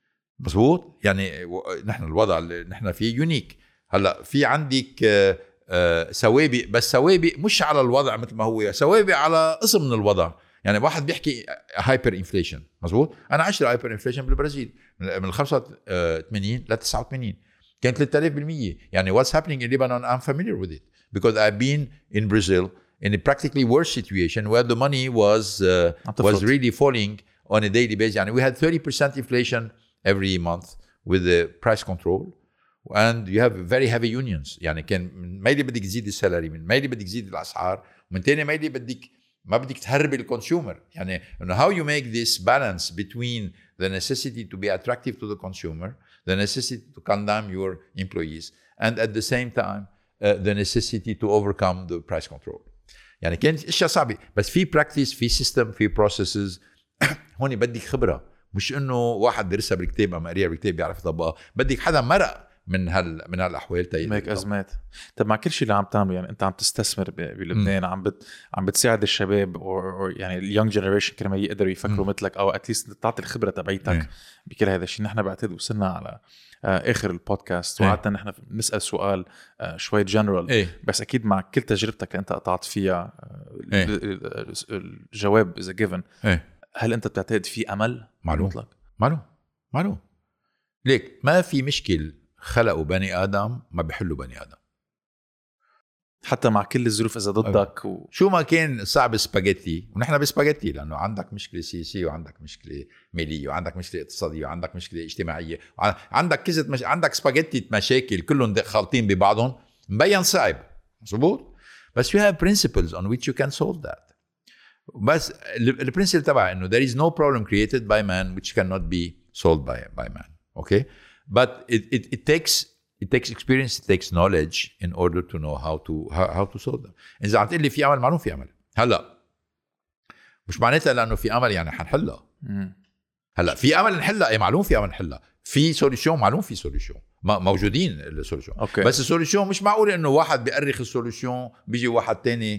مظبوط؟ يعني نحن الوضع اللي نحن فيه يونيك. هلا في عندك uh, uh, سوابق, بس سوابق مش على الوضع مثل ما هو, سوابق على قسم من الوضع. يعني واحد بيحكي هايبر انفليشن. مظبوط. انا عشت هايبر انفليشن بالبرازيل من خمسة وثمانين ل تسعة وثمانين كانت ثلاثة آلاف بالمية. يعني what's happening in Lebanon I'm familiar with it because I've been in Brazil in a practically worse situation where the money was uh, was really falling on a daily basis. يعني we had thirty percent inflation every month with the price control and you have very heavy unions. يعني كان من ميلي بدك تزيد السالري, من ميلي بدك تزيد الاسعار, ومن تاني ميلي بدك ما بدك تهرب الكونسيومر. يعني how you make this balance between the necessity to be attractive to the consumer, the necessity to condemn your employees, and at the same time uh, the necessity to overcome the price control. يعني كانت اشياء صعبة, بس في practice, في system, في processes. هون بدك خبرة, مش انه واحد درسها بالكتاب أما قريها بالكتاب بيعرف يطبقها. بدك حدا مرق من هال من هالاحوال تايل ميك ازمات. طب مع كل شيء اللي عم تعمله, يعني انت عم تستثمر بلبنان, عم بت عم بتساعد الشباب او يعني اليونج جنريشن كرمال يقدروا يفكروا مثلك, او اتليست تعطي الخبره تبعيتك بكل هذا الشيء. نحن بعتقد وصلنا على اخر البودكاست, وقعدنا نحن نسال سؤال شوي جنرال, بس اكيد مع كل تجربتك اللي انت قطعت فيها الجواب اذا جيفن. هل انت بتعتقد في امل؟ معلوم مطلق. معلوم معلوم ليك ما في مشكل خلقوا بني آدم ما بيحلوا بني آدم, حتى مع كل الظروف إذا ضدك و... شو ما كان صعب سباجيتي, ونحن بسباجيتي لأنه عندك مشكلة سياسية وعندك مشكلة مالية وعندك مشكلة اقتصادية وعندك مشكلة اجتماعية وعندك كذا مش... عندك سباجيتي مشاكل كلهم خالطين ببعضهم, مبين صعب. مظبوط. بس you have principles on which you can solve that. بس البرنسبل تبع إنه there is no problem created by man which cannot be solved by by man. Okay. But it, it, it takes it takes experience, it takes knowledge in order to know how to how, how to solve them. إذا عم تقول لي في أمل, معلوم في أمل. هلا مش معناتها لأنه في أمل يعني حنحلها. هلا في أمل نحلها, إيه معلوم في أمل نحلها. في سوليوشن, معلوم في سوليوشن, موجودين السوليوشن. بس السوليوشن مش معقول إنه واحد بيأرخ السوليوشن بيجي واحد تاني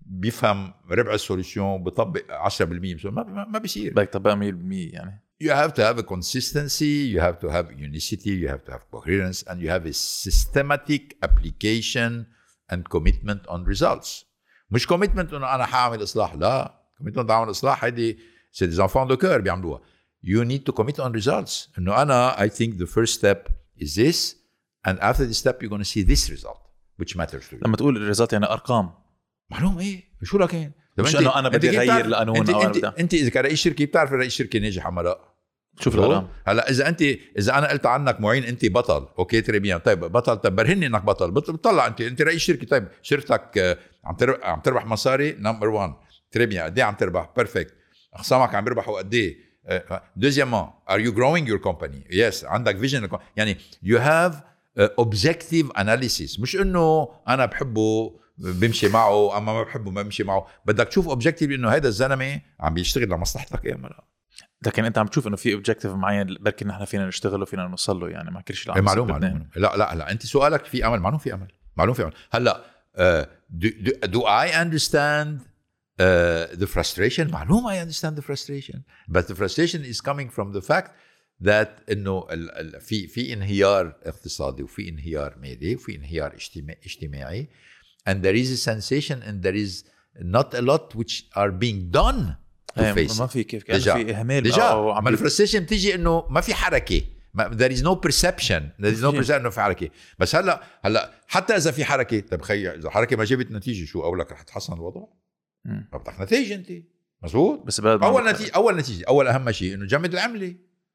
بيفهم ربع السوليوشن بيطبق عشرة بالمية ما ما بيصير. بدك تطبق مية بالمية يعني. You have to have a consistency, you have to have unicity, you have to have coherence, and you have a systematic application and commitment on results. مش commitment انه انا حاعمل اصلاح، لا. commitment عمل اصلاح هيدي c'est des enfants de cœur بيعملوها. You need to commit on results. انه انا I think the first step is this, and after this step you're going to see this result which matters to you. لما تقول الريزلت يعني ارقام. معلوم ايه شو لكن مش انه انا بدي اغير لقانون انت او انت, انت اذا كرئيس شركه بتعرف رئيس شركه ناجح ولا لا؟ شوف الارقام. هلا اذا انت اذا انا قلت عنك معين انت بطل، اوكي تريبيان، طيب بطل، طيب برهني انك بطل، بتطلع انت انت رئيس شركه، طيب شركتك عم تربح عم تربح مصاري نمبر واحد، تريبيان قد ايه عم تربح؟ بيرفكت. اخصامك عم يربحوا قد ايه؟ دوزيامون ار يو جروينج يور كومباني؟ يس. عندك فيجن يعني يو هاف اوبجكتيف اناليسيس، مش انه انا بحبه بمشي معه اما ما بحبه ما بمشي معه. بدك تشوف اوبجكتيف انه هذا الزلمه عم بيشتغل لمصلحتك ايه ولا لا. لكن انت عم تشوف انه في اوبجكتيف معين بركي نحن فينا نشتغل وفينا نوصل له، يعني ما كل شيء معلوم معلوم. لا لا لا انت سؤالك في امل، معلوم في امل، معلوم في امل. هلا uh, do, do, do I understand uh, the frustration؟ معلوم I understand the frustration, but the frustration is coming from the fact that انه في في انهيار اقتصادي وفي انهيار مالي وفي انهيار اجتماعي, and there is a sensation and there is not a lot which are being done to face. ما في كيف كان في اهمال ديجا. ما الفرستريشن بتيجي انه ما في حركه، there is no perception there is no perception انه في حركه. بس هلا هلا حتى اذا في حركه، طيب خي اذا حركه ما جابت نتيجه شو اقولك رح تحسن الوضع؟ ما بدك نتيجه انت مزبوط. بس اول نتيجه اول نتيجه اول اهم شيء انه جمد العمله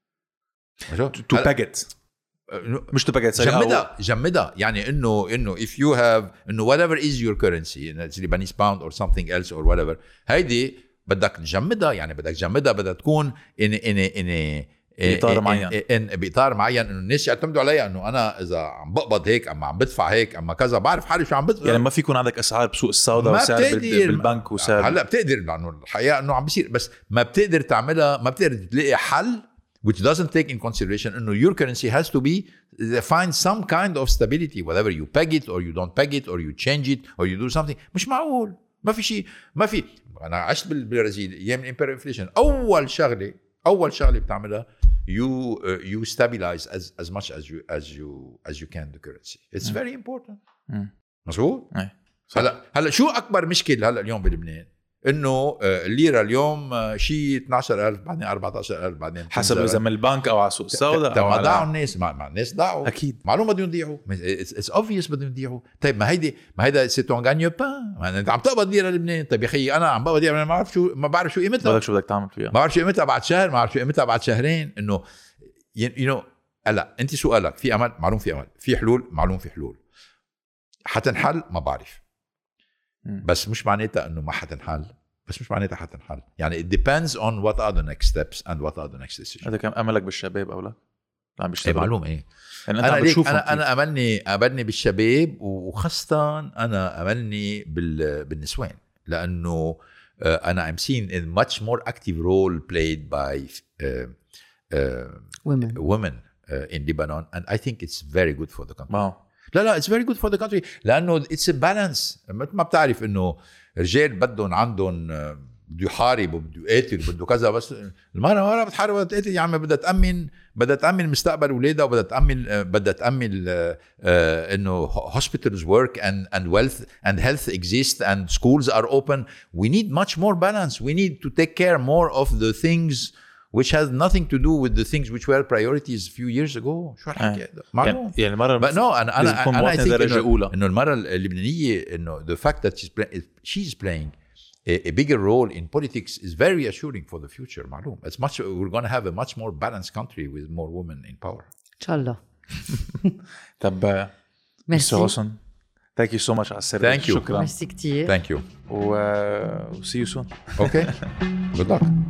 تو باجت، مش تو باجت جمدها جمدها يعني انه انه if you have انه whatever is your currency Lebanese pound or something else or whatever، هيدي بدك تجمدها، يعني بدك تجمدها بدها تكون in in in بإطار معين إن بإطار معين انه الناس يعتمدوا عليها، انه انا اذا عم بقبض هيك اما عم بدفع هيك اما كذا بعرف حالي شو عم بدفع. يعني ما في يكون عندك اسعار بسوق السوداء وسعر بالبنك وسعر هلا بتقدر، لانه الحقيقه انه عم بيصير، بس ما بتقدر تعملها، ما بتقدر تلاقي حل which doesn't take in consideration انه your currency has to be find some kind of stability whether you peg it or you don't peg it or you change it or you do something. مش معقول ما في شيء. ما في. انا عشت بالبرازيل ايام الامبيريال انفليشن، اول شغله اول شغله بتعملها you uh, you stabilize as as much as you as you as you can the currency. It's م. very important. مظبوط. هلا هلا شو اكبر مشكله هلا اليوم بلبنان؟ انه الليره اليوم شيء اثني عشر ألف بعدين أربعة عشر ألف بعدين حسب اذا من البنك او على سوق السوداء او على ضاعوا الناس. مع الناس ضاعوا اكيد، معلوم بدهم يضيعوا. اتس اوبفيوس بدهم يضيعوا. طيب ما هيدي ما هيدا سي تون غانيو بان، انت عم تقبض ليره لبنان. طيب يا اخي انا عم بقبض ليره ما بعرف شو ما بعرف شو قيمتها. بدك شو بدك تعمل فيها؟ ما بعرف شو قيمتها بعد شهر، ما بعرف شو قيمتها بعد شهرين. انه يو نو هلا انت سؤالك في امل، معلوم في امل، في حلول، معلوم في حلول. حتنحل ما بعرف، بس مش معناتها انه ما حتنحل، بس مش معناتها حتنحل. يعني it depends on what are the next steps and what are the next decisions. هذا كان املك بالشباب او لا؟ عم بيشتغل. ايه معلوم ايه. يعني انا ليك انا انا املني املني بالشباب، وخاصه انا املني بال بالنسوان، لانه uh, انا I'm seeing a much more active role played by uh, uh, women women uh, in Lebanon, and I think it's very good for the country. wow. لا لا it's very good for the country، لانه it's a balance. مثل ما بتعرف انه رجال بدهم عندهم بده يحارب وبده يقاتل وبده كذا، بس المرأة مرة بتحارب وبده تقاتل. يعني بدها تأمن بدها تأمن مستقبل أولادها، وبدها تأمن بدها تأمن إنه hospitals work and and wealth and health exist and schools are open. We need much more balance. We need to take care more of the things which has nothing to do with the things which were priorities a few years ago. شو هالحكي هذا؟ معلوم. يعني المرة but no أنا أنا أنا درجة أولى إنه المرة اللبنانية إنه the fact that she's playing she's playing a, a bigger role in politics is very assuring for the future. معلوم. It's much we're going to have a much more balanced country with more women in power. إن شاء الله. طب ميرسي حسن. Thank you so much على السيرفيس. Thank you. شكرا. ميرسي كتير. Thank you. و see you soon. Okay. Good luck.